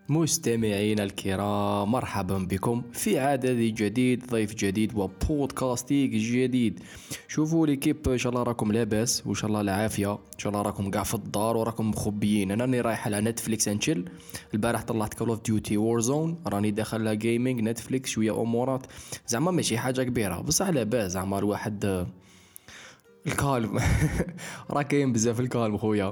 مستمعينا الكرام، مرحبا بكم في عدد جديد، ضيف جديد وبودكاستيك جديد. شوفوا ليكيب، ان شاء الله راكم لاباس وان شاء الله العافيه، ان شاء الله راكم قاع في الدار وراكم مخبيين. انا راني رايح على نتفليكس انشل. البارح طلعت كول اوف ديوتي وور زون، راني داخل على جيمنج نتفليكس شويه امورات، زعما ماشي حاجه كبيره بصح لاباس. زعما الواحد الكالم راه كاين بزاف الكالم خويا.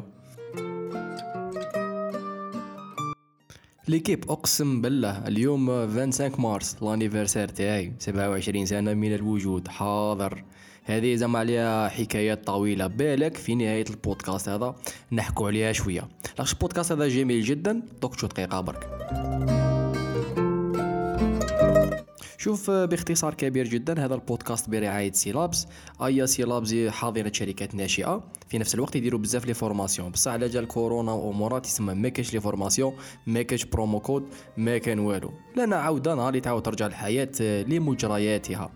ليكيب اقسم بالله اليوم 25 مارس لانيفرسير تاعي، 27 سنه من الوجود حاضر. هذه زعما عليها حكايات طويله، بالك في نهايه البودكاست هذا نحكوا عليها شويه. لاش البودكاست هذا جميل جدا، دوك شو دقيقه برك. شوف باختصار كبير جدا، هذا البودكاست برعاية سيلابس. ايا سيلابس حاضنة شركات ناشئة، في نفس الوقت يديروا بزاف لي فورماسيون، بصح على جال كورونا وامورات يسمى ما كاينش لي فورماسيون، ما كاينش برومو كود، ما كان والو. لنا عوده نهار اللي تعاود ترجع الحياة لمجرياتها.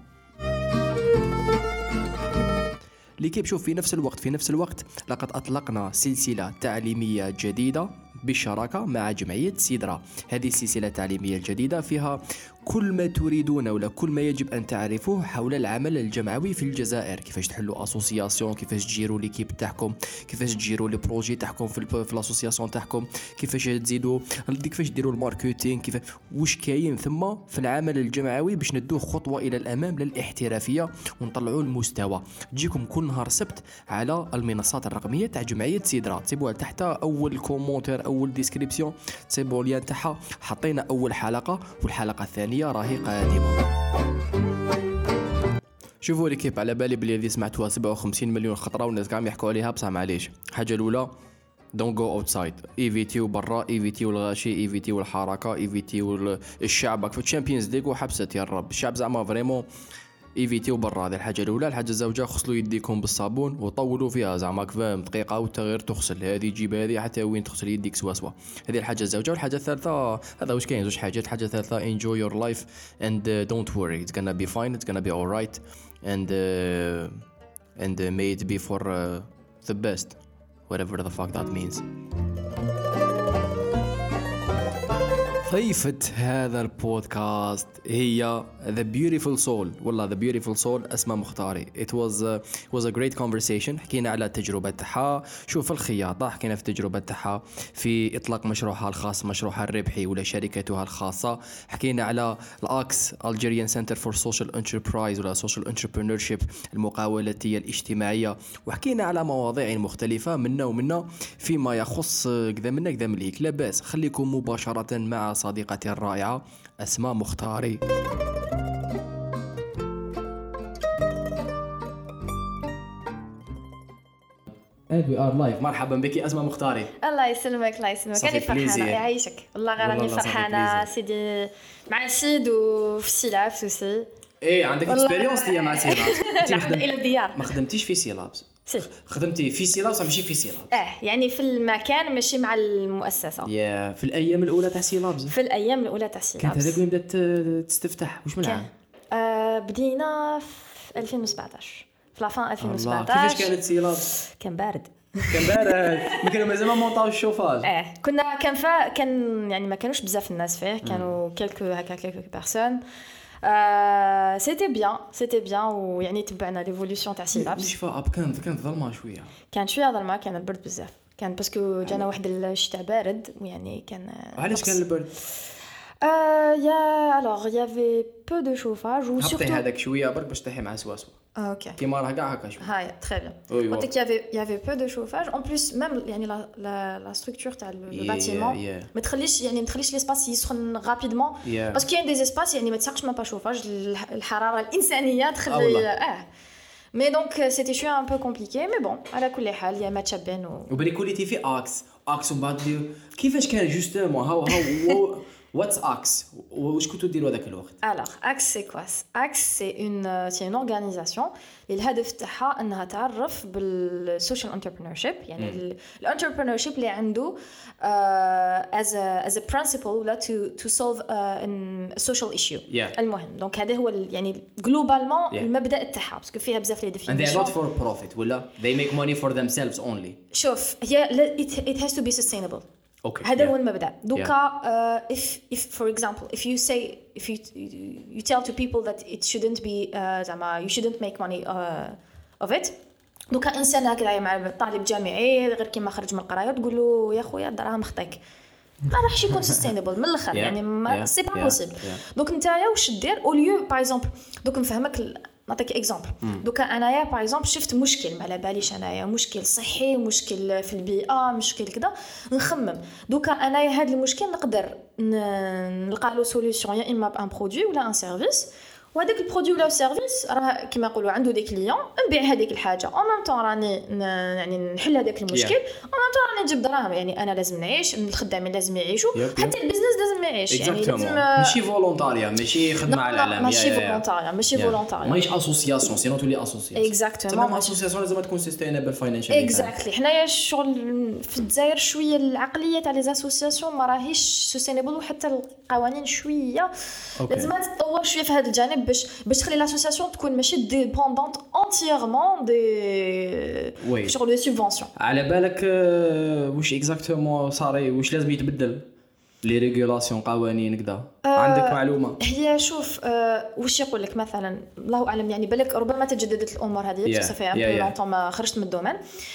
ليكيب شوف، في نفس الوقت لقد أطلقنا سلسلة تعليمية جديدة بالشراكة مع جمعية سيدرا. هذه السلسلة التعليمية الجديدة فيها كل ما تريدون ولا كل ما يجب أن تعرفوه حول العمل الجمعوي في الجزائر. كيفاش تحلوا أسوسياسيون، كيفاش تجيروا ليكيب تاعكم، كيفاش تجيروا لي بروجي تاعكم في الأسوسياسيون تاعكم، كيفاش تزيدوا، كيفاش ديروا الماركتينغ، كيف واش كاين ثم في العمل الجمعوي باش ندوه خطوة إلى الأمام للاحترافية ونطلعوا المستوى. تجيكم كل نهار سبت على المنصات الرقمية تاع جمعية سيدرا، تسيبوها تحت أول كومونتير أول ديسكريبسيون، تسيبوا ليان تاعها. حطينا أول حلقة والحلقة الثانية راهي قادمة. شوفوا ليكيب، على بالي بلي هذه سمعتوها 57 مليون خطرة والناس قاعدين يحكوا عليها، بصح معليش. حاجة الأولى دونت جو اوتسايد، ايفيتيو برا، ايفيتيو الغاشي، ايفيتيو الحركة، ايفيتيو الشعب في الشامبيونز ليغ وحبست يا رب. الشعب زعما فريمون ايفيتيو برا، هذه الحاجه الاولى. الحاجه الزوجه، غسلوا يديكم بالصابون وطولوا فيها زعما فاهم دقيقه والتغيير تغسل هذه جيب هذه حتى وين تغسل يديك سوا. هذه الحاجه الزوجه. والحاجه الثالثه، هذا واش كاين زوج حاجات. الحاجه الثالثه enjoy your life and don't worry, it's gonna be fine, it's gonna be alright, and may it be for the best, whatever the fuck that means. ضيفة هذا البودكاست هي The Beautiful Soul، والله The Beautiful Soul أسماء مختاري. It was a great conversation. حكينا على تجربة تاعها، شوف الخياطة، حكينا في تجربة تاعها في إطلاق مشروعها الخاص، مشروعها الربحي ولا شركتها الخاصة. حكينا على الأكس Algerian Center for Social Enterprise ولا Social Entrepreneurship، المقاولاتية الاجتماعية. وحكينا على مواضيع مختلفة منا فيما يخص كذا منا كذا مليك. لاباس خليكم مباشرة مع صديقتي الرائعة أسماء مختاري. And we are live. مرحبا بك أسماء مختاري. الله يسلمك الله يسلمك. أنا فرحانة يعيشك والله، غير راني فرحانة سيدي مع سيد وفي سيلابس وسي. إيه عندك إكسبيرينس ديال مع سيلابس؟ نخدم إلى الديار. ما خدمتيش في سيلابس؟ خدمتي في سيلابس ماشي في سيلابس؟ يعني في المكان ماشي مع المؤسسة. في الأيام الأولى تاع سيلابس. في الأيام الأولى تاع سيلابس. كانت هذاك وين بدات تستفتح؟ واش من العام؟ بدينا في 2017 في لافان 2017. كيفاش كانت سيلابس؟ كان بارد. ما كانوا مازال ما مونطاو الشوفاج. كنا كان يعني ما كانوش بزاف الناس فيه، كانوا كيلكو بيرسون. سيتي بيان ويعني تبعنا ليفولوشن تاع سيلابس. الشفاء كانت ظلمه شويه، كانت شويه ظلمه، كان البرد بزاف، كان باسكو جانا واحد الشتاء بارد ويعني كان. علاش كان البرد؟ alors il y avait peu de chauffage ou surtout حطي هذاك شويه برك باش تحي مع سواسو. OK كيما راه كاع هكا شويه. هاي très bien. قلت لك il y avait peu de chauffage en plus même يعني la structure تاع le bâtiment ما تخليش ليسباس يسخن رابيدمون باسكو كاين دي اسباس يعني ما تساقش ما با شوفاج، الحراره الانسانيه تخلي مي دونك سيتي شويه ان بو كومبليكي مي بون على كل حال يا ما تشابين وبري كوليتي في اكس ومن بعد كيفاش كان جوستومون هاو What's Axe? واش كنتو ديروا هذاك الوقت؟ Alors Axe c'est quoi? Axe c'est une organisation الهدف تاعها انها تعرف بالسوشيال انتربرينورشيب، يعني الانتربرينورشيب اللي عنده as a principle ولا to solve a social issue. المهم دونك هذا هو يعني جلوبالمون المبدا تاعها باسكو فيها بزاف لي ديفينيشن. And they're not for profit ولا they make money for themselves only. شوف هي it has to be sustainable. اوكي هذا هو المبدا دوكا. if for example if you tell to people that it shouldn't be زعما you shouldn't make money of it. دوكا انسان هكذا مع طالب جامعي غير كيما خرج من القرايه تقول له يا خويا الدراهم خطيك، ما راحش يكون سستينبل من الاخر. يعني ما سي با بوسيبل. دونك نتايا واش دير او ليو باغ اكزومبل. دوك نفهمك نعطيك اكزامبل. دوكا انايا باغ اكزومبل شفت مشكل ما على باليش انايا مشكل صحي مشكل في البيئه مشكل كذا نخمم. دوكا انايا هذا المشكل نقدر نلقى له سوليوشن يا اما بان برودوي ولا ان سيرفيس، وهذاك البرودوي ولا السيرفيس راه كيما يقولوا عنده دي كليون نبيع هذيك الحاجه او ميم طون راني يعني نحل هذاك المشكل او ميم طون راني نجيب دراهم. يعني انا لازم نعيش، الخدامين لازم يعيشوا، حتى البيزنس لازم يعيش. يعني لازم ماشي فولونتاريا ماشي خدمه على العالم، ماشي فولونتاريا ماشي فولونتاريا ماشي اسوسياسيون سينو تولي اسوسياسيون. اكزاكتومون اسوسياسيون لازم تكون سستينبل فاينانشال. اكزاكتلي حنايا الشغل في الجزائر شويه العقليه تاع لي اسوسياسيون ما راهيش سستينبل، وحتى القوانين شويه لازم تطور شويه في هذا الجانب باش تخلي لاسوسياسيون تكون ماشي ديبوندونت انتييرمون دي شغل دي سوبفونسيون. على بالك واش اكزاكتومون صاري واش لازم يتبدل لي ريغولاسيون قوانين كذا؟ عندك معلومه؟ هي شوف واش يقول لك مثلا الله اعلم، يعني بالك ربما تجددت الامور هذه بصح صافي ان بو لونطون ما خرجت من الدومين.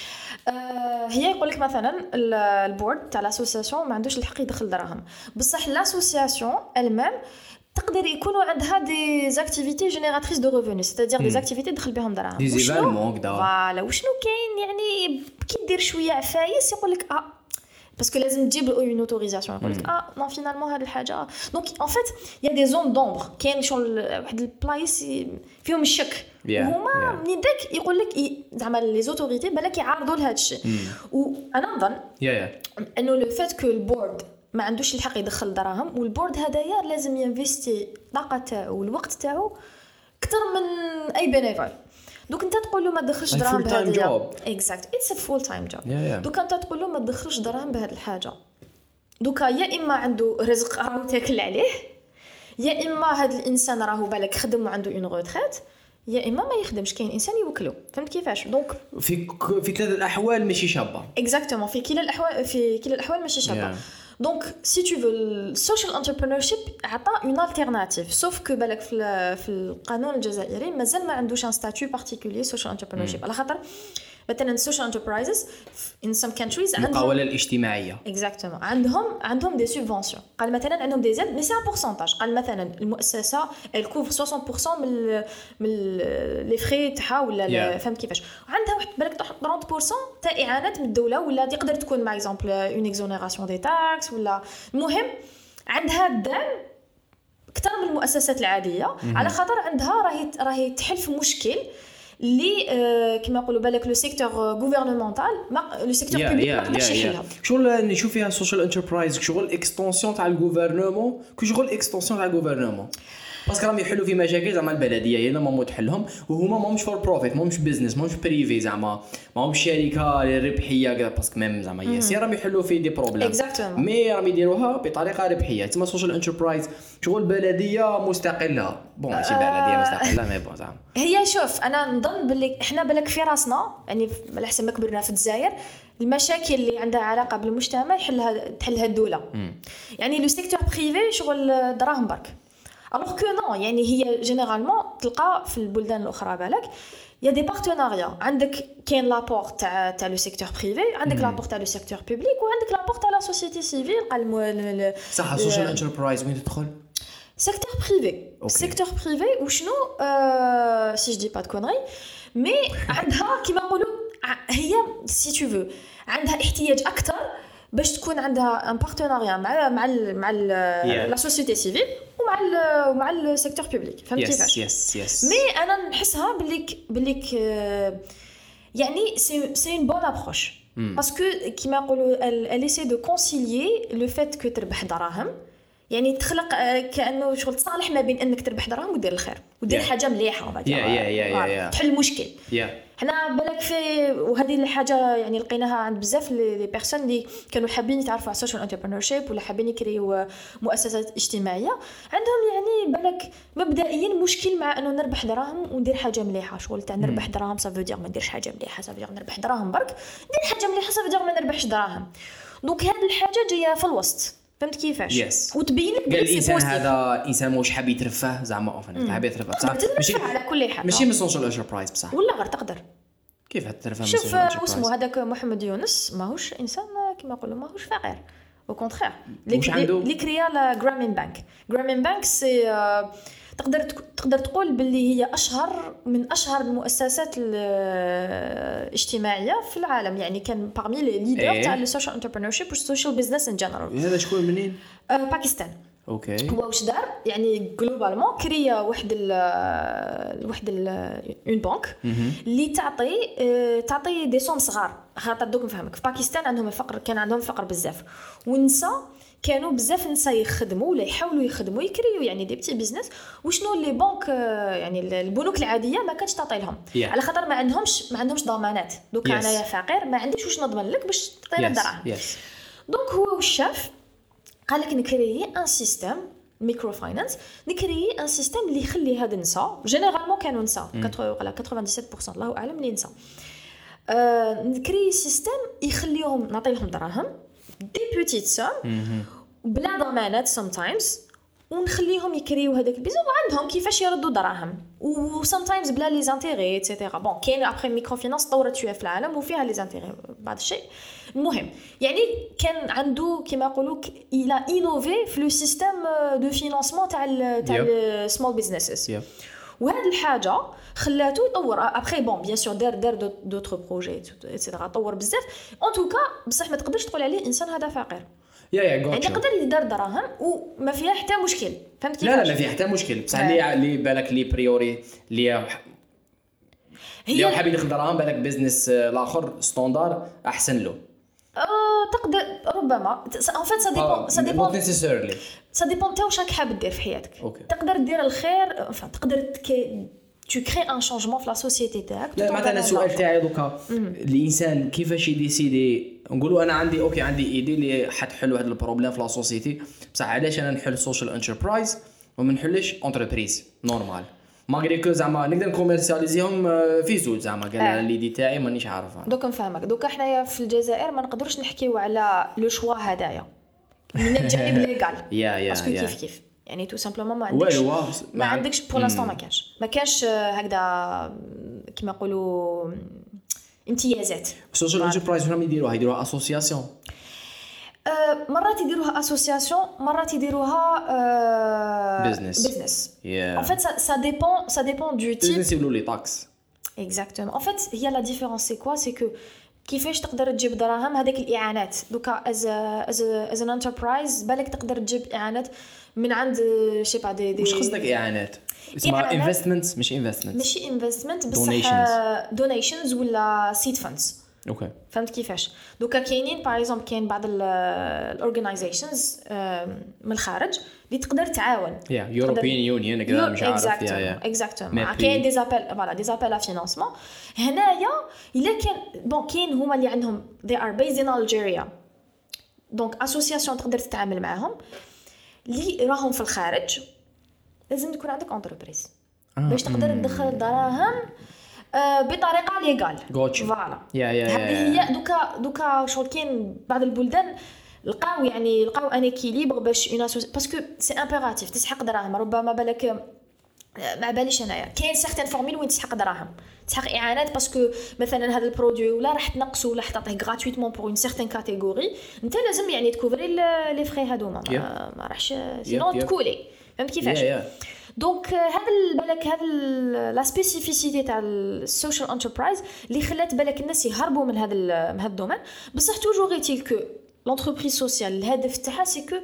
هي يقول لك مثلا البورد تاع لاسوسياسيون ما عندوش الحق يدخل دراهم، بصح لاسوسياسيون المام تقدر يكونوا عندها دي زاكتيفيتي جينيراتريس دو ريفوني، سيتادير دي زاكتيفيتي تدخل بهم دراهم. دي زيفالمون كذا فوالا وشنو كاين يعني كي دير شويه عفايس يقول لك باسكو لازم تجيب اون اوتوريزاسيون يقول لك نو فينالمون هذه الحاجه. دونك ان فيت يا دي زون دومبر كاين شغل واحد البلايص فيهم الشك هما من داك يقول لك زعما لي زوتوريتي بالك يعارضوا لهذا الشيء. وانا نظن انه لو فات كو البورد ما عندوش الحق يدخل دراهم، والبورد هدايا لازم ينفيستي الطاقه تاعو والوقت تاعو اكثر من اي بينيفول. دوك انت تقول له ما تدخلش دراهم بهذه اكزاكت اتس ا فول تايم جوب. دوك انت تقول له ما تدخلش دراهم بهذه الحاجه، دوكا يا اما عنده رزق راهو تاكل عليه، يا اما هذا الانسان راهو بالك خدم وعنده اون روتريت، يا اما ما يخدمش. كاين انسان يوكلو فهمت كيفاش. دونك في كلا الاحوال ماشي شابه اكزاكتومون في كلا الاحوال ماشي شابه. Donc si tu veux le social entrepreneurship عطى une alternative sauf que بالك في القانون الجزائري مازال ما عندوش un statut particulier social entrepreneurship على خاطر مثلا social enterprises in some countries عندهم المقاولة الاجتماعية exactement عندهم des subventions. قال مثلا عندهم des aides mais c'est un pourcentage. قال مثلا المؤسسة elle couvre 60% من les frais تاعها ولا فهمت كيفاش. عندها واحد بالك 30% تاع اعانات من الدولة ولا تقدر تكون مع exemple une exonération des taxes ولا المهم عندها الدعم اكثر من المؤسسات العادية على خاطر عندها راهي تحل في مشكل اللي كما يقولوا بالك لو سيكتور غوفرنمونتال لو سيكتور بوبليك ما قدرش يحلها. شغل نشوف فيها سوشيال انتربرايز شغل اكستنسيون تاع الغوفرنمون شغل اكستنسيون تاع الغوفرنمون باسكو راهم يحلوا في مشاكل زعما البلديه هي ما تحلهم وهما ماهمش فور بروفيت ماهمش بيزنس ماهمش بريفي زعما ماهمش شركه ربحيه كذا باسكو ميم زعما ياسير راهم يحلوا في دي بروبليم مي راهم يديروها بطريقه ربحيه تسمى سوشيال انتربرايز شغل بلديه مستقله بون ماشي بلديه مستقله مي بون زعما هي شوف انا نظن باللي احنا بالك في راسنا يعني على حسب ما كبرنا في الجزائر المشاكل اللي عندها علاقه بالمجتمع تحلها الدوله يعني لو سيكتور بريفي شغل دراهم برك alors que non يعني هي جينيرالمون تلقى في البلدان الاخرى بالك يا دي بارتناريا عندك كاين لابور تاع لو سيكتور بريفي عندك لابور تاع لو سيكتور بوبليك وعندك لابور تاع لا سوسيتي سيفيل صح السوشيال انتربرايز وين تدخل سيكتور بريفي سيكتور بريفي وشنو سي جو دي با دو كونري مي عندها كيما نقولوا هي سي تو فو عندها احتياج اكثر باش تكون عندها ان بارتناريا مع لا سوسيتي سيفيل ومع السيكتور بوبليك فهمت كيفاش مي انا نحسها بليك يعني سي اون بون ابروش باسكو كيما نقولوا elle essaie de concilier le fait que تربح دراهم يعني تخلق كانه شغل تصالح ما بين انك تربح دراهم ودير الخير ودير حاجه مليحه تحل مشكل حنا بالك في وهذه الحاجه يعني لقيناها عند بزاف لي بيرسون اللي كانوا حابين يتعرفوا على السوشيال انتربرينورشيب ولا حابين يكريو مؤسسات اجتماعيه عندهم يعني بالك مبدئيا مشكل مع انه نربح دراهم وندير حاجه مليحه شغل تاع نربح دراهم صافي دير ما نديرش حاجه مليحه صافي دير نربح دراهم برك ندير حاجه مليحه صافي دير ما نربحش دراهم دونك هذه الحاجه جايه في الوسط، فهمت كيفاش؟ وتبين لك قال الانسان هذا انسان واش حاب يترفه زعما حاب يترفه بصح ماشي على كل حاجه، ماشي من سوشيال انتربرايز بصح، ولا غير تقدر كيف تترفه من شوف سوشيال انتربرايز. اسمه هذاك محمد يونس ماهوش انسان كما يقولوا ماهوش فقير، او كونترير اللي كريا لا جرامين بانك. جرامين بانك سي تقدر تقول باللي هي من اشهر المؤسسات الاجتماعيه في العالم، يعني كان بارمي لي ليدر تاع السوشيال انتربرينورشيب والسوشيال بزنس ان جنرال. هذا شكون منين؟ باكستان. اوكي. هو واش دار يعني جلوبالمون كريا واحد اون بانك اللي تعطي دي سوم صغار. خاطر دوك نفهمك في باكستان عندهم الفقر، كان عندهم فقر بزاف، والنساء كانوا بزاف نساء يخدموا ولا يحاولوا يخدموا يكريو يعني دي بتي بيزنس، وشنو لي بانك يعني البنوك العاديه ما كانتش تعطي لهم على خاطر ما عندهمش ضمانات. دوك انايا فقير ما عنديش واش نضمن لك باش تعطيني الدراهم. دونك هو واش شاف قال لك نكريي ان سيستم ميكرو فاينانس، نكريي ان سيستم اللي يخلي هاد النساء جينيرالمون كانوا نساء 97% الله اعلم اللي نساء، نكريي سيستم يخليهم نعطي لهم دراهم دي بوتيت سوم بلا ضمانات sometimes، ونخليهم يكريو هذاك البيزنس وعندهم كيفاش يردوا دراهم، و sometimes بلا لي زانتيغي ايتترا. بون كاين ابري ميكرو فينانس طورت شويه في العالم وفيها لي زانتيغي بعض الشيء. المهم يعني كان عنده كما يقولوا الى انوفي في لو سيستم دو فينانسمون تاع السمول بيزنسز، وهذه الحاجه خلاته يطور ابري. بون بيان سور دار دوتر بروجي ايتترا، طور بزاف ان توكا، بصح ما تقدرش تقول عليه انسان هذا فقير. يعني يقدر يدار دراهم وما فيها حتى مشكل، فهمت كيف؟ لا ما فيها حتى مشكل، بصح اللي بالك لي بريوري اللي هي حابين ياخذ دراهم، بالك بيزنس الاخر ستاندار احسن له. تقدر ربما ان فيت سا ديبون سا ديبون تا واش راك حاب دير في حياتك. تقدر دير الخير، تقدر tu crées un changement في لا سوسيتي تاعك. لا مثلا السؤال تاعي دوكا الانسان كيفاش يديسيدي، نقولوا انا عندي عندي ايدي اللي حتحل هذا البروبليم في لا سوسيتي، بصح علاش انا نحل سوشيال انتربرايز وما نحلش انتربريز نورمال ماغري كو زعما نقدر نكوميرسياليزيهم في زوج زعما قال ليدي تاعي مانيش عارفها. دوك نفهمك. دوك حنايا في الجزائر ما نقدروش نحكيو على لو شوا هذايا من الجانب ليغال باسكو كيف يعني تو سامبلومون ما عندكش بور لانستون، ما كانش هكذا كيما يقولوا امتيازات. السوشيال انتربرايز هما يديروها اسوسياسيون، مرات يديروها اسوسياسيون، مرات يديروها بزنس. ان فيت سا ديبون دو تيب. بزنس يقولوا لي تاكس اكزاكتومون. ان فيت هي لا ديفيرونس سي كوا سي كو كيفاش تقدر تجيب دراهم هذاك الاعانات. دوكا از ان انتربرايز بالك تقدر تجيب اعانات من عند شي با دي واش قصدك اعانات؟ اسمها انفستمنت ماشي انفستمنت بصح دونيشنز ولا سيد فاندز. اوكي فهمت كيفاش؟ دوكا كاينين باغ اكزومبل كاين بعض الاورغانيزيشنز من الخارج اللي تقدر تعاون يوروبيان يونيون كذا مش عارف اكزاكتومون كاين دي زابيل ا فينانسمون. هنايا الا كان بون كاين هما اللي عندهم they are based in Algeria، دونك اسوسياسيون تقدر تتعامل معاهم. اللي راهم في الخارج لازم تكون عندك انتربريز باش تقدر تدخل دراهم بطريقه ليغال. فوالا هذه هي. دوكا شغل كاين بعض البلدان لقاو ان اكيليبر باش باسكو سي امبيراتيف تسحق دراهم. ربما بالك ما باليش انايا كاين سيغتان فورميل وين تسحق دراهم، تسحق اعانات باسكو مثلا هذا البرودوي ولا راح تنقصوا ولا تعطيه غراتويتمون بور اون سيغتان كاتيجوري، انت لازم يعني تكوفري لي فري هذوما ما راحش سينو تكولي. فهمت كيفاش؟ دونك هذا بالك هذا لا سبيسيفيسيتي تاع السوشيال انتربرايز اللي خلات بالك الناس يهربوا من هذا الدومين. بصح توجور غيتيل كو لونتربريز سوسيال الهدف تاعها سي كو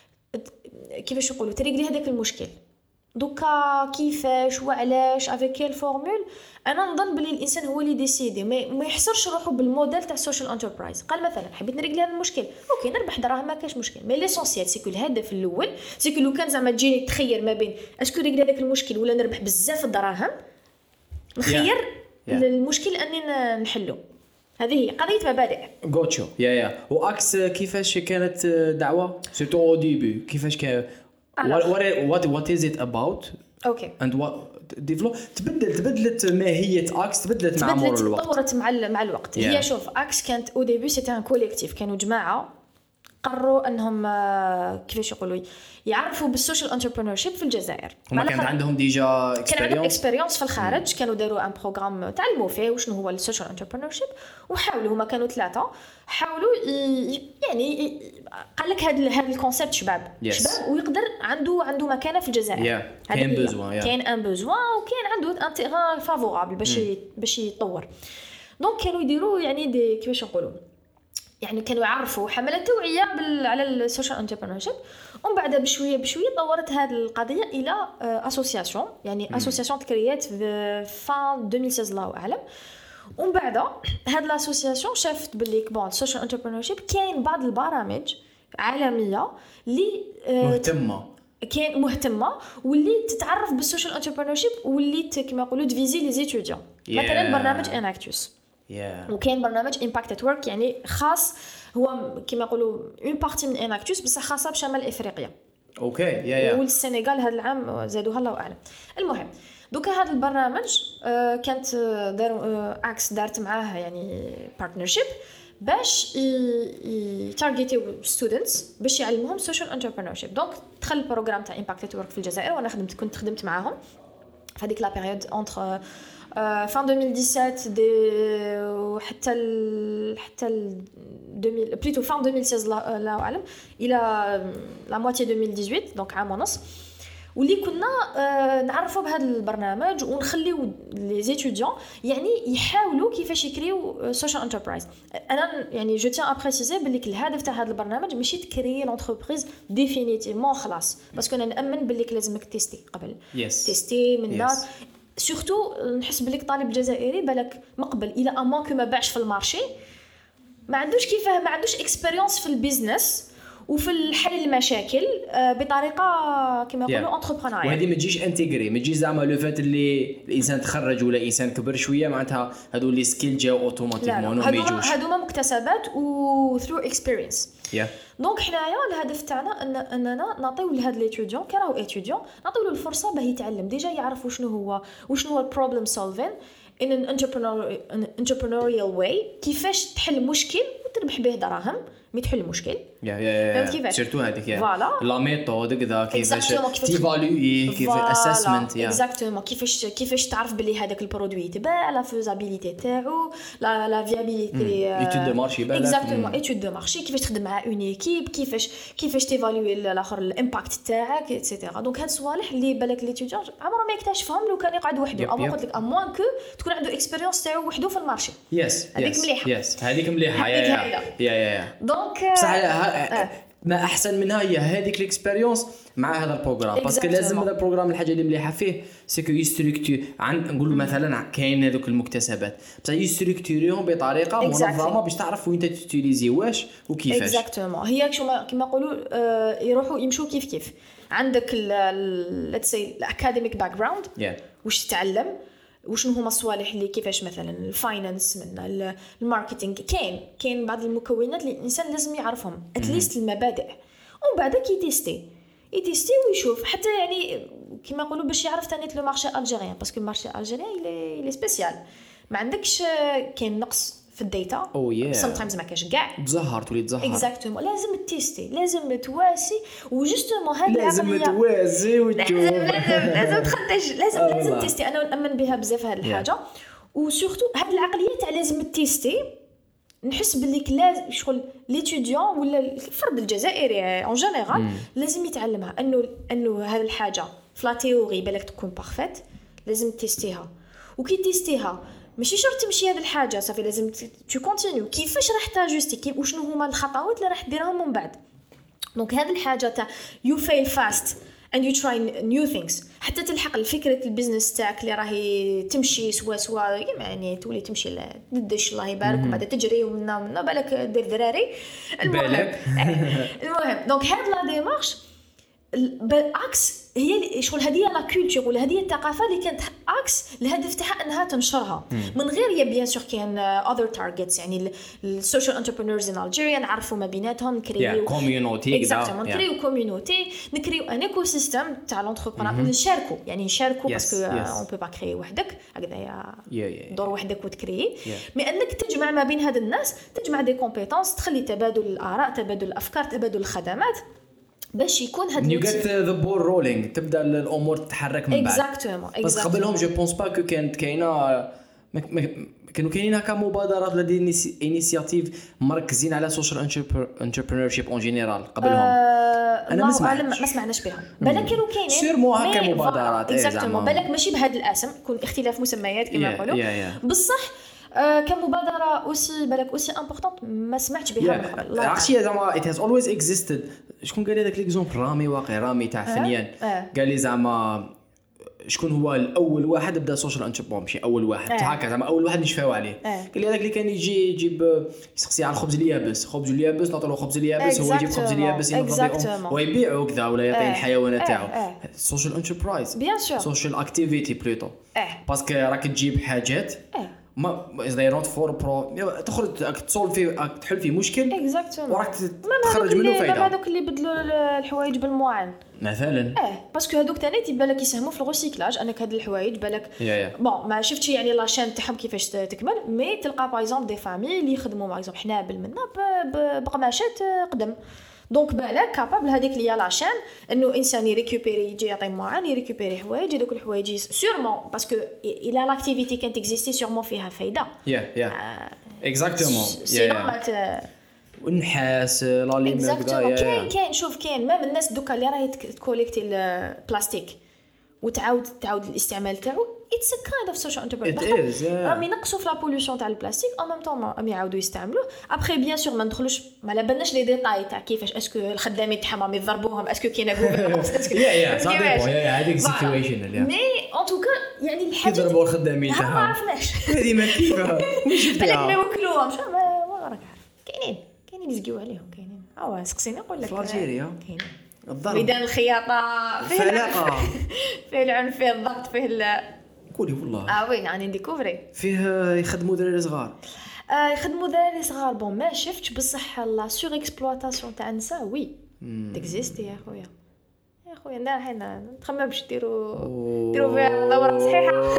كيفاش يقولوا تريغلي هذاك المشكل. دوكا كيفاش وعلاش افيك كيل فورمول، انا نظن بلي الانسان هو اللي ديسيدي، ما يحصرش روحه بالموديل تاع السوشيال انتربرايز. قال مثلا حبيت نريغلي هذا المشكل، اوكي نربح دراهم ما كاش مشكل، مي ليسونسيال سيكو الهدف الاول سيكو لو كان زعما تجيني تخير ما بين اسكو نريغلي هذاك المشكل ولا نربح بزاف الدراهم، نخير المشكل اني نحلو. هذه هي قضيه مبادئ. غوتشو واكس كيفاش كانت دعوه سيتو او ديبي كيفاش كان what is it about and what تبدلت ماهيه اكس مع مرور الوقت، تطورت مع الوقت. هي شوف اكس كانت او ديبي سيتي ان كوليكتيف، كانوا جماعه قرروا انهم كيفاش يقولوا يعرفوا بالسوشيال انتربرينورشيب في الجزائر. هما كان عندهم ديجا اكسبيريونس في الخارج، كانوا داروا ان بروغرام تعلموا فيه وشنو هو السوشيال انتربرينورشيب، وحاولوا هما كانوا 3 حاولوا يعني قال لك هذا الكونسيبت شباب ويقدر عنده مكانه في الجزائر. كاين بوزوان كاين ان بوزوان وكاين عنده ان تيغان فافورابل باش يطور. دونك كانوا يديروا يعني دي كيفاش نقولوا يعني كانوا يعرفوا حملة توعية على السوشيال انتربرينورشيب. ومن بعد بشويه طورت هذه القضيه الى اسوسياسيون، يعني اسوسياسيون تكريات في فان 2016 الله اعلم. ومن بعد هذه الاسوسياسيون شافت باللي كبون السوشيال انتربرينورشيب كاين بعض البرامج عالميه اللي كاين مهتمه واللي تتعرف بالسوشيال انتربرينورشيب واللي كما يقولوا تفيزي لي زيتوديون. مثلا برنامج اناكتوس وكاين برنامج امباكت ات ورك، يعني خاص هو كما يقولوا اون بارتي من اناكتوس بس خاصه بشمال افريقيا. اوكي والسنغال هذا العام زادوها الله اعلم. المهم دوكا هذا البرنامج كانت اكس دارت معاه يعني بارتنرشيب باش يتارجيتيو ستودنتس باش يعلموهم سوشيال انتربرينورشيب. دونك دخل البروغرام تاع امباكت ات ورك في الجزائر، وانا كنت خدمت معاهم في هذيك لا بيريود انتر fin 2017 حتى 2000 plutôt fin 2016 لا اعلم الى لا موitié 2018 دونك عام ونص. واللي كنا نعرفوا بهذا البرنامج ونخليو لي زيتوديون يعني يحاولوا كيفاش يكريو سوشيال انتربرايز. انا يعني جو تيان ا بريسيزي باللي الهدف تاع هذا البرنامج ماشي تكري لونتربريز ديفينيتيفمون خلاص، باسكو انا نامن باللي لازمك تيستي قبل تيستي من الناس سورتو. نحس بليك طالب جزائري بالك مقبل الى امان كو ما باعش في المارشي، ما عندوش كيفاه ما عندوش اكسبيريونس في البيزنس وفي الحل المشاكل بطريقه كما يقولوا انتربرونيال. وهذه ما تجيش انتيغري، ما تجيش زعما لو فات اللي الانسان تخرج ولا انسان كبر شويه معناتها هذو لي سكيل جاو اوتوماتيكمون ما يجوش. هذوما مكتسبات و ثرو اكسبيرينس. دونك حنايا الهدف تاعنا اننا نعطيو لهاد ليتوديون كي راهو ايتوديون نعطيو له الفرصه باه يتعلم ديجا يعرف وشنو هو البروبلم سولفين in an entrepreneurial way، كيفاش تحل مشكل وتربح به دراهم مي تحل مشكل. سيرتو هذيك لا ميثود كذا كيفاش تيفالوي كيف اسسمنت اكزاكتومون كيفاش تعرف باللي هذاك البرودوي تباع لا فيزابيليتي تاعو لا فيابيليتي ايتود دو مارشي بالك اكزاكتومون ايتود دو مارشي كيفاش تخدم مع اون ايكيب كيفاش تيفالوي الاخر الامباكت تاعك ايتترا. دونك هاد الصوالح اللي بالك ليتوديون عمره ما يكتشفهم لو كان يقعد وحده او قلت لك اموان كو تكون عنده اكسبيريونس تاعو وحده في المارشي. هذيك مليحه هذيك مليحه يا دونك بصح ما احسن منها هي هذيك الاكسبيريونس مع هذا البروغرام، باسكو لازم هذا البروغرام الحاجه اللي مليحه فيه سيكو يستركتور نقولوا مثلا كاين هذوك المكتسبات بصح يستركتوريهم بطريقه منظمه باش تعرف وين تيتيليزي واش وكيفاش. اكزاكتومون هي كما نقولوا يروحوا يمشوا كيف كعندك ليتس سي الاكاديميك باك جراوند واش تتعلم وشنو هما الصوالح اللي كيفاش مثلا الفاينانس من الماركتينغ كاين بعض المكونات اللي الانسان لازم يعرفهم اتليست المبادئ. ومن بعد كي يتيستي ويشوف حتى يعني كما نقولوا باش يعرف ثاني لو مارشي الجيريان باسكو المارشي الجيريان لي سبيسيال ما عندكش كاين نقص في الداتا sometimes ما كاش كاع تولي تظهر اكزاكتومون لازم تيستي لازم تواسي وجوستومون هاد لازم تواسي وتشوف لازم تخدج لازم تيستي. انا نامن بها بزاف هاد الحاجه وسورتو هاد العقليه تاع لازم تيستي. نحس باللي لازم شغل ليتوديون ولا الفرد الجزائري اون جينيرال لازم يتعلمها انه هاد الحاجه فلا تيوري بالك تكون بارفيت لازم تيستيها وكي تيستيها ماشي شرط تمشي هذه الحاجه صافي لازم تو كونتينيو كيفاش راح تاجوستي وشنو هما الخطوات اللي راح ديرهم من بعد. دونك هذه الحاجه تاع يو فيل فاست and you try new things حتى تلحق الفكره البيزنس تاعك اللي راهي تمشي سوا يعني تولي تمشي لدش الله يبارك وبعد تجري ومنا بالك دير دراري. المهم دونك هاد لا ديمارش بالعكس هي شغل هذه لا كولتور ولا هذه الثقافه اللي كانت عكس الهدف تاعها انها تنشرها من غير يا بيان سور كان اذر تارجتس يعني السوشيال انتربرينورز ان الجيريا نعرفوا ما بيناتهم نكريو كوميونيتي اكزاكتومون نكريو كوميونيتي نكريو ان ايكو سيستم تاع لونتربرونور نشاركوا يعني نشاركوا باسكو اون بو با كريي وحدك هكذايا دور وحدك وتكري مي انك تجمع ما بين هاد الناس تجمع دي كومبيتونس تخلي تبادل الاراء تبادل الافكار تبادل الخدمات باش يكون هاد you get the ball rolling تبدا الامور تتحرك من بعد exactement بس قبلهم جو بونس با كو كانت كاينه كانوا كاينين هكا مبادرات ولا دي انيسياتيف مركزين على سوشيال انتربرينورشيب اون جينيرال قبلهم انا ما سمعناش بهم بالك كانوا كاينين سيرمو هكا مبادرات اكزاكتومون بالك ماشي بهذا الاسم يكون اختلاف مسميات كما يقولوا بصح كمبادره اوسي بالك اوسي امبورطونت ما سمعتش بها من قبل عرفتي زعما it has always existed شكون قال لي داك ليكزومبل رامي تاع فنيان قال لي زعما شكون هو الاول واحد بدا سوشيال انتربرينور ماشي اول واحد هكا زعما اول واحد نشفاو عليه قال لي هذاك اللي كان يجيب يسقسي على الخبز اليابس نعطوا له خبز اليابس هو يجيب خبز اليابس ينفضوا ويبيعوا كذا ولا يعطي الحيوانات تاعو سوشيال انتربرايز بيان سور سوشيال اكتيفيتي بلوتو باسكو راك تجيب حاجات ما زي نوت فور برو تخرج تسولفي تحل فيه مشكل وراك تخرج منه فايده هذوك اللي بدلوا الحوايج بالموعن مثلا باسكو هذوك ثاني تيبان لك يساهموا في الريسيكلاج انك هاد الحوايج بالك بون ما شفتش يعني لاشين تاعهم كيفاش تكمل مي تلقى باغ اكزومبل دي فامي اللي يخدموا باغ اكزومبل حنابل منا بقماشات قدم دونك بالك كابابل هذيك اللي هي لاشين انه انسان يريكوبيري يجي يعطي معان يريكوبيري حوايج هذوك الحوايج سيرمون باسكو الى لاكتيفيتي كانت اكزيستي سيرمون فيها فايده اكزاكتومون والنحاس لا ليمير كاين شوف كاين ما الناس دوكا اللي راهي تكوليكتي البلاستيك وتعاود الاستعمال تاعو اتس ا كايند اوف سوشيال انتربرينورشيب راهم ينقصوا في لا بوليوشن تاع البلاستيك او ميم طون راهم يعاودوا يستعملوه ابري بيان سور ما ندخلوش ما بالناش لي ديتاي تاع كيفاش اسكو الخدامين تاعهم يضربوهم اسكو كاينه غوفرنس هذيك سيتويشن مي ان توكا يعني الحاجه يضربوا الخدامين تاعهم ما عرفناش هذه ما كيفها بالك ما يوكلوهم ما راك عارف كاينين يزقيو عليهم كاينين سقسيني نقول لك في الجيريا كاينين الضرب ميدان الخياطه فيه العلاقه فيه العنف فيه الضغط فيه قولي والله وين يعني نديكوفري فيه يخدموا دراري صغار يخدموا دراري صغار بون ما شفتش بصح لا سور اكسبلوطاسيون تاع النساء وي تكزيستي يا خويا انا حنا نتخمم باش ديروا فيها دوره صحيحه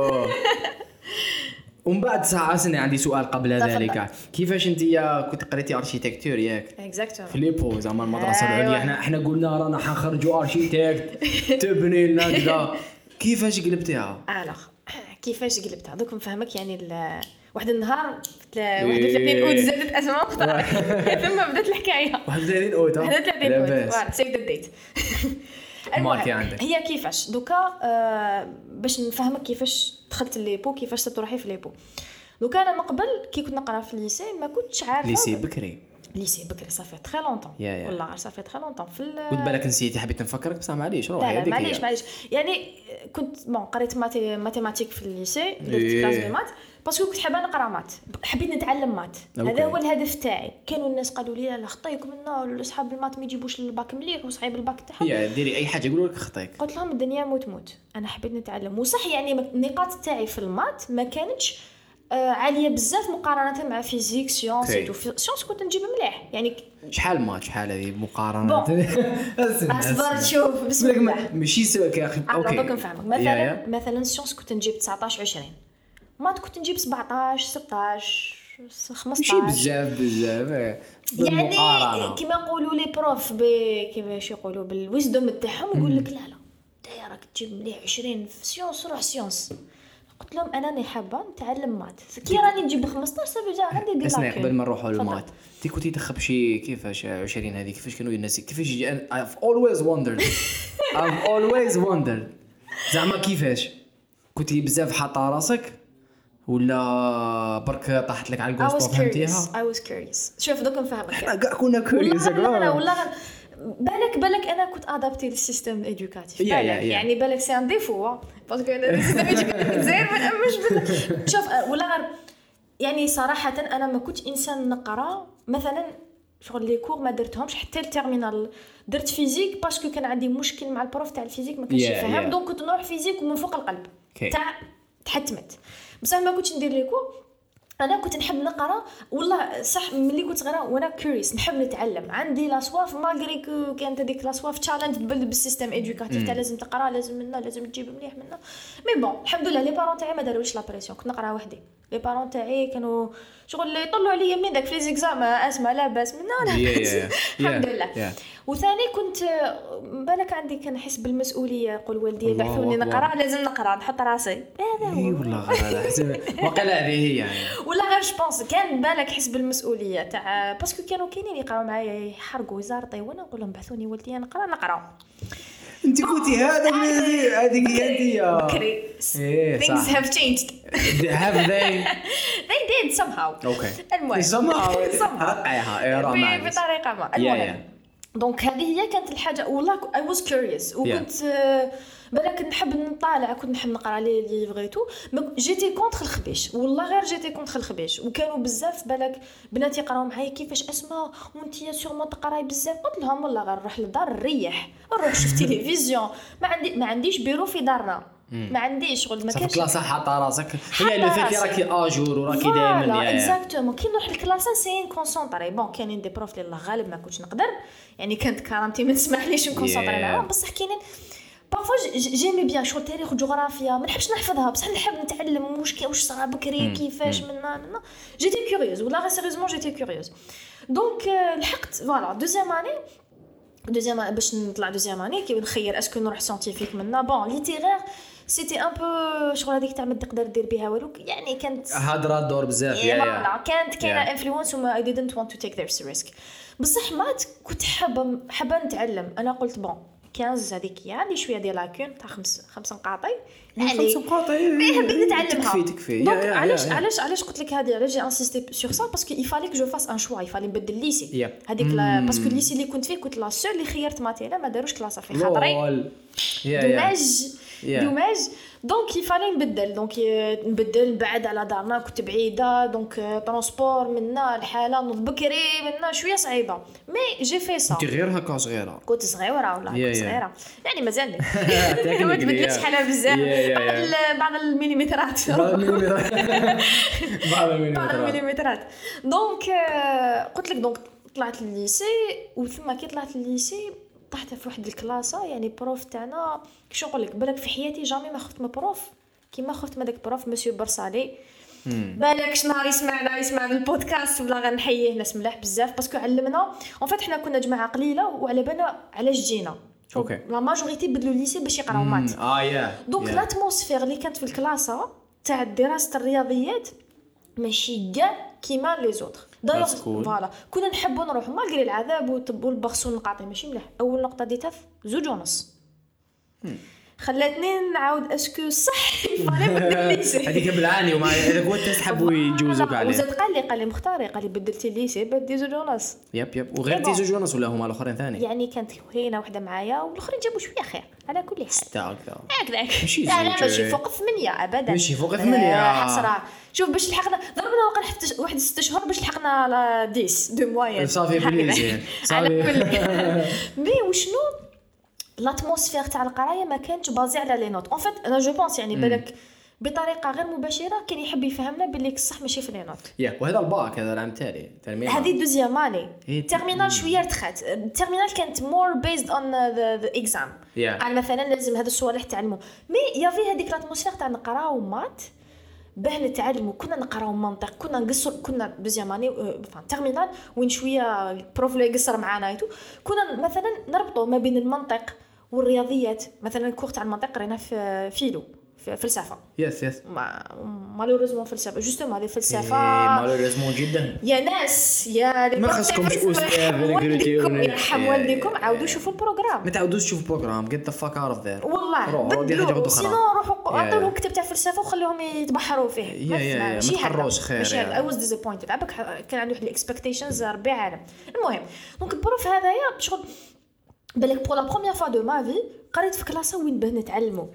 ومن بعد ساعه عندي سؤال قبل ذلك كيفاش انت كنت قريتي اركيتكتور ياك اكزاكتومون في ليبو زعما المدرسه العليا احنا قلنا رانا حنخرجوا اركيتكت تبني لنا كذا كيفاش قلبتيها كيفاش قلبتها دوك نفهمك يعني واحد النهار 31 اوت زادت اسماء اختها ثم بدات الحكايه 31 اوت 31 اوت سيف ذا ديت ماركي عندك هي كيفاش دوكا باش نفهمك كيفاش دخلت ليبو كيفاش تروحي في ليبو دوكا انا من قبل كي كنت نقرا في الليسي ما كنتش عارفه ليسي بكري صافي تري لونطون والله صافي تري لونطون في كنت بالك نسيتي حبيت نفكرك بصح معليش روحي هذيك معليش يعني كنت قريت ماتيماتيك في الليسي درت كلاس دو مات باسكو كنت حابه نقرا مات حبيت نتعلم مات هذا هو الهدف تاعي كانوا الناس قالوا لي لا خطيكم لنا اصحاب المات ما يجيبوش الباك مليح وصعيب الباك تاعهم ديري اي حاجه يقولوا لك خطيك قلت لهم الدنيا موت انا حبيت نتعلم وصح يعني النقاط تاعي في المات ما كانتش عاليه بزاف مقارنه مع فيزيك سيونس سيونس كنت نجيب مليح يعني شحال هذه مقارنه اصبر شوف بسم الله ماشي سواك يا اخي اوكي نفهمك مثلا سيونس كنت نجيب 19 20 مات كنت نجيب 17 16 15 ماشي بزاف يعني كما نقولوا لي بروف كيفاش يقولوا بالويزدوم تاعهم يقول لك لا انت راك تجيب مليح 20 في سيونس روح سيونس قلت لهم انا حابه نتعلم مات كي راني نجيب 15 صافي جا عندي دي لاك قبل ما نروحوا للمات انت كنتي تخبي شي كيفاش 20 هذه كيفاش كانوا الناس كيفاش يجي I've always wondered زعما كيفاش كنتي بزاف حاطه راسك ولا برك طاحت لك على الكوست فهمتيها I was curious شوف دوك نفهمك احنا كاع كنا كوريوس والله بالك انا كنت ادابتي للسيستم ايدوكاتيف يعني بالك سي ان ديفو باسكو السيستم ايدوكاتيف زين ما نامش شوف ولا يعني صراحه انا ما كنتش انسان نقرا مثلا شغل لي كور ما درتهمش حتى التيرمينال. درت فيزيك باسكو كان عندي مشكل مع البروف تاع الفيزيك ما كانش يفهم دونك كنت نروح فيزيك ومن فوق القلب تاع تحتمت. بصح ما كنتش ندير لي كور. انا كنت نحب نقرا والله صح ملي كنت صغيره وانا كوريوس نحب نتعلم عندي لا سواف مالغري كانت هذيك لا سواف تشالنج بالسيستم ادوكاتيف تاع لازم تقرا لازم منا لازم تجيب مليح منا. مي بون الحمد لله لي بارون تاعي ما داروش لا بريسيون كنت نقرا وحدي. لي بارون تاعي كانوا شغل يطلعوا عليا من داك في ليزيكزام اسمع لا باس منا الحمد لله. وثاني كنت بالك عندي كان احس بالمسؤوليه يقول والدي يبعثوني نقرا لازم نقرا نحط راسي هذا هو والله وقال هذه هي يعني ولا غير جوبونس كان بالك حس بالمسؤوليه تاع باسكو كانوا كاينين يقراو معايا يحرقوا يزارطي وانا نقول لهم بعثوني والدي نقرا. انت كنتي هذيك هي انت بكري things have changed have they did somehow المهم somehow بطريقه ما المهم دونك هذه هي كانت الحاجه والله I was curious وكنت بالك نحب نطالع كنت نحب نقرا لي ليفغيتو جيتي كونتر الخبيش والله غير جيتي كونتر الخبيش وكانوا بزاف بالك بنات يقراو معايا كيفاش اسماء وانتي سيغمون تقراي بزاف قلت لهم والله غير نروح للدار نريح نروح شوف تلفزيون ما عنديش بيرو في دارنا ما عنديش شغل ما كانش كلاس حاطه راسك هي اللي فيك راكي اجور وراكي دائما اكزاكتومون كي نروح الكلاس سين كونسونطري بون كاينين دي بروف اللي الله غالب ما كنتش نقدر يعني كانت كرامتي ما تسمحليش نكونسونطري معاهم بصح كاينين بارفو جيمي بيان شو تاريخ وجغرافيا ما نحبش نحفظها بصح نحب نتعلم واش صرا بكري كيفاش منا جيتي كوريوز ولا غير سيريوزمون جيتي كوريوز دونك لحقت فوالا دوزيام باش نطلع دوزيام اني كي نخير اسكو نروح ساينتيفيك منا بون ليتيرير سيتي ان بو شغل هذيك تاع ما تقدر دير بها والو يعني كانت هضره دور بزاف كانت كاينه انفلونس وما I didn't want to take this risk بصح ما كنت حابه نتعلم. انا قلت بون 15 هذيك عندي شويه ديال لاكون تاع 5 نقاطي يعني 5 نقاطي نتعلمها تكفي علاش قلت لك هذه علاش جي انسيستي سور سا باسكو يفالي كو جو فاس ان شوا يفالي نبدل ليسي هذيك باسكو الليسي اللي كنت فيه كنت لا سول اللي خيرت ماتيلا ما داروش كلاسه في خاطري دوماج دونك يفالي نبدل بعد على دارنا كنت بعيده دونك ترونسبور منا الحاله نوض بكري منا شويه صعيبه مي جي في سا انت غير هكا صغيره كنت صغيره والله كنت صغيره يعني مازال ما تبدلتش حالها بزاف بعض المليمترات بعض المليمترات دونك قلت لك دونك طلعت للليسي وثم كي طلعت للليسي طحت في واحد الكلاسه يعني بروف تاعنا كيش نقول لك بالك في حياتي جامي ما خفت من بروف كيما خفت من داك بروف مسيو برصالي بالك شنهار يسمع البودكاست ولا غنحييه ناس ملاح بزاف باسكو علمنا اون فيت حنا كنا جماعه قليله وعلى بالنا علاش جينا لا ماجوريتي بدلوا الليسي باش يقراو مات دونك لاتموسفير اللي كانت في الكلاسه تاع دراسه الرياضيات ماشي كاع كيما لي زوتر دايوغ فوالا كنا نحبوا نروحوا مالغري العذاب والبخس والنقاطي ماشي مليح. اول نقطه ديتها 2.5 خلاتني نعاود اسكو صح يفالي بدل الليسي هذيك بالعاني وما اذا كنت تحبوا يجوزوك عليه وزاد قال لي مختاري قال لي بدلتي الليسي بدي 2.5 يب وغير تي 2.5 ولا هما الاخرين ثاني يعني كانت هنا وحده معايا والاخرين جابوا شويه خير على كل حال 6 هكذا ماشي فوق 8 ابدا ماشي فوق 8 حسره شوف باش لحقنا ضربنا وقت واحد 6 شهور باش لحقنا على 10 دو موين صافي بليزير على كل مي وشنو الاتموسفير تاع القرايه ما كانتش بازي على لي نوت اون فيت انا جو بونس يعني بالك بطريقه غير مباشره كان يحب يفهمنا باللي الصح ماشي في لي نوت وهذا الباك هذا العام التالي هذه دوزيام اني تيرمينال شويه رتخات تيرمينال كانت مور بيزد اون ذا اكزام على مثلا لازم هذا الصوالح تعلموا مي يافي هذيك الاتموسفير تاع نقراو مات باه نتعلموا كنا نقراو منطق كنا نقصر كنا دوزيام اني تيرمينال وين شويه البروف اللي يقصر معانا ايتو كنا مثلا نربطوا ما بين المنطق والرياضيات مثلا الكور تاع المنطق قرينا في فيلو في فلسفه يس مالوريزمون فلسفه جوستومون هذه فلسفه مالوريزمون جدا يا ناس يا ما خصكمش استاذ يرحم والديكم عاودوا شوفوا البروغرام ما تعاودوش تشوفوا البروغرام get the fuck out of there والله سينو روحوا عطوا لهم كتاب تاع فلسفه وخليهم يتبحروا فيه ما تحروش خير ماشي I was disappointed عبك كان عندي واحد الاكسبكتيشنز ربي عالم المهم دونك البروف هذايا شغل بالك بور لا بروميير فوا دو ما في قريت في كلاسه وين باه نتعلموا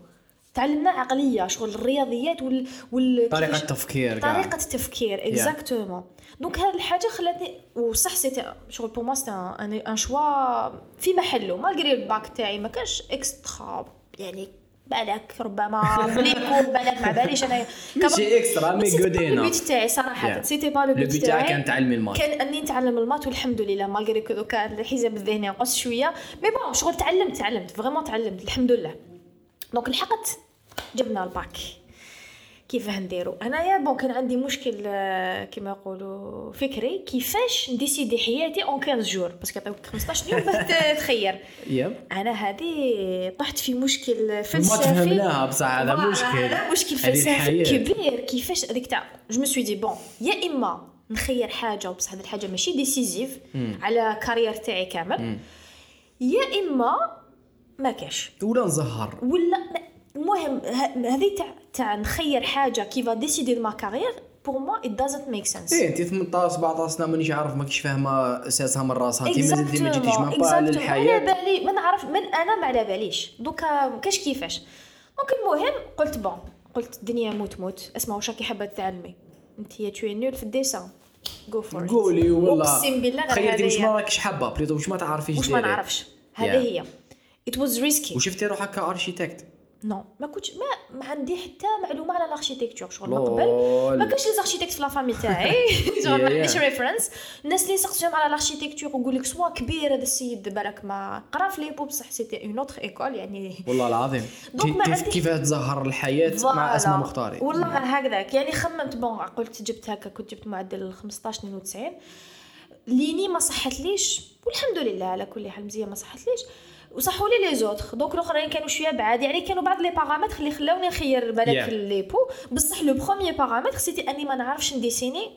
تعلمنا عقليه شغل الرياضيات طريقه التفكير طريقه التفكير اكزاكتومون دونك هذه الحاجه خلاتني وصح سيتي شغل بو موا سيتي ان شوا في محله مالغري الباك تاعي ما كانش اكسترا يعني بالك ربما بليكو بالك ما باليش انا ماشي اكسترا مي غودينا البيت تاعي صراحه سيتي با لو بيت تاعي كان تعلمي المات كان اني نتعلم المات والحمد لله مالغري كو دوكا الحزب الذهني نقص شويه مي بون شغل تعلمت فريمون تعلمت الحمد لله دونك لحقت جبنا الباك كيف نديرو انايا بون كان عندي مشكل كما يقولوا فكري كيفاش نديسيدي حياتي اون 15 جور باسكو عطاوك 15 يوم باش تخير انا هذه طحت في مشكل فلسفي ما فهمناها بصح هذا مشكل فلسفي كبير كيفاش هذيك تاع جو مي سوي دي بون يا اما نخير حاجه بصح هذه الحاجه ماشي ديسيزيف على كارير تاعي كامل يا اما ما كاش ولا نزهر ولا المهم هذه تاع نخير حاجه كيفا ديسيدي دو ما كارير بور موا ات دازنت ميك سنس انت 18 17 سنه مانيش عارف ماكيش فاهمه اساسها من راسها انت مازلتي ما جيتيش من با للحياه على بالي ما نعرف من انا ما على باليش دوكا كاش كيفاش دونك المهم قلت الدنيا موت اسمع واش راكي حابه تعلمي انت يا توي نول في الديسان جو فور قولي والله اقسم بالله تخيلتي واش ما راكيش حابه بليطو واش ما تعرفيش واش ما نعرفش هذه هي ات واز ريسكي وشفتي روحك كاركيتكت نو ما كنتش ما عندي حتى معلومه على الاركيتكتور شغل من قبل ما كانش لي اركيتكت في لا فامي تاعي شغل ما عنديش ريفرنس الناس اللي سقسيهم على الاركيتكتور ويقول لك سوا كبير هذا السيد بالك ما قرا في لي بو بصح سيتي اون اوتر ايكول يعني والله العظيم كيف تظهر الحياه مع اسماء مختارين والله غير هكذاك يعني خممت بون قلت جبت هكا كنت جبت معدل 15 92 ليني ما صحتليش والحمد لله على كل حال مزيان ما صحتليش وصحوا لي لي زوتر دونك الاخرين كانوا شويه بعاد يعني كانوا بعض لي بارامتر اللي خلاوني نخير بالك لي بو بصح لو بروميير بارامتر سيتي اني ما نعرفش نديسيني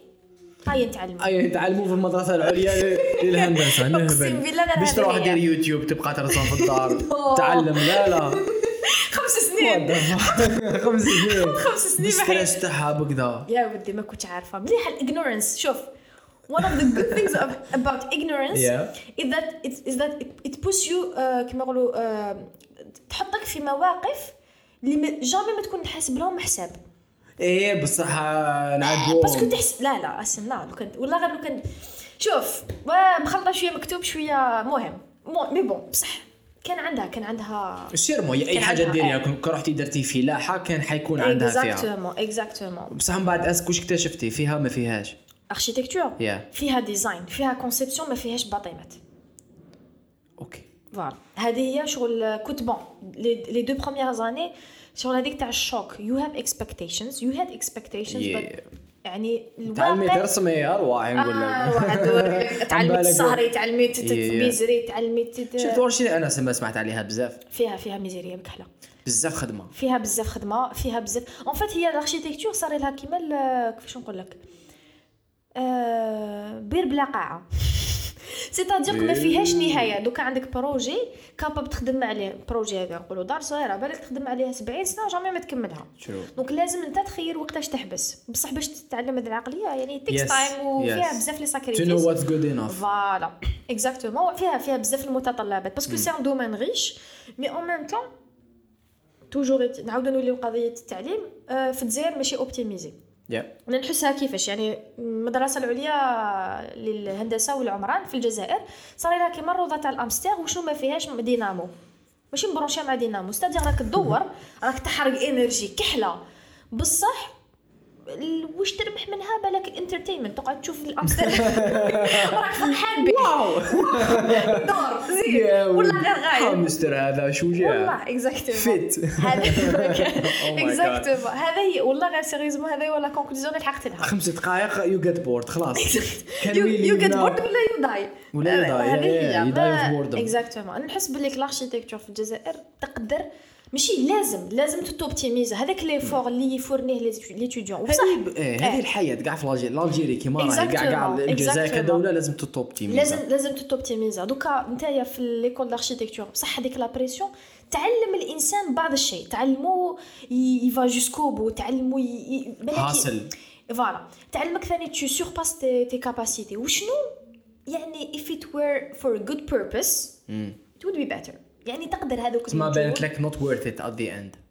نتعلموا في المدرسه العليا للهندسه نهبل باش تروح دير يوتيوب تبقى ترسم في الدار تعلم لا 5 سنين 5 سنين 5 سنين ستريس تاعها بكذا يا ودي ما كنتش عارفه مليح الاغنورنس شوف one of the good things about ignorance is that it puts you كما يقولوا تحطك في مواقف اللي جامي ما تكون حاسب لهم حساب بصح نعدوا بس كنت تحس لا اسمع لو كنت والله غير لو كنت شوف مخلطه شويه مكتوب شويه مهم مي بون بصح كان عندها سير اي حاجه ديريها كون رحتي درتي فلاحه كان حيكون عندها فيها اكزاكتومون بصح من بعد اسكو اكتشفتي فيها ما فيهاش اركيتكتور فيها ديزاين فيها كونسيبسيون ما فيهاش باطيمات اوكي فوالا هذه هي شغل كنت بون لي دو بروميير زاني شغل هذيك تاع الشوك يو هاف اكسبكتيشنز يعني تعلمي ترسمي ارواح نقول لك تعلمي السهري تعلمي ميزري تعلمي شفت ورشي انا سمعت عليها بزاف فيها ميزيريه بكحله بزاف خدمه فيها بزاف اون فيت هي الاركيتكتور صار لها كيما كيفاش نقول لك بير بلا قاعه سيتادير ما فيهاش نهايه دوكا عندك بروجي كاباب تخدم عليه بروجي هذا نقولوا دار صغيره بالك تخدم عليها 70 سنه جامي ما تكملها دونك لازم انت تخير وقتاش تحبس بصح باش تتعلم هذه العقليه يعني تيكس تايم وفيها بزاف لي ساكريفيس تو نو واتس جود انف فوالا اكزاكتومون فيها بزاف المتطلبات باسكو سي ان دومين ريش مي اون ميم طون توجور نعاودو نوليو قضيه التعليم في الجزائر ماشي اوبتيميزي انا نحسها كيفاش يعني المدرسه العليا للهندسه والعمران في الجزائر صار لها كيما الروضه تاع الامستر وشنو ما فيهاش دينامو ماشي مبروشيه مع دينامو ستادير راك تدور راك تحرق انرجي كحله بصح واش تربح منها بالك الانترتينمنت تقعد تشوف الامستر راك فرحان به واو دور زين ولا غير غايب الامستر هذا شجاع والله اكزاكتومون هذا اكزاكتومون هذا هي والله غير سيريزمون هذا ولا كونكلوزيون اللي حققت لها 5 دقائق يو جيت بورد خلاص يو جيت بورد ولا يو داي في بورد اكزاكتومون نحس باللي الاركيتكتور في الجزائر تقدر ماشي لازم توبتيميزا هذاك لي فور اللي يفورنيه لي ستوديون وصح هذه الحياه كاع في الجيري كيما راهي كاع الجزائر كدوله لازم توبتيميزا لازم توبتيميزا دوكا نتايا في ليكول داركتيكتور بصح هذيك لا بريسيون تعلم الانسان بعض الشيء تعلمو يفا جوسكو بو تعلمو حاصل فوالا تعلمك ثاني تو سورباس تي كاباسيتي وشنو يعني if it were for a good purpose it would be better يعني تقدر هذوك ما بانت لك not worth it at the end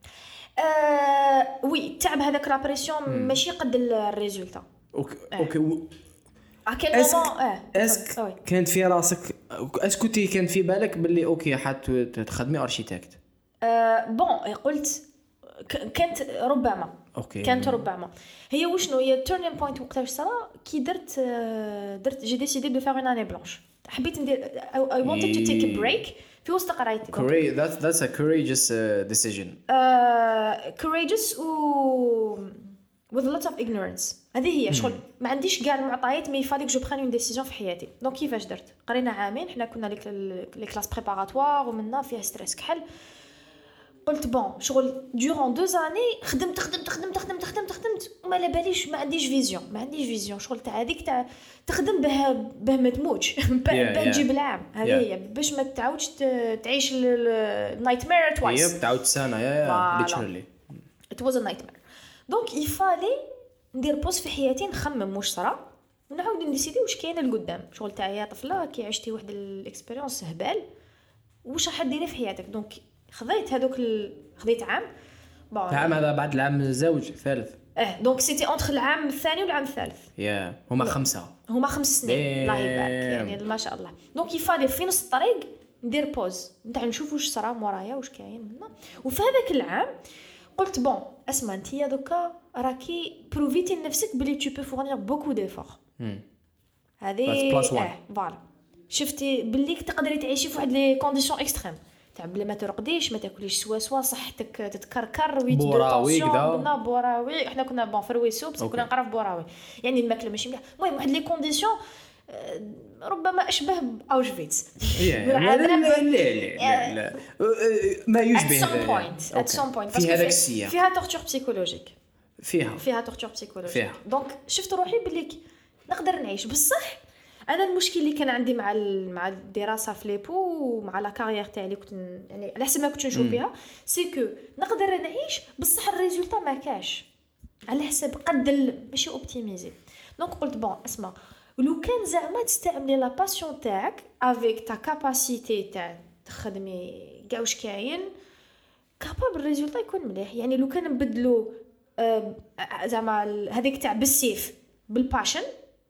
وي التعب هذاك لا بريسيون ماشي قد الريزولتا. اوكي اكيد اسك كانت في راسك اسكو تي كان في بالك باللي اوكي تخدمي اركيتكت؟ بون قلت كانت ربما اوكي كانت ربما هي وشنو هي التيرنينغ بوينت وقتاش صرا كي درت جي ديسيدي دو فير اون اني بلانش. حبيت ندير I wanted to take a break في وسط قرايتي. That's a courageous decision. Courageous with a lot of ignorance. هذه هي شغل ما عنديش كاع المعطيات مي فاليك جو بران اون ديسيجن في حياتي. دونك كيفاش درت؟ قرينا عامين حنا كنا لي كلاس بريباراتوار ومنا فيها ستريس كحل. قلت بون شغل durant 2 années خدمت وما على باليش ما عنديش فيزيون شغل تاع هذيك تاع تخدم به ما تموتش به تجيب العام. هذه هي باش ما تعاودش تعيش النايت مير توايس. تعاود سنه literally it was a nightmare. دونك يفالي ندير بوز في حياتي نخمم واش صرا ونعاود نديسيدي واش كاين لقدام. شغل تاع يا طفله كي عشتي واحد الاكسبيريونس هبال واش راح ديري في حياتك. دونك خذيت خذيت عام هذا بعد العام الزوج الثالث. دونك سيتي اونتر العام الثاني والعام الثالث. هما 5 سنين الله يبارك يعني ما شاء الله. دونك يفالي في نص الطريق ندير بوز نتاع نشوف واش صرا مورايا واش كاين منا. وفي هذاك العام قلت بون اسمع انتيا دوكا راكي بروفيتي لنفسك بلي tu peux fournir beaucoup d'efforts. هذه فوالا شفتي بلي تقدري تعيشي في واحد لي كونديسيون اكستريم تاع بلا ما ترقديش ما تاكليش سوا صحتك تتكركر ويت دو طونسيون بوراوي. احنا كنا بون في الويسو بس كنا نقرا في بوراوي يعني الماكله ماشي مليح. المهم واحد لي كونديسيون ربما اشبه باوشفيتس. لا ما يشبه at some point في هذاك السياق فيها تورتور بسيكولوجيك فيها تورتور بسيكولوجيك. دونك شفت روحي بلي نقدر نعيش بصح. انا المشكل اللي كان عندي مع الدراسه في ليبو ومع لا كارير تاعي اللي كنت يعني على حسب ما كنت نشوف فيها سي كو نقدر نعيش بصح الريزولتا ما كاش على حسب قد ماشي اوبتيميزي. دونك قلت بون اسمع ولو كان زعما تستعملي لا باسيون تاعك افيك تا كاباسيتي تاع تخدمي كاع واش كاين كابابل الريزولتا يكون مليح. يعني لو كان نبدلوا زعما هذيك تاع بالسيف بالباشن.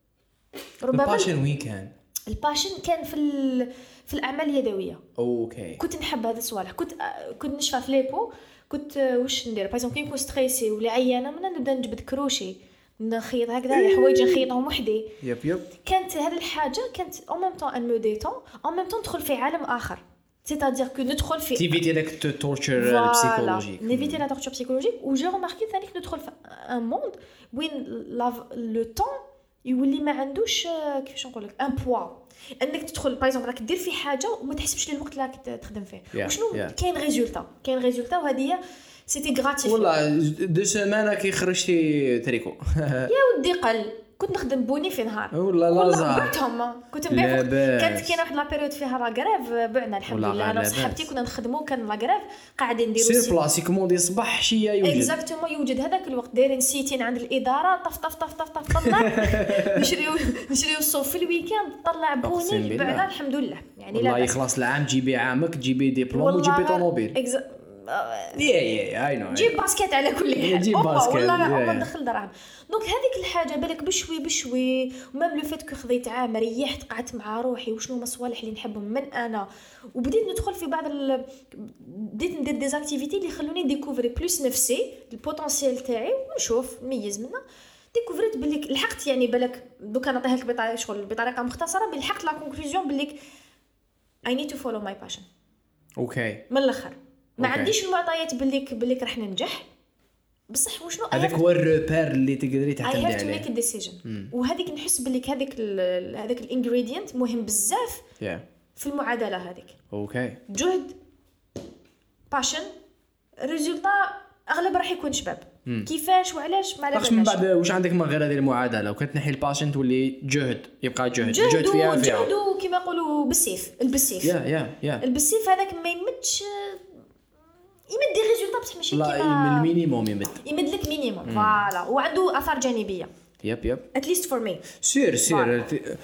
الباشن وين كان؟ الباشن كان في الاعمال اليدويه. اوكي كنت نحب هذا الصوالح. كنت نشفى في ليبو كنت واش ندير بايزون كي نكون ستريسي ولا عيانه من نبدا نجبد كروشي نخيط هكذا حوايج نخيطهم وحدي. يب كانت هذه الحاجه كانت اون ميم طون ان مو ديتون اون ميم طون ندخل في عالم اخر c'est-à-dire que ندخل في تيفيتي داك التورتشر بسيكولوجيك نيفيتي لا تورتشر بسيكولوجيك. وجي رماركي ثاني ندخل في ان موند وين لو طون يولي ما عندوش كيفاش نقول لك ان بوا انك تدخل بايزون راك دير في حاجه وما تحسبش للوقت اللي راك تخدم فيه وشنو كاين ريزولتا وهذه سيتي غراتيف. والله 2 سيمانه كي خرجتي تريكو يا ودي قل كنت نخدم بوني في نهار والله بعتهم كنت نبيع. كانت كاينه واحد لا بيريود فيها لا غريف بعنا الحمد لله. انا وصحابتي كنا نخدموا كان لا غريف قاعدين نديروا سير بلاصي كوموندي صباح عشيه يوجد اكزاكتومون يوجد هذاك الوقت دايرين سيتين عند الاداره طف طلع نشريو الصوف في الويكاند طلع بوني بعنا الحمد لله. يعني والله يخلص العام تجيبي عامك تجيبي دبلوم وتجيبي طوموبيل يا اي نو جيب باسكيت على كل حال جيب باسكيت والله ندخل دراهم. دونك هذيك الحاجه بالك بشوي ومام لو فيت كو خذيت عام ريحت قعدت مع روحي وشنو هما الصوالح اللي نحبهم من انا وبديت ندخل في بعض بديت ندير دي اكتيفيتي اللي خلوني ديكوفري بلوس نفسي البوتنسيال تاعي ونشوف نميز منها. ديكوفريت بالك لحقت يعني بالك دوكا نعطيها لك بطريقه مختصره لحقت لا كونكلوزيون بالك I need to follow my passion. اوكي من الاخر ما عنديش المعطيات بالك راح ننجح بصح وشنو هذاك هو الروبير اللي تقدري تعتمدي عليه. I have to make a decision. وهذيك نحس بالك هذاك الانغريدينت مهم بزاف في المعادله هذيك. اوكي جهد باشن ريزولتا اغلب راح يكون شباب. كيفاش وعلاش ما على من بعد واش عندك من غير هذه المعادله وكنت نحي الباشن تولي جهد يبقى جهد فيها جهدو كما يقولوا بالسيف البسيف هذاك ما يمدش يمد دي ريزولتا بصح ماشي كيما المينيموم يمد لك مينيموم فوالا وعنده اثار جانبيه يب at least for me سير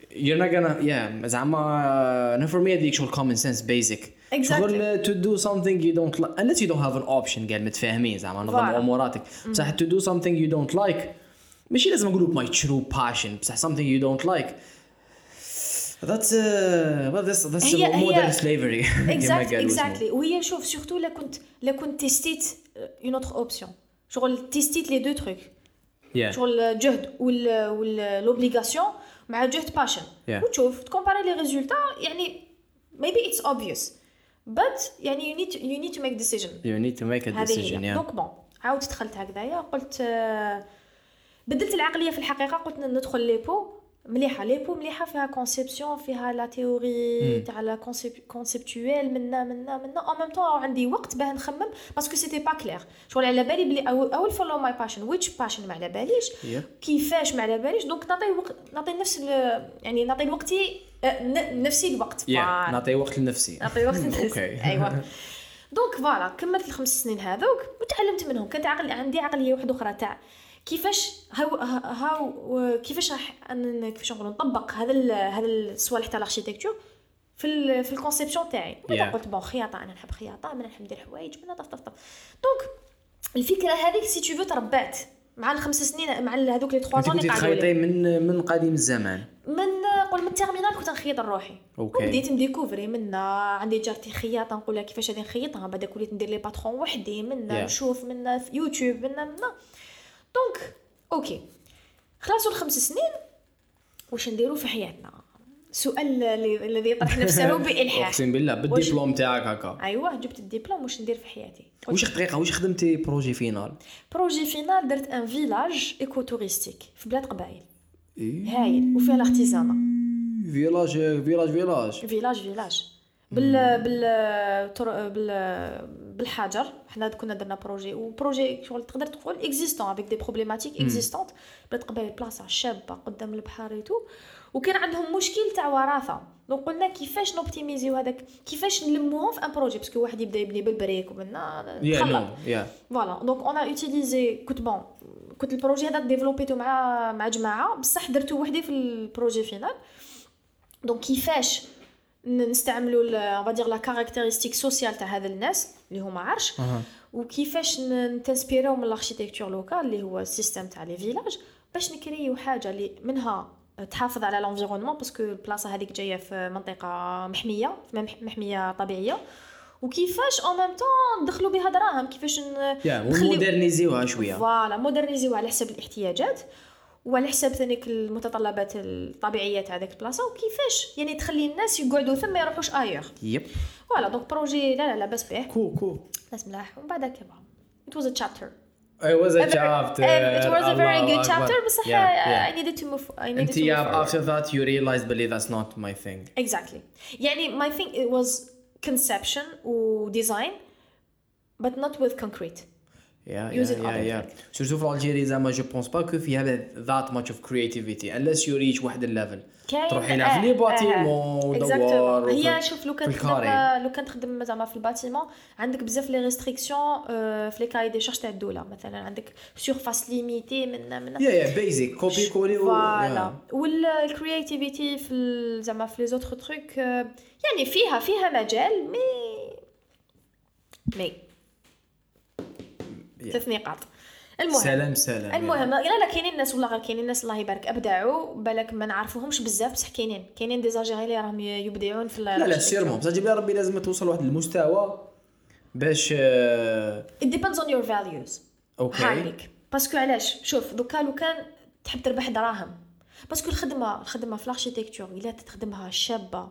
you're not gonna زعما for me هذيك شغل common sense basic شغل to do something you don't like unless you don't have an option قال متفاهمين زعما نظم اموراتك بصح to do something you don't like ماشي لازم نقولوا my true passion بصح something you don't like that's modern slavery exactly وهي شوف surtout لا كنت تستيت une autre option شغل تستيت les deux trucs شغل الجهد والobligation مع جهد passion وتشوف تكومباري لي ريزولتا يعني maybe it's obvious but يعني you need to make decision دونك بون عاودت دخلت هكذايا قلت بدلت العقليه في الحقيقه قلت ندخل ليبو مليحه فيها كونسيبسيون فيها لا تيوري تاع لا كونسيبتويل منا او ميم طون عندي وقت باه نخمم باسكو سيتي با كلير شغل على بالي بلي اول فولو ماي باشن ويتش باشن ما على باليش كيفاش ما على باليش دونك نعطي نفس يعني نعطي لوقتي نفسي الوقت نعطي وقت لنفسي ايوا دونك فوالا كملت الخمس سنين هذوك وتعلمت منهم كانت عندي عقليه واحده اخرى تاع كيفاش كيفاش نقول نطبق هذا الصوالح تاع الاركيتكتور في الكونسيبسيون تاعي قلت بون خياطه انا نحب خياطه انا نحب ندير حوايج من طف دونك الفكره هذيك سي تو تربات مع الخمس سنين مع هذوك لي 3 سنين قاعده تخيطي من قديم الزمان من التيرمينال كنت نخيط روحي وبديت نديكوفري منا عندي جارتي خياطه نقول لها كيفاش غادي نخيطها بعد وليت ندير لي باترون وحدي منا نشوف منا في يوتيوب منا دونك اوكي خلاصوا الخمس سنين واش نديروا في حياتنا سؤال الذي يطرح نفسه بالحاح اقسم بالله بالدبلوم تاعك هكا ايوه جبت الدبلوم واش ندير في حياتي واش خدمتي بروجي فينال درت ان فيلاج ايكو توريستيك في بلاد قبايل هايل وفيها الارتيزانا فيلاج بالحجر حنا كنا درنا بروجي شغل تقدر تقول اكزيستون افيك دي بروبليماتيك اكزيستونت بلاد قبايل بلاصه شابه قدام البحر ايتو وكان عندهم مشكل تاع وراثه دونك قلنا كيفاش نوبتيميزيو هذاك كيفاش نلموهم في ان بروجي باسكو واحد يبدا يبني بالبريك ومنا فوالا دونك اون اوتيليزي كنت البروجي هذا ديفلوبيتو مع جماعه بصح درتو وحدي في البروجي فينال دونك كيفاش نستعملوا فادير لا كاركتيرستيك سوسيال تاع هذا الناس اللي هما عرش وكيفاش نتنسبيريو من الاركيتكتور لوكال اللي هو السيستم تاع لي فيلاج باش نكريو حاجه اللي منها تحافظ على الانفيرونمون باسكو البلاصه هذيك جايه في منطقه محميه طبيعيه وكيفاش او ميم طون ندخلوا بها دراهم كيفاش مودرنيزيوها شويه فوالا مودرنيزيوها على حسب الاحتياجات وعلى حساب ثانيك المتطلبات الطبيعيه تاع داك البلاصه وكيفاش يعني تخلي الناس يقعدوا ثم ما يروحوش اير فوالا دونك بروجي لا بس به كول ناس ملاح ومن بعد كبا it was a chapter it was a very good chapter بصح I needed to move after that you realized believe that's not my thing exactly يعني my thing it was conception و design but not with concrete surtout في الجيري زعما جو بونس با كو فيها that much of creativity unless you reach واحد الليفل تروحي لها في لي باتيمون دوار هي شوف لو كان تخدم زعما في الباتيمون عندك بزاف لي ريستريكسيون في لي كاي دي شارج تاع الدوله مثلا عندك سورفاس ليميتي من بيزيك كوبي كولي فوالا والكرياتيفيتي في زعما في لي زوتر تروك يعني فيها مجال مي 3 نقاط المهم لا كاينين الناس والله غير كاينين الناس الله يبارك ابدعوا بالك ما نعرفوهمش بزاف بصح كاينين دي زاجيري اللي راهم يبدعون في لا سيرمون بصح جيب لي ربي لازم توصل لواحد المستوى باش it depends on your values هايليك باسكو علاش شوف دوكا لو كان تحب تربح دراهم باسكو الخدمه في الاركيتكتور الا تخدمها شابه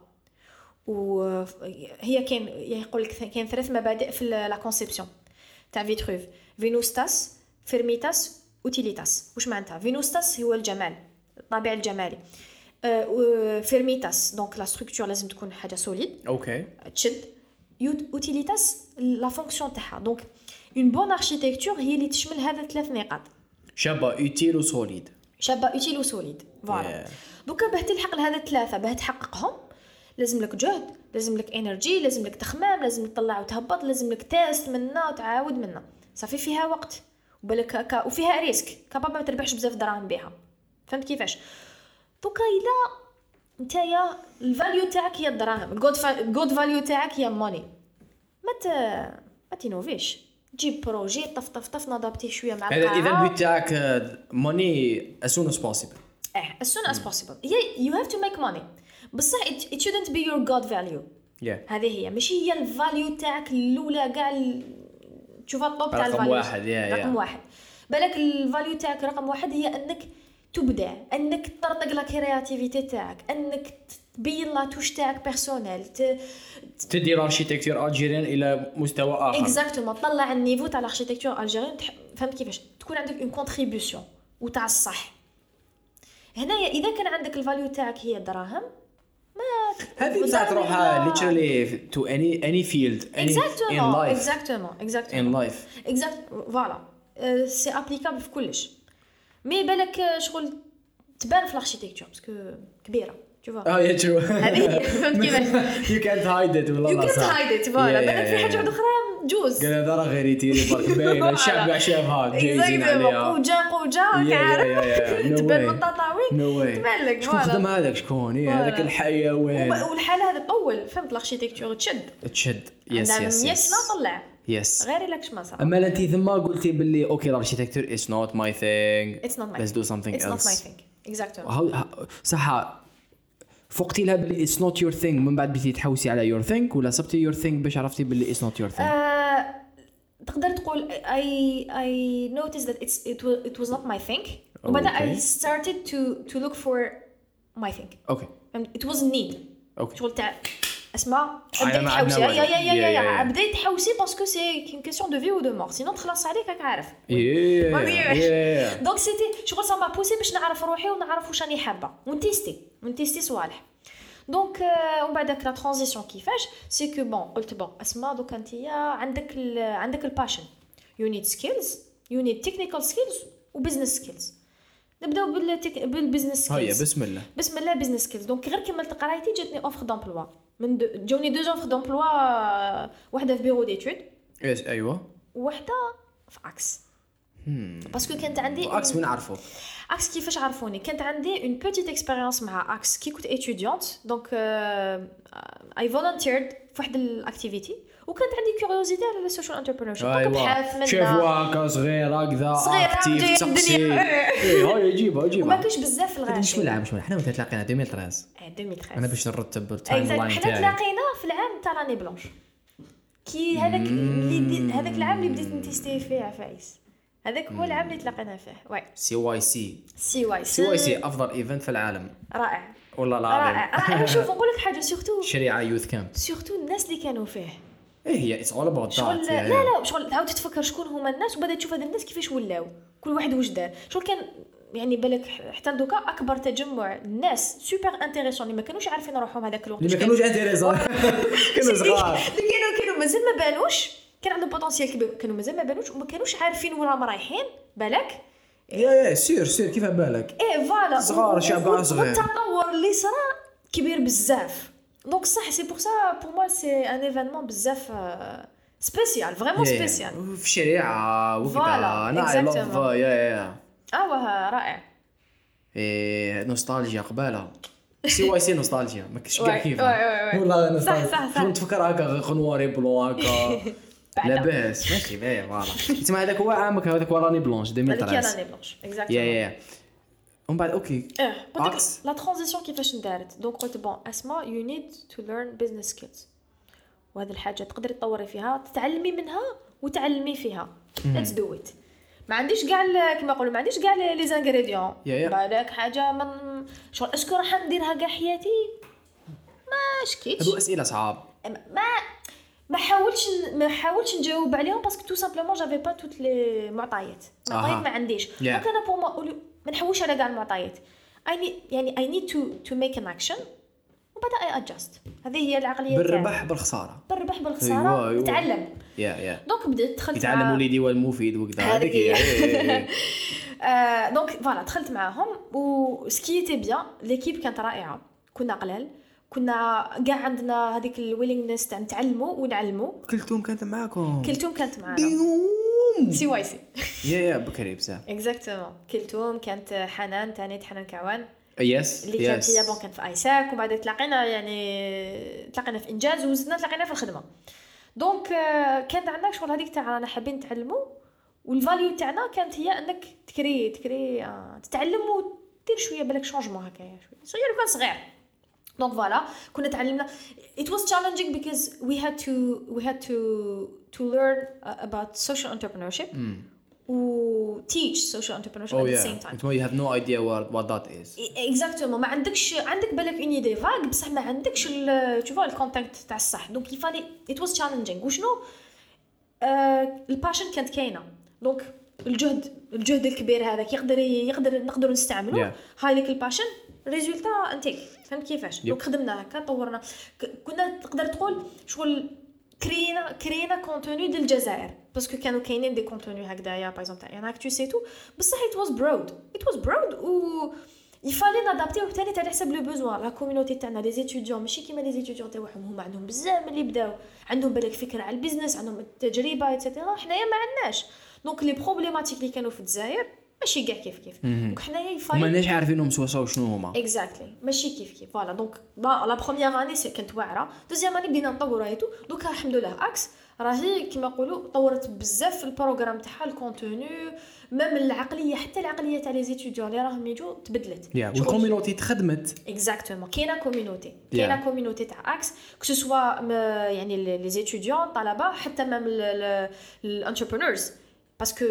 وهي كاين يقول لك كاين 3 مبادئ في لا كونسيبسيون تاع فيتروف فينوستاس فيرميتاس اوتيليتاس واش معناتها فينوستاس هو الجمال الطابع الجمالي فيرميتاس دونك لا ستركتور لازم تكون حاجه سوليد اوكي تشد اوتيليتاس لا فونكسيون تاعها دونك اون بون اركيتكتور هي اللي تشمل هذا 3 نقاط شابه اوتيل وسوليد فوالا دوكا باه تلحق لهذا 3 باه تحققهم لازم لك جهد لازم لك انرجي لازم لك تخمام لازم تطلع وتهبط لازم لك تيست منا وتعاود منا صافي فيها وقت وبالك وفيها ريسك كابابل ما تربحش بزاف دراهم بها فهمت كيفاش دوكا الا نتايا الفاليو تاعك هي الدراهم، الجود فاليو تاعك هي ماني. ما تينوفيش، جيب بروجي طف نضبطيه شويه مع القاعه. اذا البيت تاعك ماني as soon as possible. as soon as possible. you have to make money. بصح it shouldn't be your god value. هذه هي ماشي هي الفاليو تاعك الاولى كاع تشوفها الطوب تاع الفاليو رقم واحد. بالك الفاليو تاعك رقم واحد هي انك تبدع، انك تطرطق لا كرياتيفيتي تاعك، انك تبين لا توش تاعك بيرسونيل، تدي الاركيتكتور الجيريان الى مستوى اخر. اكزاكتومون طلع النيفو تاع الاركيتكتور الجيريان. فهمت كيفاش تكون عندك اون كونتريبيوشن وتاع الصح. هنايا اذا كان عندك الفاليو تاعك هي الدراهم، ما هذه بتاع تروح literally to any field in life. exactement in life voilà c'est applicable في كلش. مي بالك شغل تبان في الاركيتكتور باسكو كبيره tu vois. يا شو هذه فهمت كيفاش you can't hide it والله صح. you can't hide it فوالا. بالك في حاجه واحده اخرى جوز قال هذا راه غير يتيري برك باين الشعب شافها جايزين عليها قوجه كعارف تبان من التطاوين تبان لك شكون خدم هذاك شكون هذاك الحيوان والحاله هذا طول. فهمت الاركيتكتور تشد يس طلع يس غير لك ما صار. اما انت ثم قلتي باللي اوكي الاركيتكتور it's not my thing, let's do something else. It's not my thing exactly. صح فوقتي لها باللي it's not your thing من بعد بديتي تحوسي على your thing ولا صبتي your thing باش عرفتي باللي it's not your thing؟ تقدر تقول I noticed that it was not my thing وبدأ I started to look for my thing. okay it was need. okay شغل تاع اسمع بديت تحوسي يا بديت تحوسي باسكو سي كون كيسيون دو في و دو مور سينو تخلص عليك راك عارف. دونك سيتي شغل سا ما بوسي باش نعرف روحي ونعرف واش راني حابه ونتيستي صوالح. دونك ومن بعد لا ترانزيسيون كيفاش سي كو بون قلت بون اسمع دوك انت عندك الباشن يو نيد سكيلز يو نيد تكنيكال سكيلز وبزنس سكيلز. نبداو بالبزنس سكيلز. بسم الله بزنس سكيلز. دونك غير كملت قرايتي جاتني اوفر دومبلوا جوني دو اوفر دومبلوا واحده في بيرو ديتود ايوه وحده في اكس باسكو كانت عندي اكس من عرفوا اكس كيفاش عرفوني كانت عندي اون بيتيت اكسبيريونس مع اكس كي كنت اتيديونت دونك اي فولونتيرد في واحد الاكتيفيتي وكانت عندي كيوريوزيتي على السوشيال انتربرينورشيب دونك بحث منها شافوا هكا صغير هكذا اكتيف تقصي هاي يجيبها وما كاينش بزاف في الغالب. مش من حنا متى تلاقينا 2013 انا باش نرتب التايم لاين تاعي حنا تلاقينا في العام تاع لاني بلونش كي هذاك العام اللي بديت نتيستي فيه عفايس. هذاك هو العام اللي تلاقينا فيه. واي سي واي سي افضل ايفنت في العالم. رائع والله العظيم رائع. شوف نقول لك حاجه سورتو شريعه يوث كامب سورتو الناس اللي كانوا فيه هي اتس اول اباوت ذات. لا شغل تعاود تفكر شكون هما الناس وبدات تشوف هاد الناس كيفاش ولاو كل واحد واش دار. شغل كان يعني بالك حتى دوكا اكبر تجمع الناس سوبر انتريسون اللي ما كانوش عارفين روحهم هذاك الوقت اللي ما كانوش انتريسون كانوا صغار كانوا مازال ما بانوش كان عندهم بوتنسيال كبير كانوا مازال ما بانوش وما كانوش عارفين وين راهم رايحين بالك يا سير كيف بالك فوالا صغار شعب صغير التطور اللي صرا كبير بزاف. دونك صح سي بور سا بور موا سي ان ايفينمون بزاف سبيسيال فريمون سبيسيال في الشريعه وكذا. انا اي لاف يا رائع. نوستالجيا قباله سي نوستالجيا ما كاينش كاع كيف والله نوستالجيا صح نتفكر هكا غنواري بلون هكا لاباس ماشي باين فوالا تسمع هذاك هو عامك هذاك هو راني بلونش 2013 راني بلونش اكزاكتومون يا ومن بعد اوكي قلت لا ترانزيسيون كيفاش ندارت. دونك قلت بون اسمع يو نيد تو ليرن بزنس سكيلز وهذه الحاجه تقدري تطوري فيها تتعلمي منها وتعلمي فيها. ليتس دو ات. ما عنديش كاع كما نقولوا ما عنديش كاع لي زانغريديون بالك حاجه من شغل اسكو راح نديرها كاع حياتي ما شكيتش. هادو اسئله صعاب ما حاولتش نجاوب عليهم باسكو تو سامبلومون جافي با توت لي معطيات ما عنديش. دونك انا بور ما نحوش على كاع المعطيات. I need to make an action وبدا اي ادجست. هذه هي العقليه بالربح بالخساره نتعلم. دونك بديت دخلت يتعلم وليدي والمفيد وكذا هذيك هي. دونك فوالا دخلت معاهم وسكيتي بيان ليكيب كانت رائعه. كنا قلال كنا كاع عندنا هذيك الويلينغنس تاع نتعلموا ونعلموا. كلتهم كانت معانا سي يا بكري بزاف اكزاكتومون. كلتهم كانت حنان كعوان يس اللي كانت هي كانت في ايساك وبعد تلاقينا يعني تلاقينا في انجاز وزدنا تلاقينا في الخدمه. دونك كانت عندنا شغل هذيك تاع رانا حابين نتعلموا والفاليو تاعنا كانت هي انك تكري تتعلم ودير شويه بالك شونجمون هكايا شويه صغير كان صغير. دونك فوالا كنا تعلمنا it was challenging because we had to learn about social entrepreneurship و teach social entrepreneurship at the same time. You have no idea what that is. Exactement. ما عندك بالك une idée vague بصح ما عندكش tu vois الكونتاكت تاع الصح. donc il fallait it was challenging. وشنو الباشن كانت كاينه. دونك الجهد الكبير هذاك نقدر نستعمله. هاي لك الباشن ريزولتا انتيك فهمت كيفاش. دونك خدمنا هكا طورنا كنا تقدر تقول شغل كرينا كونتوني ديال الجزائر باسكو كانوا كاينين دي كونتوني هكذايا باغ اكزومبل تاع اكتو سي تو بصح it was broad و يفالي نادابتيو ثاني على حسب لو بوزوان. لا كوميونيتي تاعنا لي زيتيديون ماشي كيما لي زيتيديون تاعهم هما عندهم بزاف ملي بداو عندهم بالك فكره على البيزنس عندهم التجربه ايتترا. حنايا ما عندناش. دونك لي بروبليماتيك اللي كانوا في الجزائر ماشي كاع كيف دونك حنايا يفالي ماناش عارفينهم سوا شنو هما اكزاكتلي ماشي كيف فوالا. دونك لا بروميير اني كانت واعره. دوزيام اني بدينا نطوروا ايتو. دوك الحمد لله اكس راهي كيما نقولوا طورت بزاف في البروغرام تاعها الكونتوني ميم العقليه حتى العقليه تاع لي زيتيديون اللي راهم يجوا تبدلت. والكوميونيتي تخدمت اكزاكتومون كاينه كوميونيتي تاع اكس كو سوا يعني لي زيتيديون طلبه حتى ميم الانتربرونورز باسكو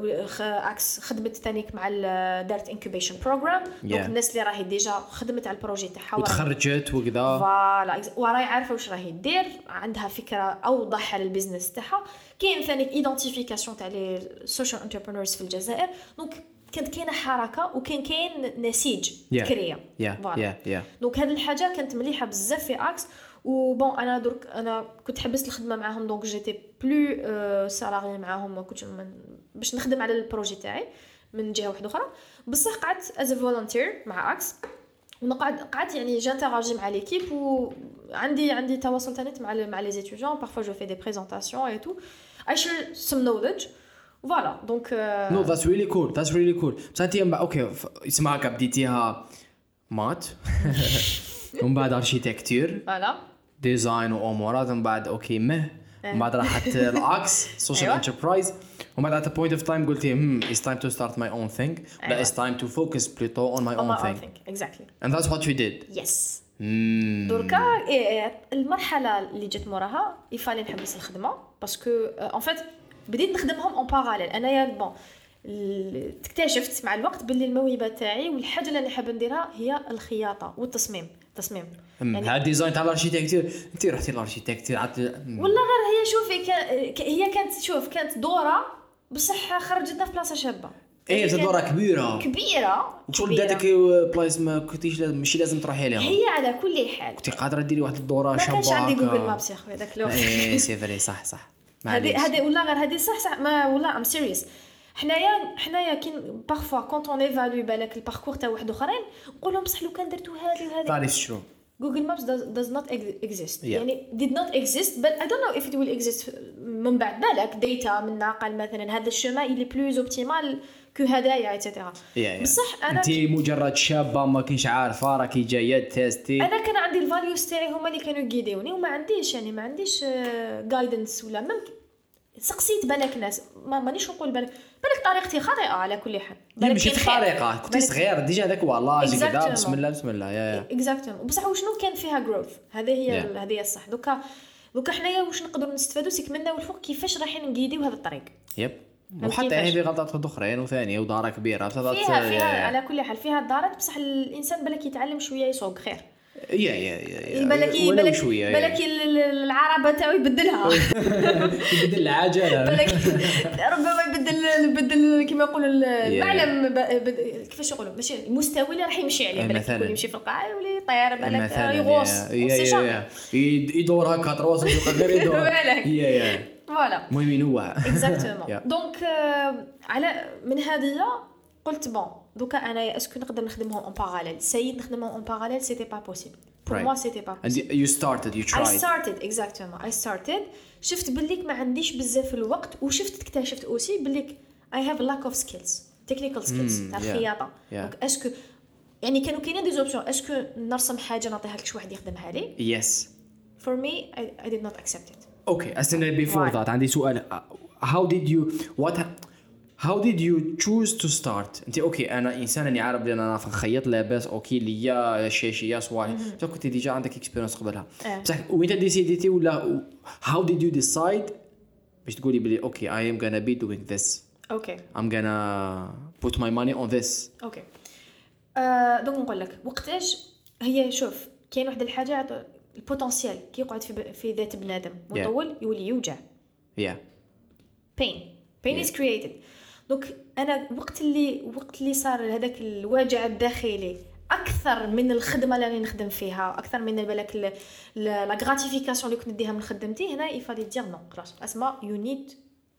اكس خدمت ثانيك مع دارت انكوبيشن بروجرام. دونك الناس اللي راهي ديجا خدمت على البروجي تاعها وتخرجت وكذا فوالا وراهي عارفه واش راهي دير عندها فكره اوضح على البيزنس تاعها. كاين ثانيك ايدنتيفيكاسيون تاع لي سوشيال انتربرونورز في الجزائر. دونك كانت كاينه حركه وكاين نسيج كريا فوالا. دونك هذه الحاجه كانت مليحه بزاف في اكس. وبون انا كنت حبست الخدمه معاهم. دونك جيتي بلو سالاري معاهم ما كنتش باش نخدم على البروجي تاعي من جهه واحده اخرى. بصح قعدت از فولونتير مع اكس قعدت يعني جانتراجي مع ليكيب وعندي تواصل ثاني مع لي زيتيديون. بارفوا جو في دي بريزونطاسيون اي تو اي شير سم نوليدج فوالا. دونك نو ذاتس ريلي كول بصح انت اوكي اسمعك بديتيها مات ومن بعد اركيتكتور فوالا ديزاين وامورات ومن بعد اوكي من بعد راحت الاكس سوشيال انتربرايز ومن بعد at a point of time قلتي it's time to start my own thing but it's time to focus plutôt on my own thing. Exactly. And that's what you did. Yes. دركا المرحله اللي جت موراها يفالي نحبس الخدمه باسكو ان فيت بديت نخدمهم اون باراليل. انايا بون اكتشفت مع الوقت باللي الموهبه تاعي والحاجه اللي انا حابه نديرها هي الخياطه والتصميم. يعني هذا الديزاين تاع الاركيتكتور انت رحتي للاركيتكتور والله غير هي شوفي هي كانت دوره بصح خرجتنا في بلاصه شابه. ايه دوره كبيره شغل داتك بلايص ما كنتيش ماشي لازم تروحي لها. هي على كل حال كنتي قادره ديري واحد الدوره شابه. ما كانش عندي جوجل مابس يا خويا داك الوقت. ايه سي فري صح هذه والله غير هذه صح ما والله ام سيريس. حنايا كاين بارفوا كونط اون ايفالوي بالك الباركور تاع واحد اخرين نقول لهم بصح لو كان درتو هذه وهذه تعرف شنو Google Maps does not exist. يعني did not exist but I don't know if it will exist من بعد بالك داتا من ناقل مثلا هذا الشما اللي بلوز اوبتيمال كو هدايا ايتترا. بصح انا انت مجرد شابه ما كنتش عارفه راكي جايه تيستي. انا كان عندي الفاليوز تاعي هما اللي كانوا يغيديوني وما عنديش جايدنس ولا سقسيت بالك ناس مانيش نقول بالك طريقتي خاطئه على كل حال. ماشي الطريقه كنت صغير ديجا هذاك والله كذا بسم الله اكزاكتومون. بصح وشنو كان فيها جروث هذه هي الصح. دوكا حنايا واش نقدروا نستفادوا سيك منا والفوق كيفاش رايحين نقيديو هذا الطريق. وحتى هي غلطات اخرين وثانيه وداره كبيره فيها على كل حال فيها دارات بصح الانسان بالك يتعلم شويه يسوق خير. بالك العربه تاعو يبدلها يبدل العجله ربما يبدل كما يقولوا المعلم كيفاش يقولوا ماشي المستوى اللي راح يمشي عليه بالك يكون يمشي في القاع يولي طيار بالك يغوص يدور هكا تروس غير يدور فوالا المهم ينوع اكزاكتومون. دونك على من هذه قلت بون دوكا انا اسكو نقدر نخدمهم اون باراليل. سيد نخدمهم اون باراليل سيتي با بوسيبل pour moi c'était pas possible. And you tried. I started شفت بليك ما عنديش بزاف الوقت اكتشفت اوسي بليك I have a lack of skills technical skills تاع الخياطه. دونك اسكو يعني كانوا كاينين دي زوبسيون اسكو نرسم حاجه نعطيها لك شي واحد يخدمها لي. yes for me I did not accept it. okay استنى before that عندي سؤال. how did you choose to start؟ انت اوكي انا انسان اني عارف بلي انا نخيط لاباس اوكي ليا شاشيه صوالح بصح كنت ديجا عندك اكسبيرينس قبلها بصح وين ديسيديتي ولا how did you decide باش تقولي بلي اوكي I am gonna be doing this اوكي I'm gonna put my money on this. اوكي دونك نقول لك وقتاش هي شوف كاين واحد الحاجه البوتنسيال كي يقعد في ذات بنادم مطول يولي يوجع. yeah pain is created. دونك انا وقت اللي صار هذاك الوجع الداخلي اكثر من الخدمه اللي نخدم فيها اكثر من بالك لا غراتيفيكاسيون اللي كنت نديها من خدمتي هنا يفالي دير نو خلاص اسمع you need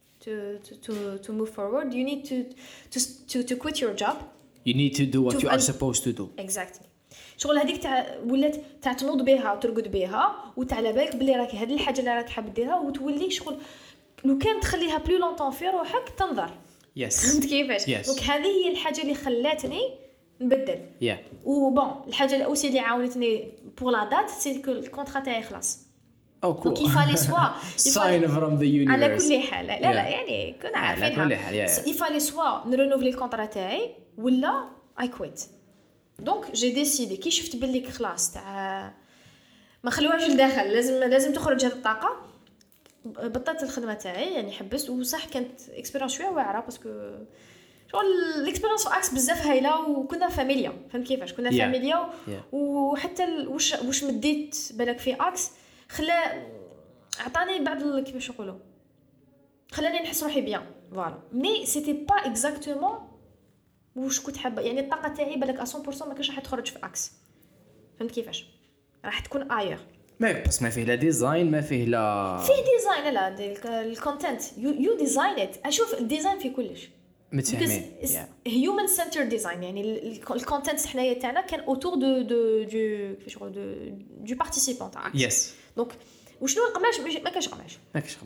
to move forward. You need to quit your job. You need to do what you are supposed to do. Exactly. شغل هذيك تاع ولات تاع تنوض بها وترقد بها وتعلى بالك بلي راك هذه الحاجه اللي راك حاب ديرها وتولي شغل لو كان تخليها بلو لونطون في روحك تنظر. فهمت كيفاش؟ دونك هذه هي الحاجه اللي خلاتني نبدل. وبون الحاجه الاوسي اللي عاونتني بور لا دات سي كو الكونترا تاعي خلاص. دونك يفالي سوا sign from the universe. على كل حال لا يعني كنا عارفينها على كل حال يفالي سوا نرينوفلي الكونترا تاعي ولا اي كويت. دونك جي ديسيدي كي شفت باللي خلاص تاع ما خلوهاش لداخل لازم تخرج هذه الطاقه بطلت الخدمه تاعي يعني حبست. وصح كانت اكسبيرينس شويه واعره باسكو شغل الاكسبيرينس في اكس بزاف هايله وكنا فاميليا. فهمت كيفاش كنا فاميليا وحتى واش مديت بالك في اكس خلى عطاني بعض كيفاش نقولوا خلاني نحس روحي بيان فوالا مي سيتي با اكزاكتومون واش كنت حابه يعني الطاقه تاعي بالك 100% ما كانش راح تخرج في اكس. فهمت كيفاش راح تكون اير بس ما فيه لا ديزاين ما فيه لا فيه ديزاين لا الكونتنت يو ديزاين ات. اشوف الديزاين في كلش متفاهمين هيومن سنتر ديزاين يعني الكونتنت حنايا تاعنا كان اوتور دو كيفاش نقول دو بارتيسيبون تاع يس. دونك وشنو القماش ما كاش قماش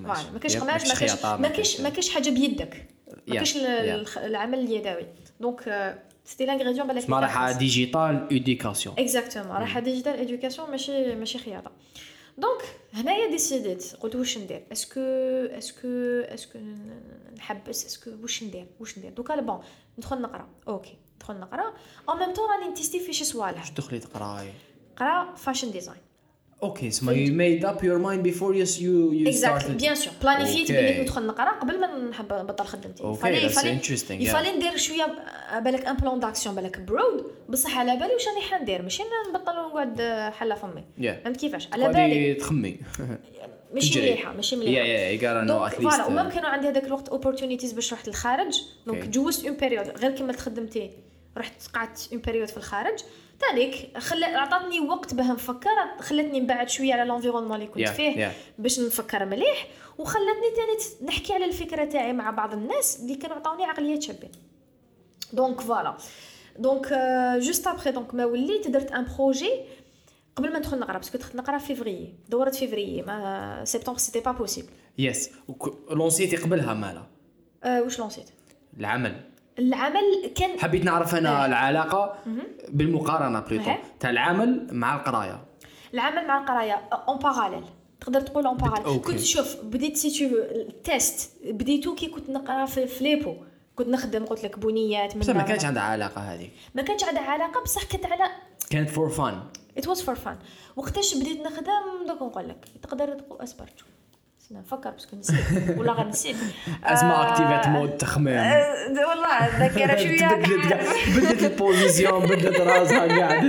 ما كاش حاجه بيدك ما كاش العمل اليدوي. دونك سيتي لانغريديون بالك ما راح ديجيتال اديوكاسيون اكزاكتومون راح ديجيتال اديوكاسيون ماشي خياطه. دونك هنايا ديسيديت قلت واش ندير اسكو نحبس اسكو واش ندير دوكا بون ندخل نقرا اوكي ندخل نقرا ان ميم طون راني نتيستي في شي صوالح. واش تدخلي تقراي قرا فاشن ديزاين اوكي so you made up your mind before you started bien sûr بلانيفيت بلي ندخل نقرا قبل ما نحب نبطل خدمتي. يفالي ندير شويه بالك ان بلان داكسيون بالك برود بصح على بالي واش راني حندير ماشي نبطل ونقعد حله فمي. فهمت كيفاش على بالي تخمي ماشي مليحه you gotta know at least وما كانوا عندي هذاك الوقت opportunities باش رحت للخارج. دونك جوزت اون بيريود غير كملت خدمتي رحت قعدت اون بيريود في الخارج تانيك عطاتني وقت باه نفكر خلتني نبعد شويه على لونفيرونمون اللي كنت فيه باش نفكر مليح وخلتني تاني نحكي على الفكره تاعي مع بعض الناس اللي كانوا عطاوني عقليات شابين. دونك فوالا دونك جوست ابري دونك ما وليت درت ان بروجي قبل ما ندخل نقرا باسكو دخلت نقرا فيفري دورة فيفري ما سبتمبر سيتي با بوسيبل. يس لونسيتي قبلها مالا واش لونسيت العمل كان حبيت نعرف انا العلاقه بالمقارنه بليطو تاع العمل مع القرايه. العمل مع القرايه اون باراليل تقدر تقول اون باراليل. كنت شوف بديت سي تو التيست بديتو كي كنت نقرا في ليبو كنت نخدم قلت لك بنيات بس ما كانش عندها علاقه هذيك ما كانش عندها علاقه بصح كانت فور فان it was for fun. وقتاش بديت نخدم دوك نقول لك تقدر تقول اصبر نفكر باسكو نسيت ولا غنسيت اسمع اكتيفيت مود تخمام والله الذاكره شويه بدت البوزيسيون بدت راسها قاعد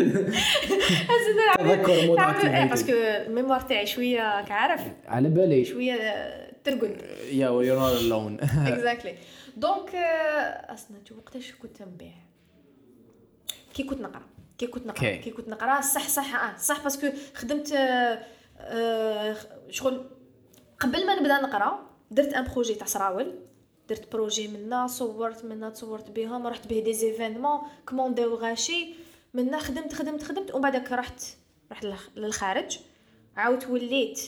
تذكر مود اكتيفيت باسكو الميموار تاعي شويه كعارف على بالي شويه ترقد يا يو نوت الون اكزاكتلي. دونك اصلا وقتاش كنت نبيع كي كنت نقرا صح باسكو خدمت شغل قبل ما نبدا نقرا درت ان بروجي تاع صراول درت بروجي منا تصورت بهم رحت به دي زيفينمون كومونديو غاشي منا خدمت ومن بعدك رحت للخارج عاود وليت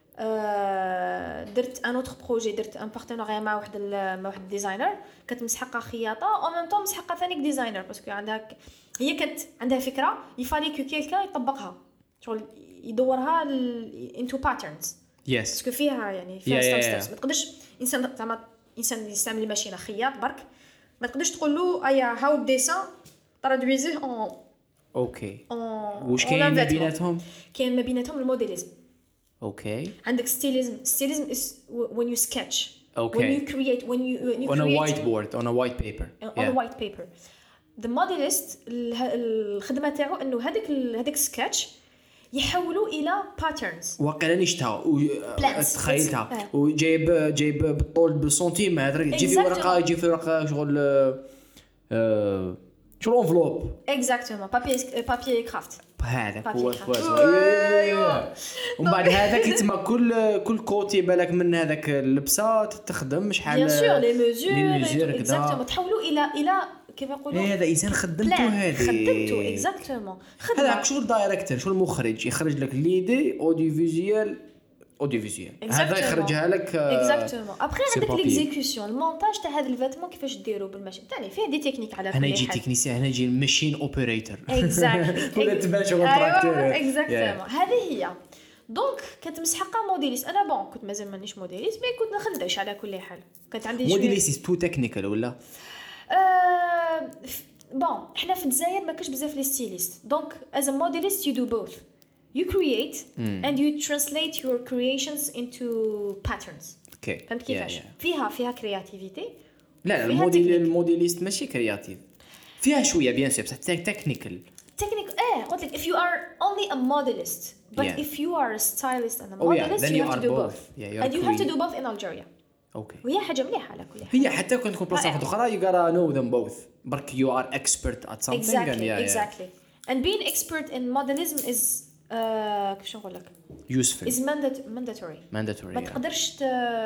درت ان اوتر بروجي درت ان بارتنيريا مع واحد ديزاينر كانت مسحقه خياطه او ميم طون مسحقه ثاني ديزاينر باسكو عندها هي كانت عندها فكره يفالي كو كيلكا يطبقها شغل يدورها انتو باترنز يس باسكو فيها يعني فيها ستيبس ما تقدرش انسان زعما انسان يستعمل الماشينه خياط برك ما تقدرش تقول له ايا هاو ديسان ترادويزيه اون اوكي واش كاين ما بيناتهم كاين ما بيناتهم الموديليزم اوكي عندك ستيليزم is when you sketch okay when you create when you on create a whiteboard on a white paper on a white paper the modelist الخدمه تاعو انه هذاك سكتش يحولوا الى patterns واقيلا نشتها تخيلتها وجايب بالطول بالسنتيمتر تجي في ورقه يجي في ورقه شغل شغل انفلوب اكزاكتومون بابي كرافت هذاك هو ومن بعد هذاك يتما كل كوتي بالك من هذاك اللبسه تخدم شحال بيان سور لي ميزور اكزاكتومون تحولوا الى كيف يقولوا هذا انسان خدمته اكزاكتومون هذا شغل دايركتور شغل مخرج يخرج لك ليدي اوديو فيزيوال هذا يخرجها لك اكزاكتومون ابري عندك ليكزيكسيون المونتاج تاع هذا الفاتمون كيفاش ديروا بالماشين ثاني فيه دي تكنيك على كل حال هنا يجي تكنيسيان هنا يجي ماشين اوبريتور اكزاكتلي ولا تبان شغل تراكتور اكزاكتومون هذه هي دونك كنت مسحقه موديليست انا بون كنت مازال مانيش موديليست مي كنت نخدمش على كل حال كانت عندي موديليست تو تكنيكال ولا بون احنا في الجزائر ما كاش بزاف لي ستيليست دونك as a modelist you do both you create and you translate your creations into patterns اوكي فهمت كيفاش فيها كرياتيفيتي لا الموديليست ماشي كرياتيف فيها شويه بيان سور بصح تكنيكال قلت لك if you are only a modelist but if you are a stylist and a modelist you have to do both and you have to do both in Algeria اوكي وهي حاجه مليحه على كل حال هي حتى كنت تكون بلاصه اخرى you gotta know them both برك you are expert at something exactly and being expert in modelism is كيفاش نقول لك useful is mandatory ما تقدرش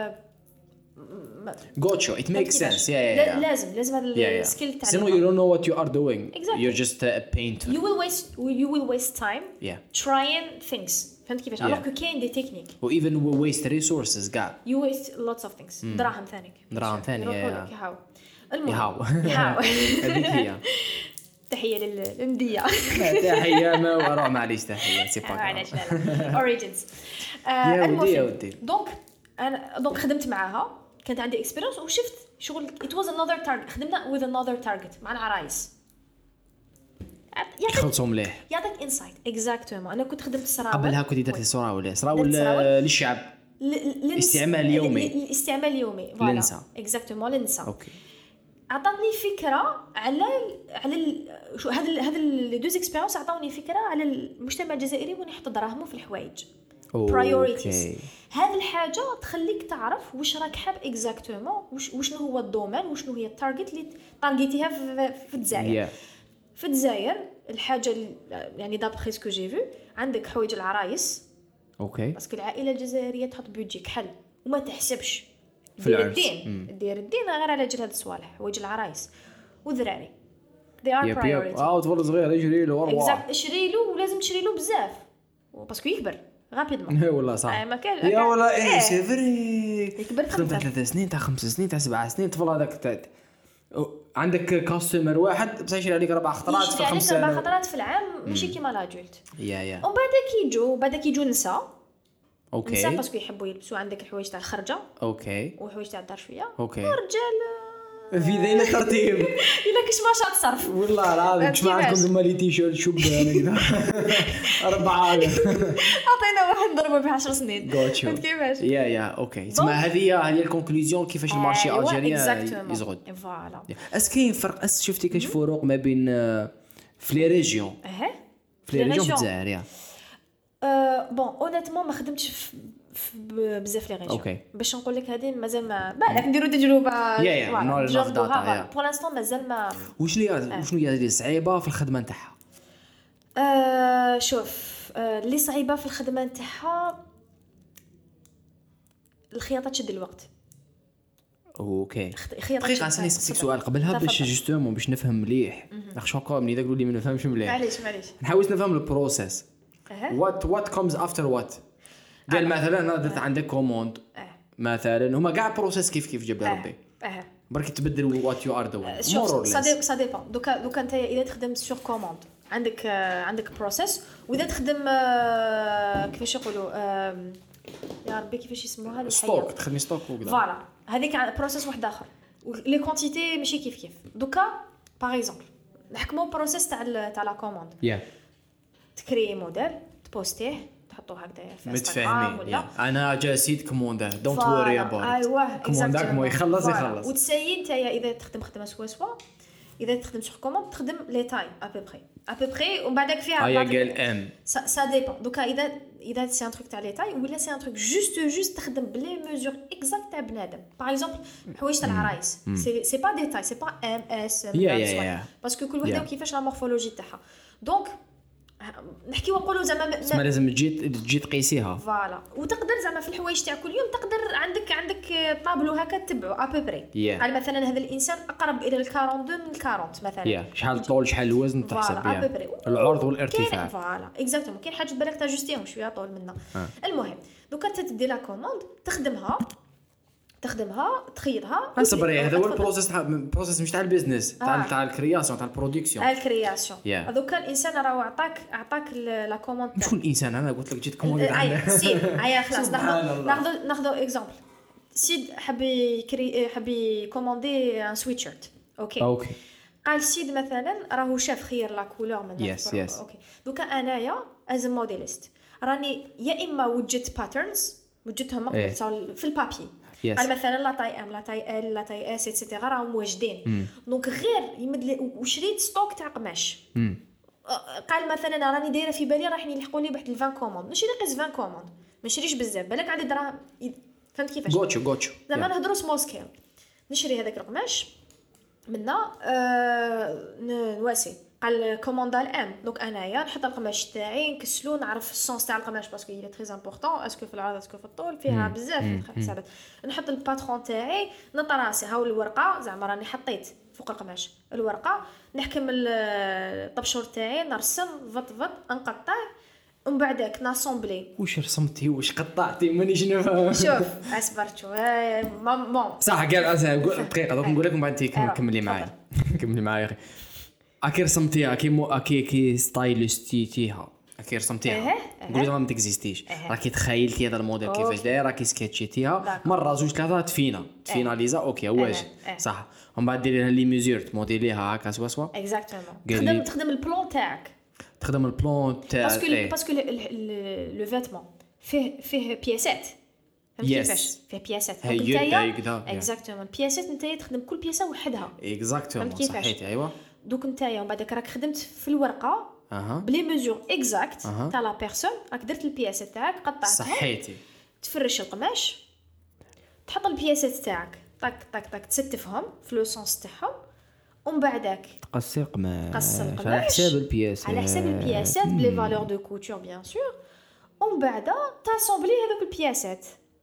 gotcha it makes sense لازم هذا السكيل تاعك so you don't know what you are doing you're just a painter you will waste time trying things فهمت كيفاش alors que كاين دي تكنيك و even waste resources كاع you waste lots of things دراهم ثاني المهم هذيك هي تحيه للنديه تحيه ما وراء معليش تحيه سي با معليش اوريجينز يا ودي دونك خدمت معاها كانت عندي اكسبيرينس وشفت شغل it was another target خدمنا with another target مع العرايس خلصوا مليح يعطيك انسايت اكزاكتومون انا كنت خدمت السراول قبلها كنت درتي سراول للشعب الاستعمال اليومي فوالا اكزاكتومون للنساء اوكي عطاتني فكره على هذا لي دوز اكسبيرينس عطاوني فكره على المجتمع الجزائري وين يحط دراهمه في الحوايج برايوريتيز هذه الحاجه تخليك تعرف واش راك حاب اكزاكتومون وشنو هو الدومين وشنو هي التارجت اللي تارجيتيها في الجزائر في الجزائر الحاجه يعني دابخي سكو جي فيو عندك حوايج العرايس اوكي باسكو العائله الجزائريه تحط بيدجي كحل وما تحسبش دير الدين غير على جال هاد الصوالح حوايج العرايس وذراري they are priority طفل صغير يجري له اكزاكت اشري له ولازم تشري له بزاف باسكو يكبر رابيدمون والله صح ما كان يا والله سي فري يكبر 3 سنين تاع 5 سنين تاع 7 سنين طفل هذاك عندك كاستمر واحد بصح يشري عليك 4 خطرات في 5 سنين 4 خطرات في العام ماشي كيما لاجولت ومن بعد كيجوا نساء اوكي نساء باسكو يحبوا يلبسوا عندك الحوايج تاع الخرجه اوكي وحوايج تاع الدار شويه اوكي ورجال في ذين الترتيب الا كاش ما شاط صرف والله العظيم كش ما عندكم زعما لي تيشيرت شوب هكذا 4 عطينا واحد ضربه ب 10 سنين فهمت كيفاش يا اوكي تسمى هذه الكونكلوزيون كيفاش المارشي الجيريان يزغد فوالا كاين فرق شفتي كاش فروق ما بين في لي ريجيون في لي ريجيون في الجزائر بون اونيتمون ما خدمتش بزاف لي ريجيون اوكي باش نقول لك هذه مازال ما بالك نديروا تجربه نجربوها بور لانستون مازال ما وشنو هي اللي صعيبه في الخدمه نتاعها شوف اللي صعيبه في الخدمه نتاعها الخياطه تشد الوقت اوكي دقيقه نسالك سؤال قبلها باش جوستومون باش نفهم مليح شنو نقول ملي تقول لي ما نفهمش مليح معليش نحاول نفهم البروسيس what comes after what قال مثلا انا درت عندك كوموند مثلا هما كاع بروسيس كيف جاب لي ربي برك تبدل وات يو ار دوين شوف سا ديبون دوكا انت اذا تخدم سور كوموند عندك بروسيس، واذا تخدم كيفاش يقولوا يا ربي كيفاش يسموها لي ستوك، تخدمي ستوك وكذا فوالا هذيك بروسيس واحد اخر لي كونتيتي ماشي كيف دوكا باغ اكزومبل نحكموا بروسيس تاع لا كوموند تكري موديل تبوستيه تحطوه هكذا في انستغرام ولا انا جاسيت كوموندر دونت وري اباوت ايوه كومونداك مو يخلص وتسيي نتايا اذا تخدم خدمه سوا اذا تخدم سور كوموند تخدم لي تاي ابوبري ومن بعدك فيها قال ام سا ديبون دوكا اذا سي ان تروك تاع لي تاي ولا سي ان تروك جوست تخدم بلي ميزور اكزاكت تاع بنادم باغ اكزومبل حوايج تاع العرايس سي با ديتاي سي با ام اس باسكو كل وحده وكيفاش لا مورفولوجي تاعها دونك نحكي ونقولوا زعما لازم تجي تقيسيها فوالا وتقدر زعما في الحوايج تاع كل يوم تقدر عندك طابلو هكا تتبعو ابوبري يعني مثلا هذا الانسان اقرب الى 42 من 40 مثلا شحال طول شحال الوزن تحسب بها العرض والارتفاع فوالا اكزاكتومون كاين حاجه بالك تاجستيهم شويه طول منا المهم دوكا انت تدي لا كوموند تخدمها تخيطها اصبري هذا هو البروسيس مش تاع البيزنس تاع الكرياسيون تاع البرودكسيون هذوك الانسان راه عطاك لا كوموند شكون الانسان انا قلت لك جيت كوموند عندنا خلاص ناخذ اكزامبل سيد حبي كوموندي ان سويتشيرت اوكي قال سيد مثلا راهو شاف خير لا كولور من اوكي دوكا انايا از موديليست راني يا اما وجدت باترنز وجدتهم في البابي قال مثلا لا تاي ام لا تاي ال لا تاي اس ايتترا راهم واجدين دونك غير يمد لي وشريت ستوك تاع قماش قال مثلا راني دايره في بالي راح يلحقوا لي بواحد 20 كوموند نشري قيس 20 كوموند ما نشريش بزاف بالك عندي دراهم فهمت كيفاش غوتشو زعما نهضروا سمول سكيل نشري هذاك القماش منا نواسي قال كوموندا الام دونك انايا نحط القماش تاعي نكسلو نعرف السونس تاع القماش باسكو هي تري امبورطون اسكو في العرض اسكو في الطول فيها بزاف حسابات نحط الباترون تاعي نطراسي هاو الورقه زعما راني حطيت فوق القماش الورقه نحكم الطبشور تاعي نرسم فط نقطع ومن بعدك ناسومبلي واش رسمتي واش قطعتي مانيش نفهم شوف اصبرت شويه بون صح قال دقيقه دوك نقول لك من بعد كملي معايا اكي رسمتيها كي ستايلستيها اكي رسمتيها نقول لها ما تكزيستيش راكي تخيلتي هذا الموديل كيفاش داير راكي سكيتشيتيها مره زوج ثلاثه تفيناليزا اوكي واش صح ومن بعد ديري لها لي ميزور تموديليها هكا سوا اكزاكتومون تخدم البلان تاعك باسكو لو فيتمون فيه بياسات كيفاش فيه بياسات نتايا اكزاكتومون بياسات نتايا تخدم كل بياسه وحدها اكزاكتومون صحيت ايوا دوك نتايا ومن بعدك راك خدمت في الورقه بلي ميزور اكزاكت تاع لا بيرسون راك درت البياسات تاعك قطعتها صحيتي تفرش القماش تحط البياسات تاعك طاك تستفهم في لو سونس تاعهم ومن بعدك تقصي القماش على حساب البياسات بلي فالور دو كوتور بيان سور ومن بعد تاسومبلي هذوك البياسات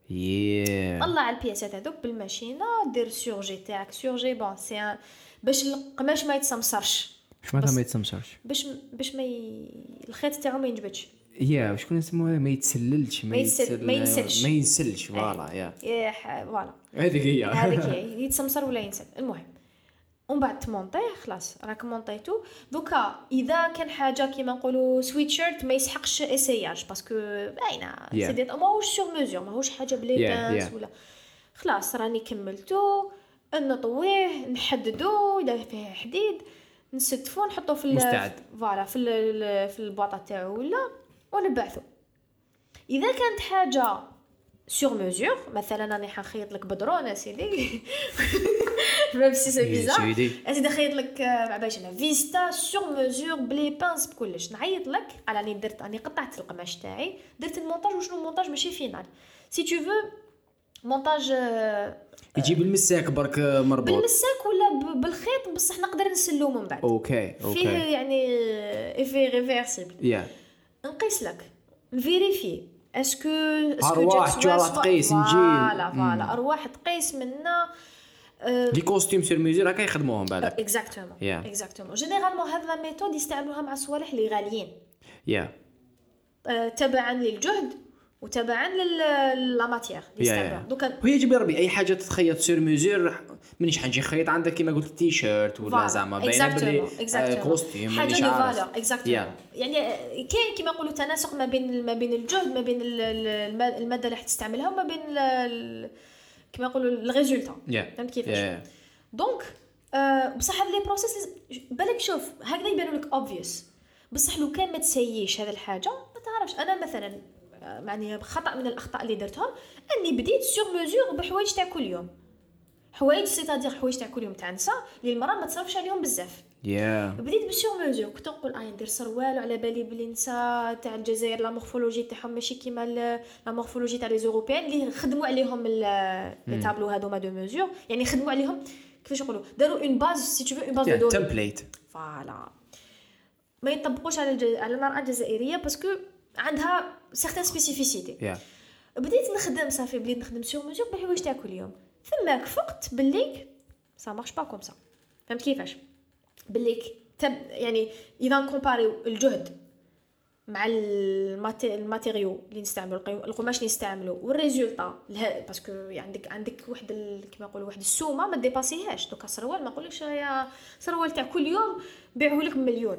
طلع البياسات هذوك بالماشينه دير سورجي تاعك سورجي بون سي باش القماش ما يتسمسرش واش معناتها ما يتسمسرش باش الخيط تاعو ما ينجبدش شكون اسمه ما يتسللش ما ينسلش فوالا فوالا هذيك هي يتسمسر ولا ينسل المهم ومن بعد تمونطيه خلاص راك مونطيتو دوكا اذا كان حاجه كيما نقولوا سويتشيرت ما يسحقش اسياج باسكو باينه سي ماهوش سور ميزور ماهوش حاجه بلي بانس ولا خلاص راني كملتو نطويه نحددو اذا فيه حديد نستفو نحطو في مستعد فوالا في البواطه تاعو ولا ونبعثو اذا كانت حاجه سور ميزور مثلا راني حنخيط لك بدرونه سيدي ميم سي سي بيزار اسيدي خيط لك باش انا فيستا سور ميزور بلي بانس بكلش نعيط لك راني قطعت القماش تاعي درت المونتاج وشنو المونتاج ماشي فينال سي تو فو مونتاج يجيب المساك برك مربوط بالمساك ولا بالخيط بصح نقدر نسلو من بعد اوكي فيه يعني ايفي ريفيرسيبل نقيس لك نفيريفي اسكو ارواح تقيس نجي فوالا ارواح تقيس منا لي كوستيم سير ميزور هكا يخدموهم بالك اكزاكتومون جينيرالمون هذا لا ميثود يستعملوها مع الصوالح اللي غاليين تبعا للجهد وتبعا لا ماتيير دوكا هي جيب ربي اي حاجه تتخيط سير ميزور مانيش حنجي خيط عندك كما قلت تي شيرت ولا زعما باينه بلي كوستيم مانيش عارف اكزاكتومون يعني كاين كما نقولوا تناسق ما بين الجهد ما بين الماده اللي حتستعملها وما بين كما نقولوا الريزولتا فهمت كيفاش دونك بصح هاد لي بروسيس بالك شوف هكذا يبانوا لك اوبفيوس بصح لو كان ما تسييش هذه الحاجه ما تعرفش. انا مثلا معني خطا من الاخطاء اللي درتهم اني بديت سور ميزور بحوايج تاع كل يوم حوايج سيتادير حوايج تاع كل يوم تاع نساء اللي المراه ما تصرفش عليهم بزاف بديت بسور ميزور كنت نقول ندير سروال على بالي بلي نساء تاع الجزائر لا مورفولوجي تاعهم ماشي كيما لا مورفولوجي تاع لي زوروبيان اللي خدموا عليهم لي تابلو هذوما دو ميزور يعني خدموا عليهم كيفاش نقولوا داروا اون باز سي تو اون باز دو تمبليت فوالا ما يطبقوش على المرأة الجزائرية باسكو عندها سيغتان سبيسيفيسيتي بديت نخدم صافي بديت نخدم سور ميزور بحوايج تاع كل يوم ثماك فقت باللي سا مارش با كوم سا فهمت كيفاش باللي يعني اذا كومباريو الجهد مع الماتيريو اللي نستعملوا القماش اللي نستعملوا والريزولطا باسكو عندك واحد كيما نقولوا واحد السومه ما ديباسيهاش دوكا سروال ما نقولكش يا سروال تاع كل يوم بيعوه لك مليون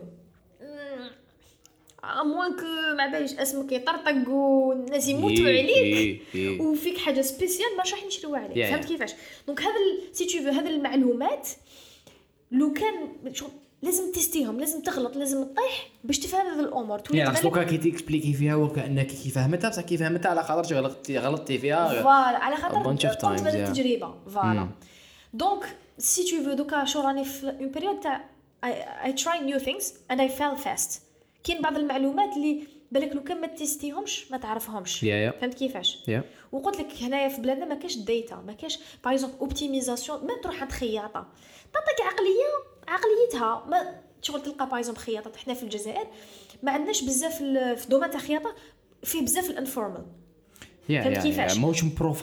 اموانك ما باليش اسمك يطرطق والناس يموتوا عليك وفيك حاجه سبيسيال ما راح نشريوها عليك فهمت كيفاش دونك هذا سي تو فو هذه المعلومات لو كان لازم تستيهم لازم تغلط لازم تطيح باش تفهم هذه الامور يعني اصلك كي تيكسبليكي فيها وكانك كي فهمتها بصح كي فهمتها على خاطر غلطتي فيها فوالا على خاطر قمت بالتجربه فوالا دونك سي تو فو دوكا شو راني في اون بيريود تاع I try new things and I fail fast كاين بعض المعلومات اللي بالك لو كان ما تيستيهمش ما تعرفهمش فهمت كيفاش وقلت لك هنايا في بلادنا ما كاش داتا ما كاش باغ اكزومبل اوبتيميزاسيون ما تروح عند خياطه تعطيك عقليتها ما شغل تلقى باغ اكزومبل خياطه حنا في الجزائر ما عندناش بزاف في دومين تاع الخياطه فيه بزاف الانفورمال فهمت كيفاش موش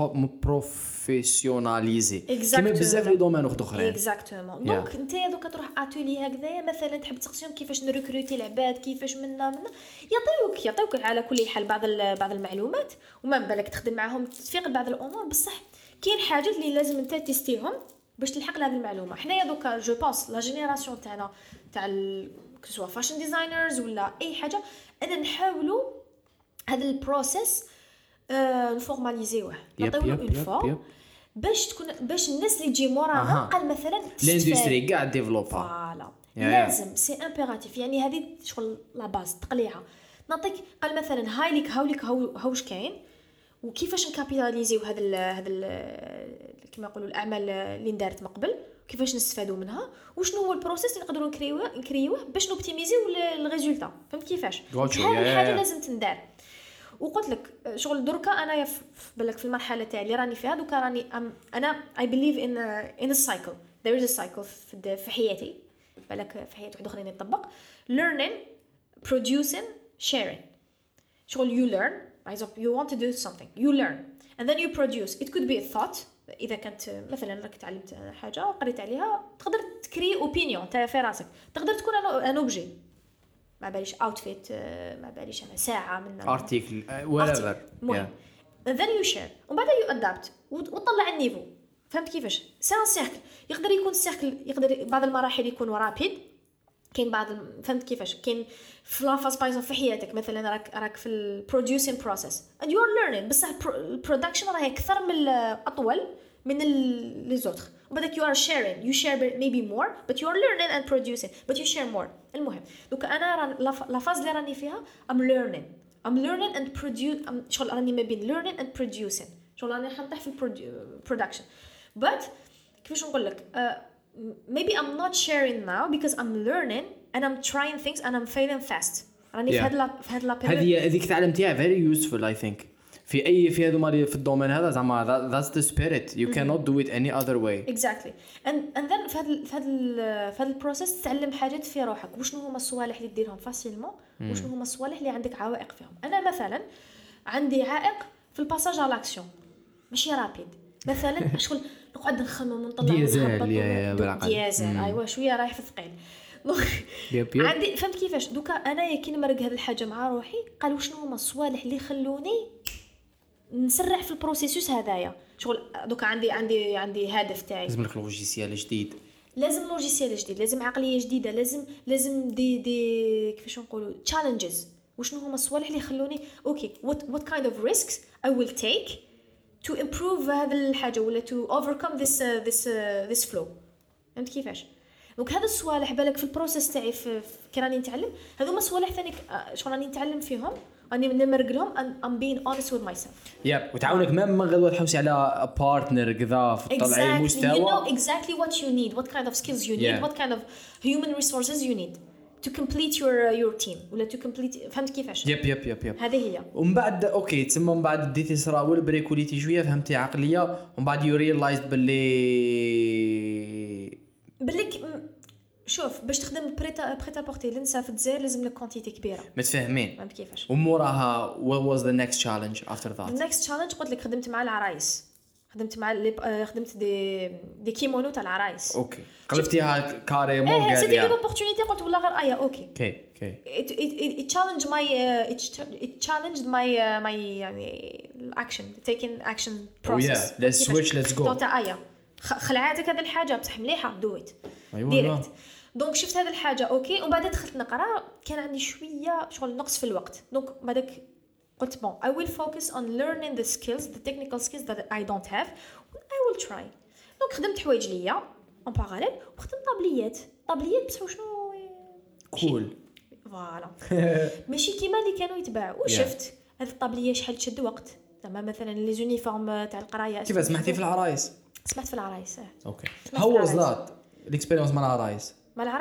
بروفيسيوناليزي كيما بزاف لي دومين اخرين اكزاكتومون دونك انت دوكا تروح اتولي هكذايا مثلا تحب تسقسيهم كيفاش نريكروتي العباد كيفاش منا يعطيوك على كل حال بعض المعلومات وما بالك تخدم معاهم تفيق بعض الامور بصح كاين حاجات اللي لازم انت تستيهم باش تلحق لهذه المعلومه. حنايا دوكا جو بونس لا جينيراسيون تاعنا تاع كسوا فاشن ديزاينرز ولا اي حاجه انا نحاولوا هذا البروسيس نفورماليزيوه نعطيوه اون فورم باش الناس اللي تجي مورانا قال مثلا الاندستري كاع ديفلوبا فوالا لازم سي امبيراتيف يعني هذه شغل لا باز تقليعه نعطيك قال مثلا هايليك هاوش كاين وكيفاش نكابيتاليزيو هذا كما يقولوا الاعمال اللي ندارت من قبل كيفاش نستفادوا منها وشنو هو البروسيس اللي نقدروا نكريوه باش نوبتيميزيو الريزولتا فهمت كيفاش هذه حاجه لازم تندار. وقلت لك شغل دركا انا بالك في المرحله تاعي اللي راني فيها دوكا راني انا I believe in a cycle there is a cycle في حياتي بالك في حياه واحد اخرين يطبق learning producing sharing شغل you learn for example you want to do something you learn and then you produce it could be a thought اذا كانت مثلا راك تعلمت حاجه قريت عليها تقدر تكري اوبينيون تاع في راسك تقدر تكون ان اوبجي ما باليش اوتفيت ما باليش انا ساعه من ارتيكل whatever and then you share ومن بعد you adapt وتطلع النيفو فهمت كيفاش سي ان سيركل يقدر يكون السيركل يقدر بعض المراحل يكون رابيد كاين بعض فهمت كيفاش كاين في لافاز بايزون في حياتك مثلا راك في البروديوسين بروسيس and you are learning بصح البرودكشن راهي اكثر من اطول من لي زوتر وبدك you are sharing you share maybe more but you are learning and producing but you share more. المهم دوك انا لافاز اللي راني فيها I'm learning and produce شغل راني ما بين learning and producing شغل راني حنطيح في production but كيفاش نقول لك maybe I'm not sharing now because I'm learning and I'm trying things and I'm failing fast. راني في هاد هذيك تعلمتيها very useful I think في هذو مالي في الدومين هذا زعما that's the spirit you cannot do it any other way exactly and then في هذا البروسيس تتعلم حاجات في روحك وشنو هما الصوالح اللي ديرهم فاسيلمون وشنو هما الصوالح اللي عندك عوائق فيهم. انا مثلا عندي عائق في الباساج على لاكسيون ماشي رابيد مثلا شغل نقعد نخمم ونطلع ديازل ايوا شويه رايح في الثقيل عندي فهمت كيفاش دوكا انا كي نمرق هذه الحاجه مع روحي قالوا شنو هما الصوالح اللي خلوني نسرع في البروسيسوس هذايا شغل دوك عندي هدف تاعي لازم لك لوجيسيال جديد لازم لوجيسيال جديد لازم عقليه جديده لازم دي كيفاش نقولوا تشالنجز وشنو هما الصوالح اللي يخلوني اوكي what kind of risks I will take to improve هذا الحاجه ولا to overcome this flow فهمت كيفاش دونك هذا الصوالح بالك في البروسيس تاعي كي راني نتعلم هذوما صوالح ثاني شغل راني نتعلم فيهم راني نمرق لهم I'm being honest with myself وتعاونك ما غدوه تحوسي على بارتنر كذا في طلع المستوى you know exactly what you need what kind of skills you need what kind of human resources you need to complete your team ولا to complete فهمت كيفاش يب هذه هي ومن بعد اوكي تسمى من بعد ديتي صراول بريكوليتي شويه فهمتي عقليه ومن بعد يو ريلايزد باللي شوف باش تخدم بريتا بورتي لنسا في الجزائر لازم لك كونتيتي كبيره متفاهمين فهمت كيفاش وموراها what was the next challenge after that the next challenge قلت لك خدمت مع العرايس خدمت دي كيمونو تاع العرايس اوكي قلبتيها كاريمون قال سيتي اون اوبورتونيتي قلت والله غير اوكي اوكي it challenged my يعني action taking action process let's switch let's go تاع خلعاتك هذه الحاجه بصح مليحه دويت ايوه دونك شفت هذه الحاجه اوكي ومن بعد دخلت نقرا كان عندي شويه شغل نقص في الوقت دونك بعدك قلت bon I will focus on learning the skills the technical skills that I don't have I will try دونك خدمت حوايج ليا en parallèle وخدمت طابليات بصح شنو كول فوالا ماشي كيما اللي كانوا يتباعوا وشفت هذه الطابليه شحال تشد وقت زعما مثلا لي زونيفورم تاع القرايه كيف سمعتي في العرايس سمعت في العرايس اوكي هاو واز ذات الاكسبيرينس مع العرايس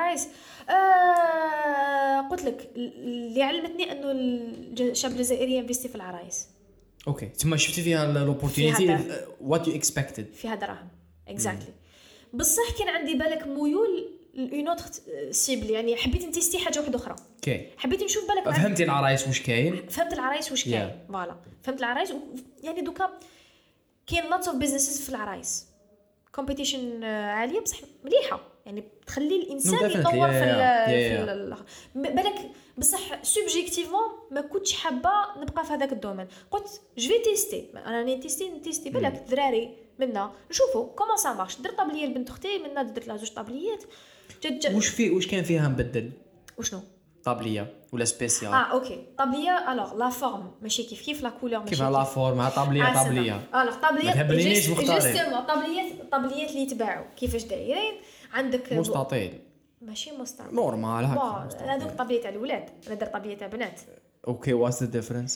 قلت لك اللي علمتني انه الشاب الجزائري ينفيستي في العرايس اوكي ثم شفتي فيها الاوبورتونيتي وات يو اكسبكتد فيها دراهم اكزاكتلي بصح كان عندي بالك ميول اون اوتر سيبل يعني حبيت نتيستي حاجه واحده اخرى اوكي حبيت نشوف بالك فهمتي العرايس واش كاين فهمت العرايس واش كاين فوالا فهمت العرايس يعني دوكا كاين lots of businesses في العرايس كومبيتيشن عاليه بصح مليحه يعني تخلي الانسان يطور في بالك بصح سوبجيكتيفمون ما كنتش حابه نبقى في هذاك الدومين قلت جو في تيستي انا نتيستي بالك دراري منا نشوفوا كومون سا مارش درت طابليه لبنت اختي منا درت لها زوج طابليات واش كان فيها نبدل وشنو طابليه ولا سبيسيال اوكي طابليه الوغ لا فورم ماشي كيف لا كولور ماشي كيف لا فورم طابليه الوغ طابليه جوستومون طابليات اللي يتباعوا كيفاش دايرين عندك مستطيل ماشي مستطيل نورمال هكا هذوك طابليه تاع الاولاد انا درت طابليه تاع بنات اوكي واتس ذا ديفرنس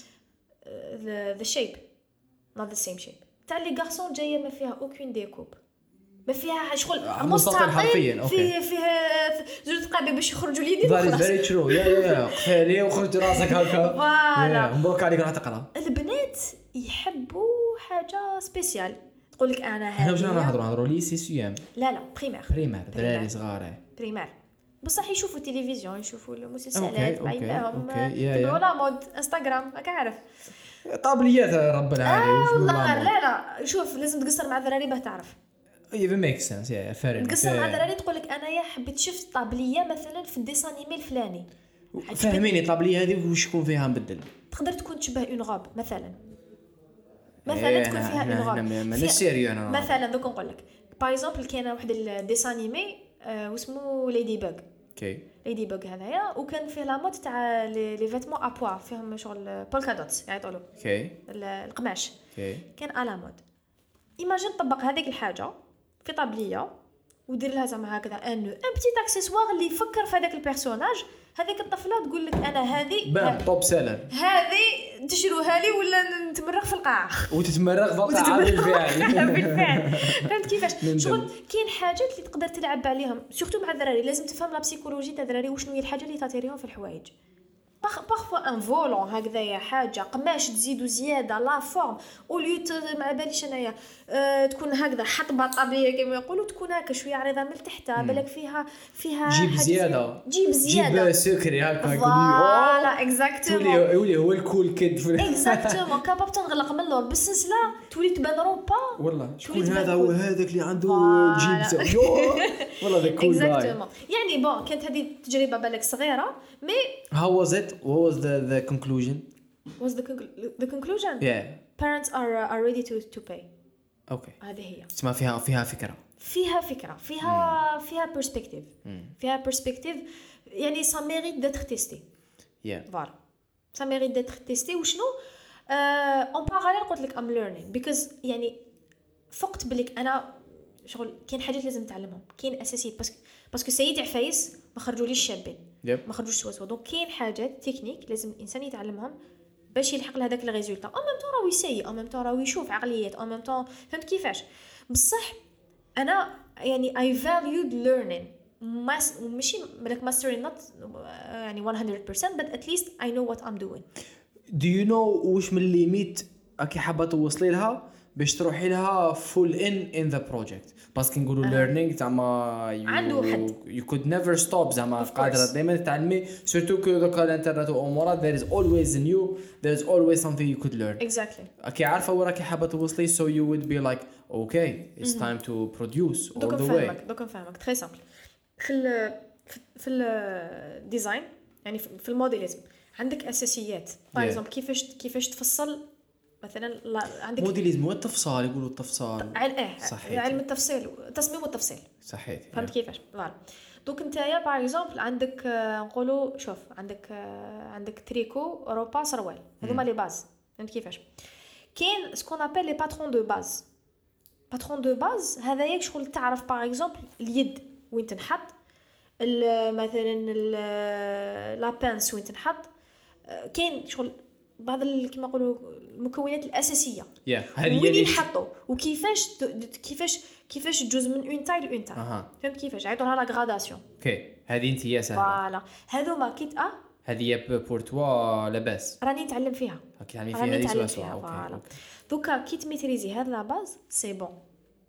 ذا شيب نوت ذا سيم شيب تاع لي غارسون جايه ما فيها اوكين ديكوب ما فيها شغل مستطيل حرفيا فيه زوج دقائق باش يخرجوا اليدين خلاص فيري ترو يا خالي وخرج راسك هكا فوالا مبروك عليك راح تقرا البنات يحبوا حاجه سبيسيال تقول لك انا هذه واش نهضروا ليسي سيام لا بريمير دراري صغار بريمير بصح يشوفوا التلفزيون يشوفوا المسلسلات بعينهم يا ولا مود انستغرام راك عارف طابليات رب العالمين والله لا شوف لازم تقصر مع الدراري باه تعرف even makes sense fair تقصر مع الدراري تقول لك انايا حبيت شفت طابليه مثلا في الديسان انيمي الفلاني فهميني الطابليه هذه واش يكون فيها نبدل تقدر تكون تشبه اون غاب مثلا تكون فيها اون غاب ماني سيريو انا مثلا دوك نقول لك باغ اكزومبل كاين واحد الديسان انيمي واسمه ليدي باغ اوكي ليدي باغ هذايا وكان فيه لا مود تاع لي فيتمون ابوا فيهم شغل بولكا دوتس يعيطوا له اوكي القماش اوكي كان على مود ايماجين طبق هذيك الحاجه في طابليه ودير لها زعما هكذا ان بتيت اكسسوار اللي يفكر في هذاك البيرسوناج هذيك الطفله تقول لك انا هذه توب سيلر هذه تشروها لي ولا نتمرغ في القاعه وتتمرغ في القاعه بالفعل فهمت كيفاش شغل كاين حاجات اللي تقدر تلعب عليهم سورتو مع الدراري لازم تفهم لا بسيكولوجي تاع الدراري وشنو هي الحاجه اللي تاتيريهم في الحوايج بارفوا ان فولون هكذايا حاجه قماش تزيدوا زياده لا فورم اوليو ما باليش انايا تكون هكذا حطبه طابليه كما يقولوا تكون هكا شويه عريضه من تحت بالك فيها جيب زياده جيب سكري هكا فوالا اكزاكتومون يولي هو الكول كيد اكزاكتومون كاباب تنغلق من اللور بالسلسله تولي تبان روبا والله شكون هذا هو هذاك اللي عنده جيب والله ذا كول اكزاكتومون يعني بون كانت هذه تجربه بالك صغيره مي how was it what was the conclusion the conclusion parents are ready to pay. اوكي هذه هي تسمى فيها فكره فيها perspective. فيها perspective يعني ça mérite d'être testé. Voilà. Ça mérite d'être testé. وشنو en parallèle قلت لك I'm learning because يعني فقت بلك انا شغل كاين حاجات لازم نتعلمهم كاين اساسي باسكو سيدي عفايس ما خرجوليش شابين ما خرجوش سوا دونك كاين حاجات تكنيك لازم الانسان يتعلمهم باش يلحق لهذاك الريزولطا او ميم طون راهو يسيي او ميم طون راهو يشوف عقليات او ميم طون فهمت كيفاش بصح انا يعني I valued learning ماشي ملك mastering not يعني 100% but at least I know what I'm doing. Do you know وش من الليميت اكي حابه توصلي لها باش تروحي لها full in the project باسكو نقولوا learning زعما عنده حد you could never stop زعما قادره دائما تتعلمي سورتو كو دوكا الانترنت وامورات there is always new there is always something you could learn. Exactly. اكي عارفه وراكي حابه توصلي so you would be like okay it's time to produce all the way. دوك نفهمك تري سامبل في الديزاين يعني في الموديليزم عندك اساسيات باغ اكزومبل كيفاش تفصل مثلا عندك موديليزم والتفصيل يقولوا التفصيل علم التفصيل التصميم والتفصيل صحيح فهمت كيفاش فوالا دوك نتايا باغ اكزومبل عندك نقولوا شوف عندك تريكو اوروبا سروال هذوما لي باز فهمت كيفاش كاين سكون ابل لي باترون دو باز هذايا شغل تعرف باغ اكزومبل اليد وين تنحط مثلا لا بانس وين تنحط كاين شغل بعض كما نقولوا المكونات الاساسيه هذه وين ينحطوا وكيفاش كيفاش تجوز من اون تاي لون تاي فهمت كيفاش عيطوا لها لا غراداسيون اوكي هذه انت يا سهله فوالا هذوما كيت هذه بور توا لاباس راني نتعلم فيها اوكي يعني فيها فوالا دوكا كي تميتريزي هذا لا باز سي بون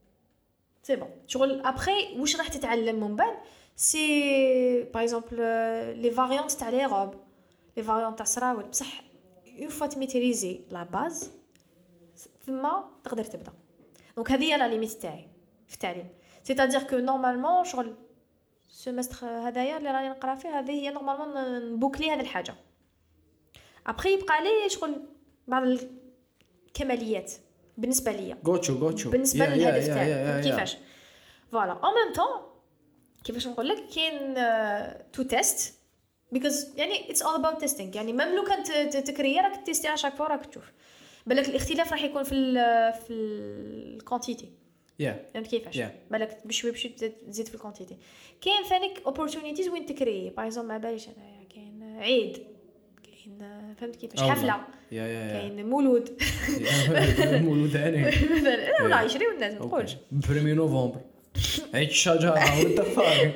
شغل ابري واش راح تتعلم من بعد سي باغ اكزومبل لي فاريانت تاع لي روب لي فاريانت تاع سراول بصح اون فوا تميتريزي لا باز ثم تقدر تبدا دونك هذه هي لا ليميت تاعي في التعليم سيتادير كو نورمالمون شغل سيمستر هدايا اللي راني نقرا فيه هذه هي نورمالمون نبوكلي هذه الحاجه ابري يبقى لي شغل بعض الكماليات بالنسبه ليا غوتشو بالنسبه للهدف تاعي كيفاش فوالا او ميم طون كيفاش نقول لك كاين تو تيست because يعني it's all about testing يعني ميم لو كانت تكري راك تيستي على شاك فوا راك تشوف بالك الاختلاف راح يكون في الكونتيتي فهمت كيفاش بالك بشوي تزيد في الكونتيتي كاين ثانيك opportunities وين تكري باغ اكزومبل ما باليش انا كاين عيد كاين فهمت كيفاش حفله كاين مولود ثاني لا يشريو الناس ما تقولش بريمي نوفمبر عيد الشجره وتفاق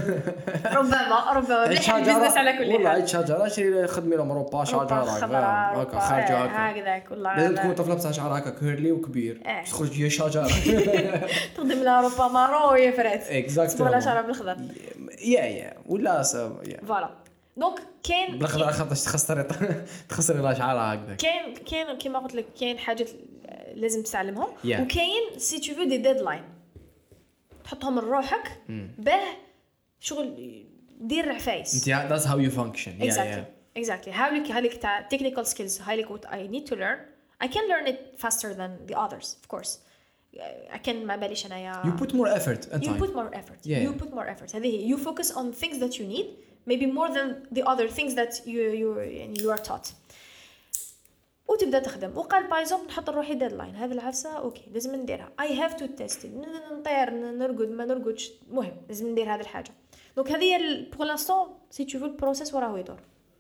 ربما مليح البزنس على كل حال والله عيد شجره شري خدمي لهم اوروبا شجره هكا خارجه هكذاك والله لازم تكون طفله بتاع شعر هكا كيرلي وكبير تخرج هي شجره تخدم لها اوروبا مارون وهي فرات اكزاكتلي ولا شعر بالخضر ولا فوالا دونك كاين بالخضر خاطر تخسري لا شعرها هكذا كاين كيما قلت لك كاين حاجات لازم تتعلمهم وكاين سي تو فو دي ديدلاين تحطهم لروحك باه شغل دير عفايس انت that's how you function exactly هالك تاع technical skills هالك what I need to learn I can learn it faster than the others of course I can ما باليش انايا you put more effort and time you put more effort هذه you focus on things that you need maybe more than the other things that you are taught وتبدا تخدم وقال بايزوم نحط روحي ديدلاين هذه العفسه اوكي لازم نديرها I have to test it نطير نرقد ما نرقدش مهم لازم ندير هذه الحاجه دونك هذه هي pour l'instant si tu veux le process وراه يدور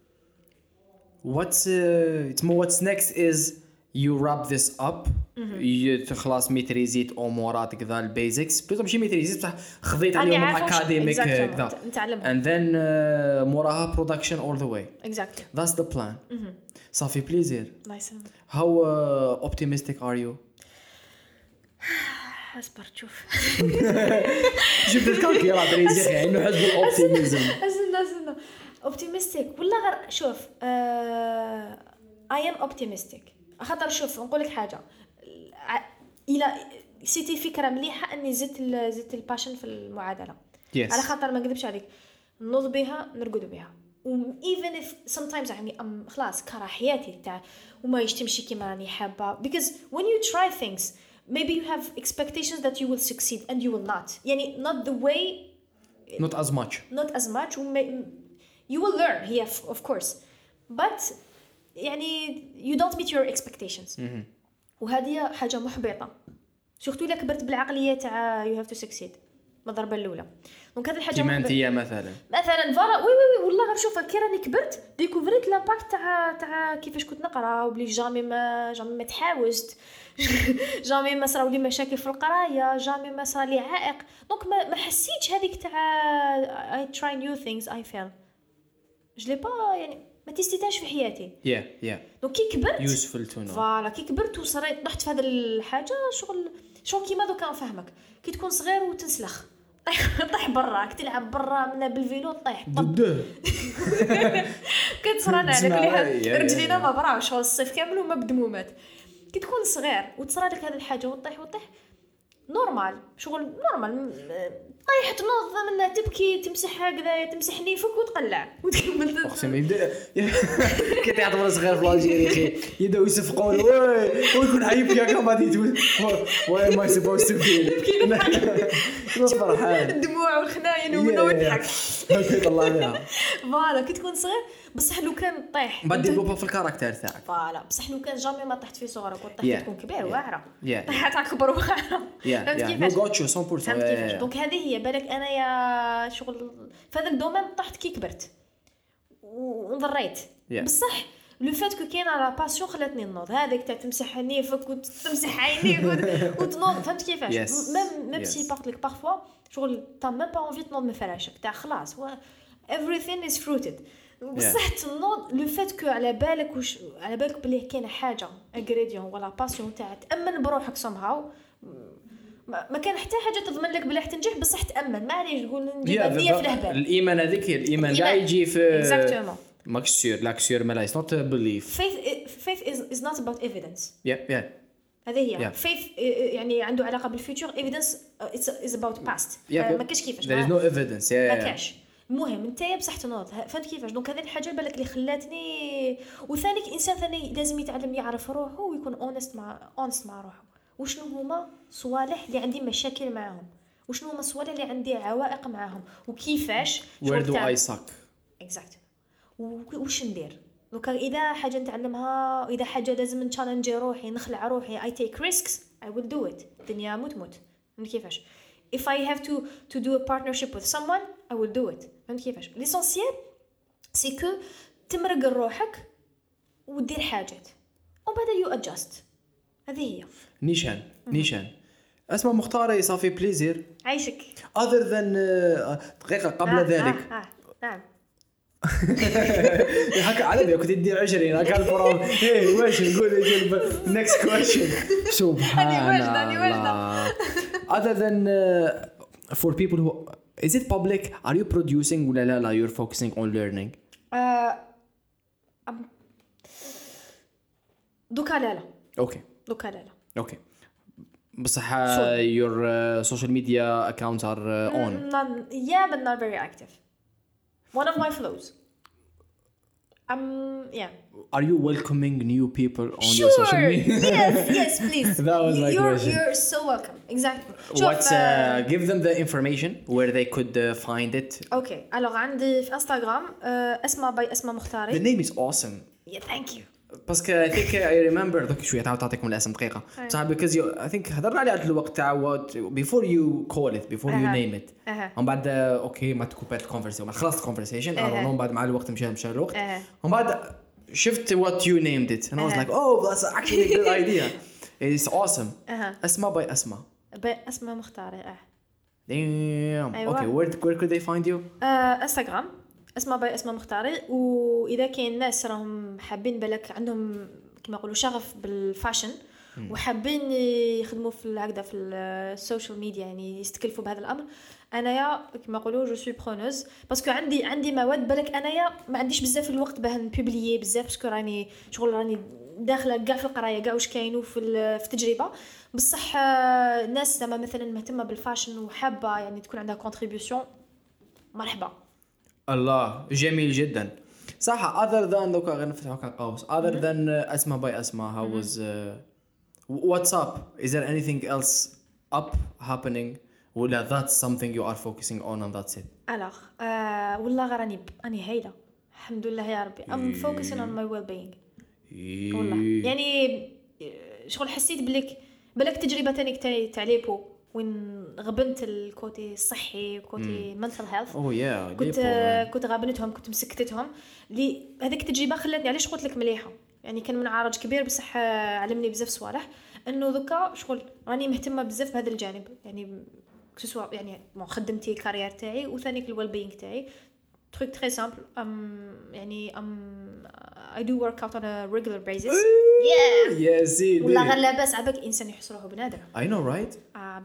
what's next is you wrap this up خلاص ميتريزيت امورات كذا البيزكس بس ماشي ميتريزيت بصح خذيت عليهم اكاديميك كذا نتعلمهم and then موراها production all the way exactly that's the plan صافي بليزير nice how optimistic are you اصبر تشوف جبت الكالكي يلا تريزي انه حزب الاوبتيميزم استنى optimistic ولا غير شوف I am optimistic خاطر شوف نقول لك حاجه الى سيتي فكره مليحه اني زدت الباشن في المعادله على خاطر ما نكذبش عليك نوض بها نرقد بها even if sometimes يعني خلاص كره حياتي تاع وما يشتمشي كيما راني حابه because when you try things maybe you have expectations that you will succeed and you will not يعني not the way not as much you will learn here of course but يعني you don't meet your expectations وهذه حاجه محبطه سورتو الا كبرت بالعقليه تاع you have to succeed بالضربه الاولى دونك هذه الحاجه كيما انتيا مثلا فوالا وي والله غير شوف كي راني كبرت ديكوفريت لامباكت تاع كيفاش كنت نقرا وبلي جامي ما تحاوزت جامي ما صراو لي مشاكل في القرايه جامي ما صار لي عائق دونك ما حسيتش هذيك تاع I try new things I fail je l'ai pas يعني ما تستيتاش في حياتي دونك كي كبرت يوسفل تو نو فوالا كي كبرت وصريت طحت في هذه الحاجه شغل كيما دوكا نفهمك كي تكون صغير وتنسلخ طيح برا تلعب برا من بالفيلو طيح كتصرانا على كل رجلينا ما براوش شغل الصيف كامل وما بدمومات كي تكون صغير وتصرى لك هذه الحاجه وطيح نورمال شغل نورمال طيح تنوض منها تبكي تمسح هكذا تمسح نيفك وتقلع وتكمل اقسم يبدا كي تعطي صغير في الجيري اخي يبداو يصفقون ويكون حيبكي هكا ما تقول واي ماي سبوست تو فيل فرحان الدموع والخناين ويضحك يطلع لها فوالا كي تكون صغير بصح لو كان طيح بعد ديفلوب في الكاركتر تاعك فوالا بصح لو كان جامي ما طحت في صغرك وطحت تكون كبير واعره طيحت اكبر واعره فهمت كيفاش غوتشو 100% دونك هذه هي بالك انا يا شغل في هذا الدومين طحت كي كبرت ونضريت بصح لو فات كو كاين لا باسيون خلاتني نوض هذاك تاع تمسح نيفك وتمسح عينيك وتنوض فهمت كيفاش ميم سي بارك لك بارفوا شغل تا ميم با انفي تنوض من فراشك تاع خلاص everything is fruited بصح تنوض لو فات كو على بالك بلي كاينه حاجه انغريديون ولا باسيون تاع تامن بروحك somehow ما كان حتى حاجه تضمن لك بلا تنجح بصح تامن ما عليش تقول نجيب هديه في الهبال الايمان هذيك الايمان لا يجي في اكزاكتومون لاكسيور ما لا is not a belief faith is not about evidence هذه هي faith يعني عنده علاقه بالفيوتشر evidence is about past ما كاش كيفاش there is no evidence ما كاش المهم نتايا بصح تنوض فهمت كيفاش دونك هذه الحاجه بالك اللي خلاتني وثاني انسان ثاني لازم يتعلم يعرف روحه ويكون اونست مع روحه وشنو هما صوالح اللي عندي مشاكل معاهم وشنو هما صوالح اللي عندي عوائق معاهم وكيفاش where do I suck exactly وش ندير دوكا اذا حاجه نتعلمها اذا حاجه لازم نتشالنجي روحي نخلع روحي I take risks I will do it الدنيا موت كيفاش if I have to do a partnership with someone I will do it فهمت كيفاش l'essentiel c'est que تمرق روحك ودير حاجات وبعد you adjust هذه هي نيشان اسمع مختاري صافي بليزير عايشك other than دقيقه قبل ذلك نعم هكا على بالك كنت تدير 20 هكا البروم واش نقول next question سبحان الله other than for people who is it public are you producing ولا لا you're focusing on learning دوكا لا اوكي بصح your social media accounts are on but not very active one of my flows are you welcoming new people on your social media yes please that was my question you're so welcome exactly what's give them the information where they could find it okay alors عندي في انستغرام اسماء مختاري the name is awesome thank you باسكو I think I remember دوك شويه تعطيكم الاسم دقيقه صح because I think هضرنا عليه على الوقت تاع before you call it before you name it ومن بعد اوكي ما تكوبات الكونفرسيشن خلصت الكونفرسيشن ومن بعد مع الوقت مشى الوقت ومن بعد شفت what you named it and I was like oh that's actually a good idea it's awesome اسماء مختاري damn okay where could they find you انستغرام اسماء مختاري واذا كاين ناس راهم حابين بالك عندهم كما يقولوا شغف بالفاشن وحابين يخدموا في هكذا في السوشيال ميديا يعني يستكلفوا بهذا الامر انايا كما يقولوا جو سوي برونوز باسكو عندي مواد بالك انايا ما عنديش بزاف الوقت باه نبوبليي بزاف باسكو راني داخله كاع في القرايه كاع واش كاينوا في التجربه بصح الناس زعما مثلا مهتمه بالفاشن وحابه يعني تكون عندها كونتريبيوشن مرحبا الله جميل جدا صح. other than دوكا غير نفتحو كقوس other than أسماء باي أسماء how was what's up, is there anything else up happening ولا that's something you are focusing on and that's it؟ alors والله غير أني هايلة الحمد لله يا ربي I'm focusing on my well-being والله يعني شغل حسيت بلك تجربة تانية تاع ليبو وين غبنت الكوتي الصحي وكوتي mental health كنت غابنتهم كنت مسكتتهم لي هذيك التجربة خلتني علاش قلت لك مليحة يعني كان من عارج كبير بصح علمني بزاف صوالح انه ذكا شغل راني مهتمه بزاف بهذا الجانب يعني سواء يعني خدمتي كارير تاعي وثاني الويل بينغ تاعي truc très simple يعني I do work out on a regular basis يا سيدي ولا غير لاباس عباك انسان يحصروه بنادر I know right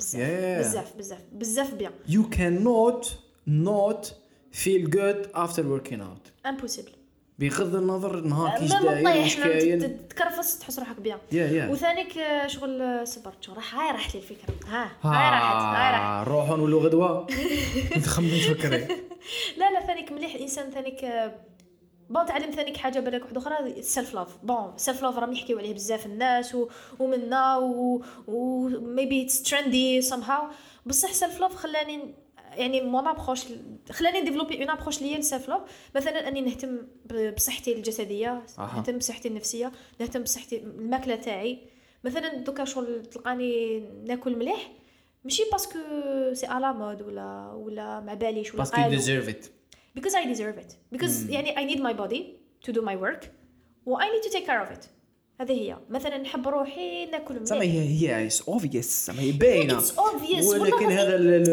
بزاف بيان you cannot not feel good after working out impossible بغض النظر نهار كيش داير واش كاين تكرفس تحس روحك بيان وثانيك شغل صبرت شغل هاي راحت لي الفكره هاي راحت نروحوا نولوا غدوه نخمم تفكري لا ثانيك مليح الانسان ثانيك بون تعلم ثانيك حاجه بالك واحده اخرى السيلف لاف بون السيلف لاف راهم يحكيوا عليه بزاف الناس ومنا و maybe it's trendy somehow بصح سيلف لاف خلاني يعني مون ابروش خلاني ديفلوبي اون ابروش ليا السيلف لاف مثلا اني نهتم بصحتي الجسديه نهتم بصحتي النفسيه نهتم بصحتي الماكله تاعي مثلا دوكا شغل تلقاني ناكل مليح ماشي باسكو سي على مود ولا ما باليش ولا باسكو you deserve it because I deserve it because يعني I need my body to do my work و I need to take care of it هذه هي مثلا نحب روحي ناكل مليح سما هي it's obvious سما هي باينه it's obvious ولكن هذا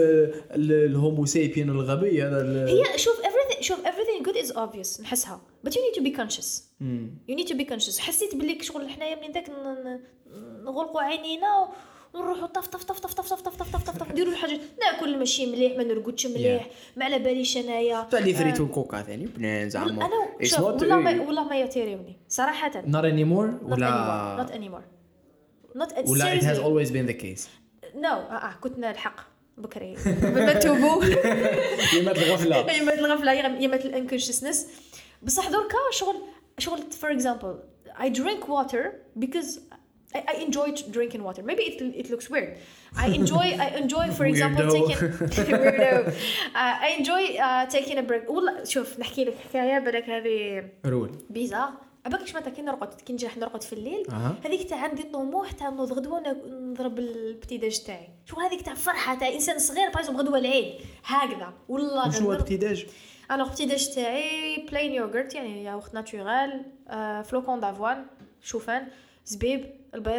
الهومو سابين الغبي هذا هي شوف everything good is obvious نحسها but you need to be conscious you need to be conscious حسيت بليك شغل حنايا من ذاك نغلقوا عينينا ونروحوا طف طف طف طف طف طف طف طف طف طف نديروا الحاجه ناكل ماشي مليح ما نرقدش مليح ما على باليش انايا تاع لي فريتو الكوكا ثاني بنان زعما والله ما يطيروني صراحه not anymore ولا not anymore ولا it has always been the case no كنت نلحق بكري ما توبوا يمات الغفله يمات الانكونشسنس بصح دركا شغل for example I drink water because I enjoy drinking water. Maybe it looks weird. I enjoy for example taking weirdo. I enjoy taking a break. والله شوف نحكي لك حكايه بالك هذه رول بيزار عباك متى كي نرقد كي نجي نرقد في الليل هذيك تاع عندي طموح تاع نوض غدوه نضرب البتيداج تاعي شو هذيك تاع فرحه تاع انسان صغير بايزوم غدوه العيد هكذا والله شنو البتيداج alors البتيداج تاعي plain yogurt يعني ياغورت ناتورال فلوكون دافوان شوفان زبيب البيض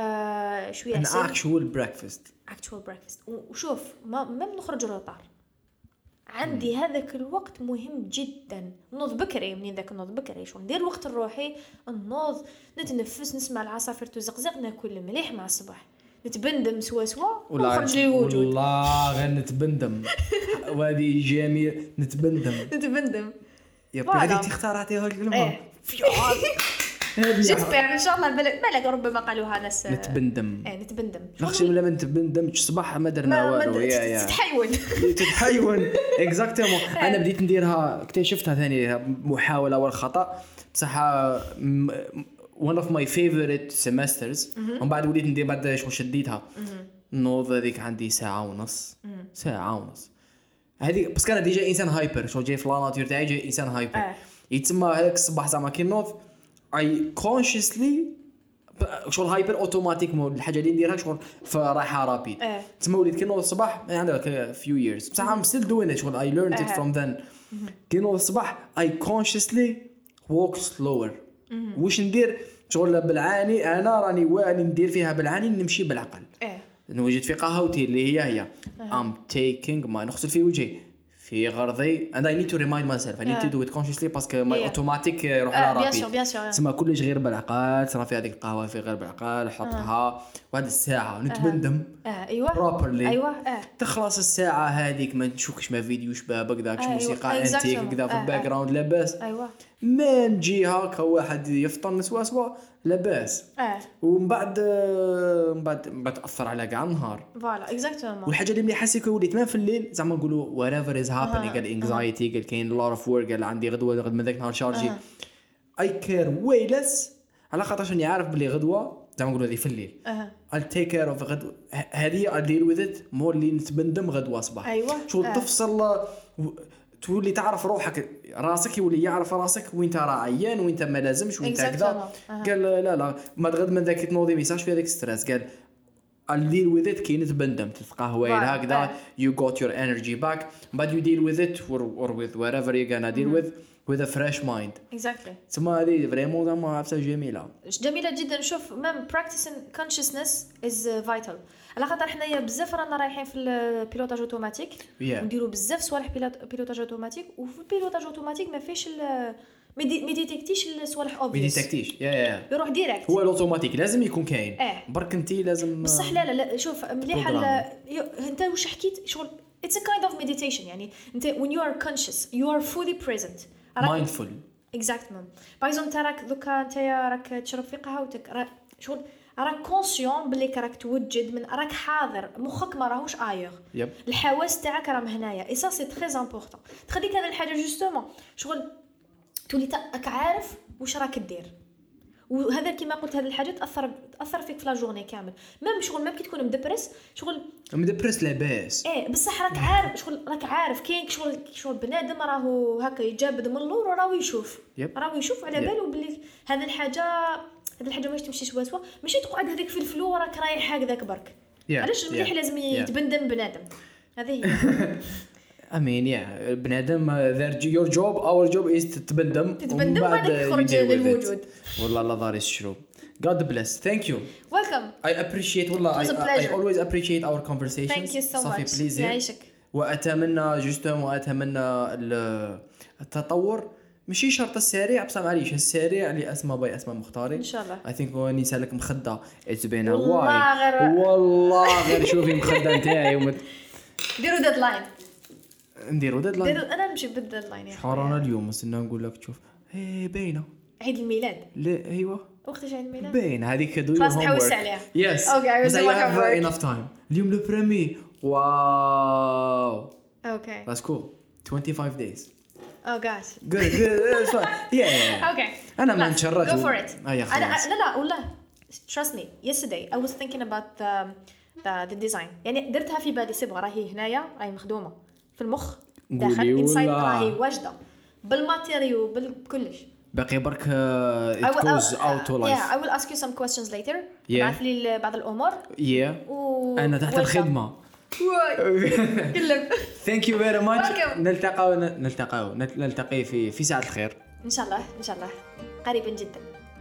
شويه عسل actual breakfast وشوف ما نخرج روطار عندي هذاك الوقت مهم جدا نوض بكري منين ذاك نوض بكري شو ندير وقت لروحي نوض نتنفس نسمع العصافير تزقزق ناكل مليح مع الصباح نتبندم سوا ونخرج لي الوجود والله غير نتبندم وهذه جميل نتبندم يا هذه اختارتيها الكلمه جيسبر ان شاء الله بالك ربما قالوها ناس نتبندم نتبندم نخشي ولا ما نتبندمش صباح ما درنا والو يا تتحيون اكزاكتومون انا بديت نديرها اكتشفتها ثاني محاوله والخطا بصح one of my favorite semesters ومن بعد وليت ندير بعد شو شديتها نوض هذيك عندي ساعه ونص هذه بس كان ديجا انسان هايبر شو جاي في لاناتور تاعي جاي انسان هايبر يتسمى هذاك الصباح زعما كي نوض I consciously شغل هايبر اوتوماتيك مود الحاجه اللي نديرها شغل فرايحه رابيد تسمى وليت كي نوض الصباح عندك few years بصح I'm still doing it شغل I learned it from then كي نوض الصباح I consciously walk slower واش ندير شغل بالعاني انا راني واعي ندير فيها بالعاني نمشي بالعقل نوجد في قهوتي اللي هي I'm taking my نغسل في وجهي في غرضي and I need to remind myself I need to do it consciously باسكو my automatic يروح على رابي تسمى كلش غير بالعقل صرا في هذيك القهوه في غير بالعقل حطها وهذه الساعه نتبندم properly تخلص الساعه هذيك ما نشوفش ما فيديوش بابك داكش موسيقى انتيك كذا في الباك جراوند لاباس من جهه كواحد يفطر نسوا لاباس ومن بعد تاثر على كاع النهار فوالا اكزاكتومون. والحاجه اللي مليحه سي وليت ما في الليل زعما نقولوا whatever is happening قال انكزايتي قال كاين lot of work قال عندي غدوه غد من ذاك النهار شارجي I care way less على خاطرش اني عارف بلي غدوه زعما نقولوا هذه في الليل I'll take care of غدوه هذه I'll deal with it مور اللي نتبندم غدوه صباح. أيوة. شو تفصل تولي تعرف روحك راسك يولي يعرف راسك وين ترى عيان وين ما لازمش وين كذا. قال لا ما تغد من ذاك تنوضي ميساج في هذاك ستريس قال I'll deal with it كي نتبندم تتقهوى هكذا you got your energy back but you deal with it or with whatever you're gonna deal with a fresh mind. Exactly. ثم هذه فريمون زعما عرفتها جميله جدا. نشوف ميم practicing consciousness is vital على خاطر حنايا بزاف رانا رايحين في البيلوتاج اوتوماتيك ونديروا بزاف صوالح بيلوتاج اوتوماتيك وفي البيلوتاج اوتوماتيك ما فيش ما ديتكتيش الصوالح اوبفيس ما ديتكتيش يروح ديريكت. هو الاوتوماتيك لازم يكون كاين برك انت لازم بصح لا شوف مليحه انت واش حكيت شغل it's a kind of meditation يعني انت when you are conscious you are fully present mindful. exactly. باغ اكزومبل تراك دوكا انت راك تشرب في قهوتك شغل راك كونسيون بلي راك توجد من راك حاضر مخك ما راهوش ايغ الحواس تاعك راهم هنايا اي سا سي تري امبورطون تخليك هذه الحاجه جوستومون شغل تولي تاك عارف واش راك دير وهذا كيما قلت هذه الحاجه تاثر فيك في لا جورني كامل ميم شغل ميم كي تكون مدبرس شغل مدبرس لاباس بصح راك عارف شغل راك عارف كاين شغل بنادم راهو هكا يجابد من اللور وراهو يشوف على باله بلي هذه الحاجه ماش تمشي سوا ماشي تقعد هذيك في الفلو راك رايح هكذاك برك علاش مليح لازم يتبندم بنادم هذه هي امين بنادم your job our job is تتبندم بعد تخرج للوجود والله لا داري الشروب. God bless. Thank you. Welcome. I appreciate والله I always appreciate our conversations. Thank you so much. يعيشك. وأتمنى التطور ماشي شرط السريع بصح معليش السريع اللي اسمه باي اسمه مختارين ان شاء الله. I think هو نسالك مخده it's been a while والله غير شوفي مخده نتاعي ديروا ديدلاين انا نمشي بالديدلاين يا حرانا اليوم استنى نقول لك شوف باينه عيد الميلاد لا ايوه وقتاش عيد الميلاد باين هذيك دو خلاص نحوس عليها يس اوكي بس I have enough time اليوم لو بريمي واو اوكي that's cool 25 days oh gosh good that's fine yeah okay انا ما نشرت go for it لا والله trust me yesterday I was thinking about the design يعني درتها في بالي صبغه راهي هنايا راهي مخدومه في المخ داخل inside راهي واجده بالماتيريال بالكلش باقي برك it goes out to life. I will ask you some questions later. بعث لي بعض الأمور. أنا تحت الخدمة. كلم. Thank you very much. نلتقي في ساعة الخير. إن شاء الله قريبا جدا.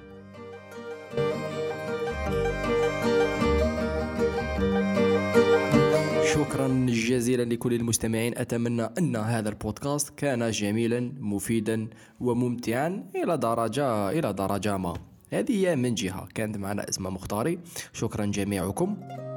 شكرا جزيلا لكل المستمعين. أتمنى أن هذا البودكاست كان جميلا مفيدا وممتعا إلى درجة ما. هذه من جهة كانت معنا اسمها مختاري. شكرا جميعكم.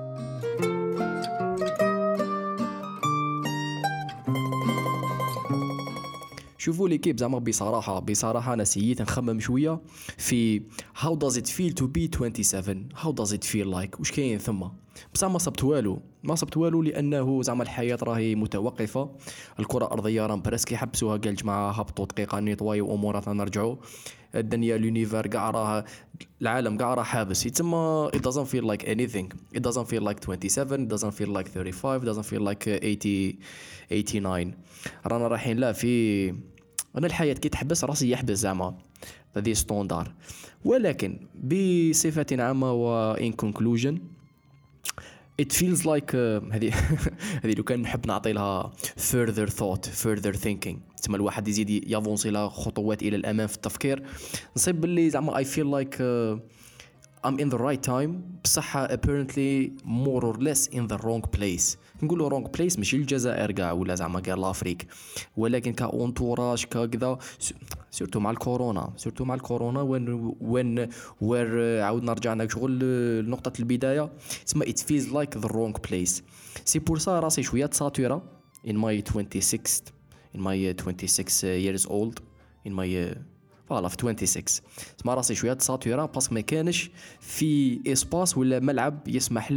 شوفوا لي كيف زعما بصراحة أنا سييت نخمم شوية في how does it feel to be 27 how does it feel like وش كاين ثم بصح ما صبت والو لأنه زعما الحياة راهي متوقفة. الكرة الأرضية راهم برسك يحبسوها قال جماعة هبطوا دقيقة نيطواي وأموراتنا نرجعوا الدنيا لونيفر كاع راه العالم كاع راه حابس يتسمى it doesn't feel like anything it doesn't feel like 27 it doesn't feel like 35 it doesn't feel like 89 رانا رايحين لا في أنا الحياة كي تحبس راسي يحبس زعما هذه ستوندار. ولكن بصفة عامة و in conclusion it feels like هذه لو كان نحب نعطي لها further thought further thinking تسمى الواحد يزيد يافونسي له خطوات إلى الأمام في التفكير نصيب باللي زعما I feel like I'm in the right time بصح apparently more or less in the wrong place. نقولوا wrong place ماشي الجزائر كاع ولا زعما كاع لافريك ولكن كاونتوراج كذا سورتو مع الكورونا وين عاودنا رجعنا شغل لنقطة البداية اسمها it feels like the wrong place. سي بور سا راسي شوية ساتورا in my 26 years old in my فوالا في 26 سما راسي شويه تساتورا باسكو ما كانش في اسباس ولا ملعب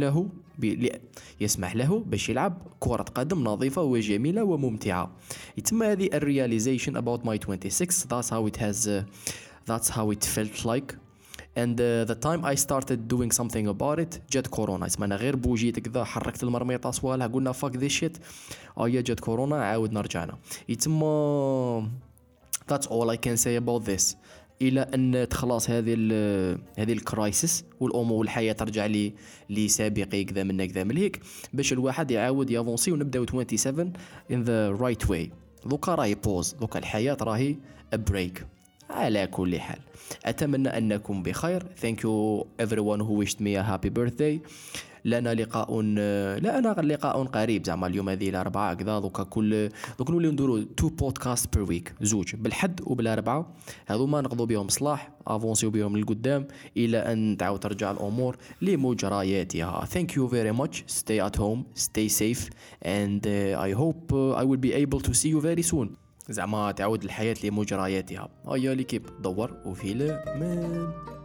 يسمح له باش يلعب كرة قدم نظيفة وجميلة وممتعة. يتم هذه الرياليزيشن about my 26 that's how it felt like and the time I started doing something about it جات كورونا. اسمع انا غير بوجيت كذا حركت المرميطه صوالح قلنا fuck this shit جات كورونا عاودنا رجعنا. يتم that's all I can say about this الى ان تخلص هذه الكرايسيس والامور والحياه ترجع لي سابقي كذا من هيك باش الواحد يعاود يافونسي ونبداو 27 in the right way. دوكا راهي بوز، دوكا الحياه راهي بريك. على كل حال اتمنى انكم بخير. thank you everyone who wished me a happy birthday. لنا لقاء قريب زعما اليوم هذه الاربعاء كذا دوك نوليو نديرو 2 بودكاست بير ويك، زوج بالحد وبالاربعاء هذوما نقضوا بهم صلاح افونسيو بهم للقدام الى ان تعاود ترجع الامور لمجرياتها. thank you very much. stay at home, stay safe and I hope I will be able to see you very soon. زعما تعود الحياة لمجرياتها. هيا ليكيب دور وفي الأمان.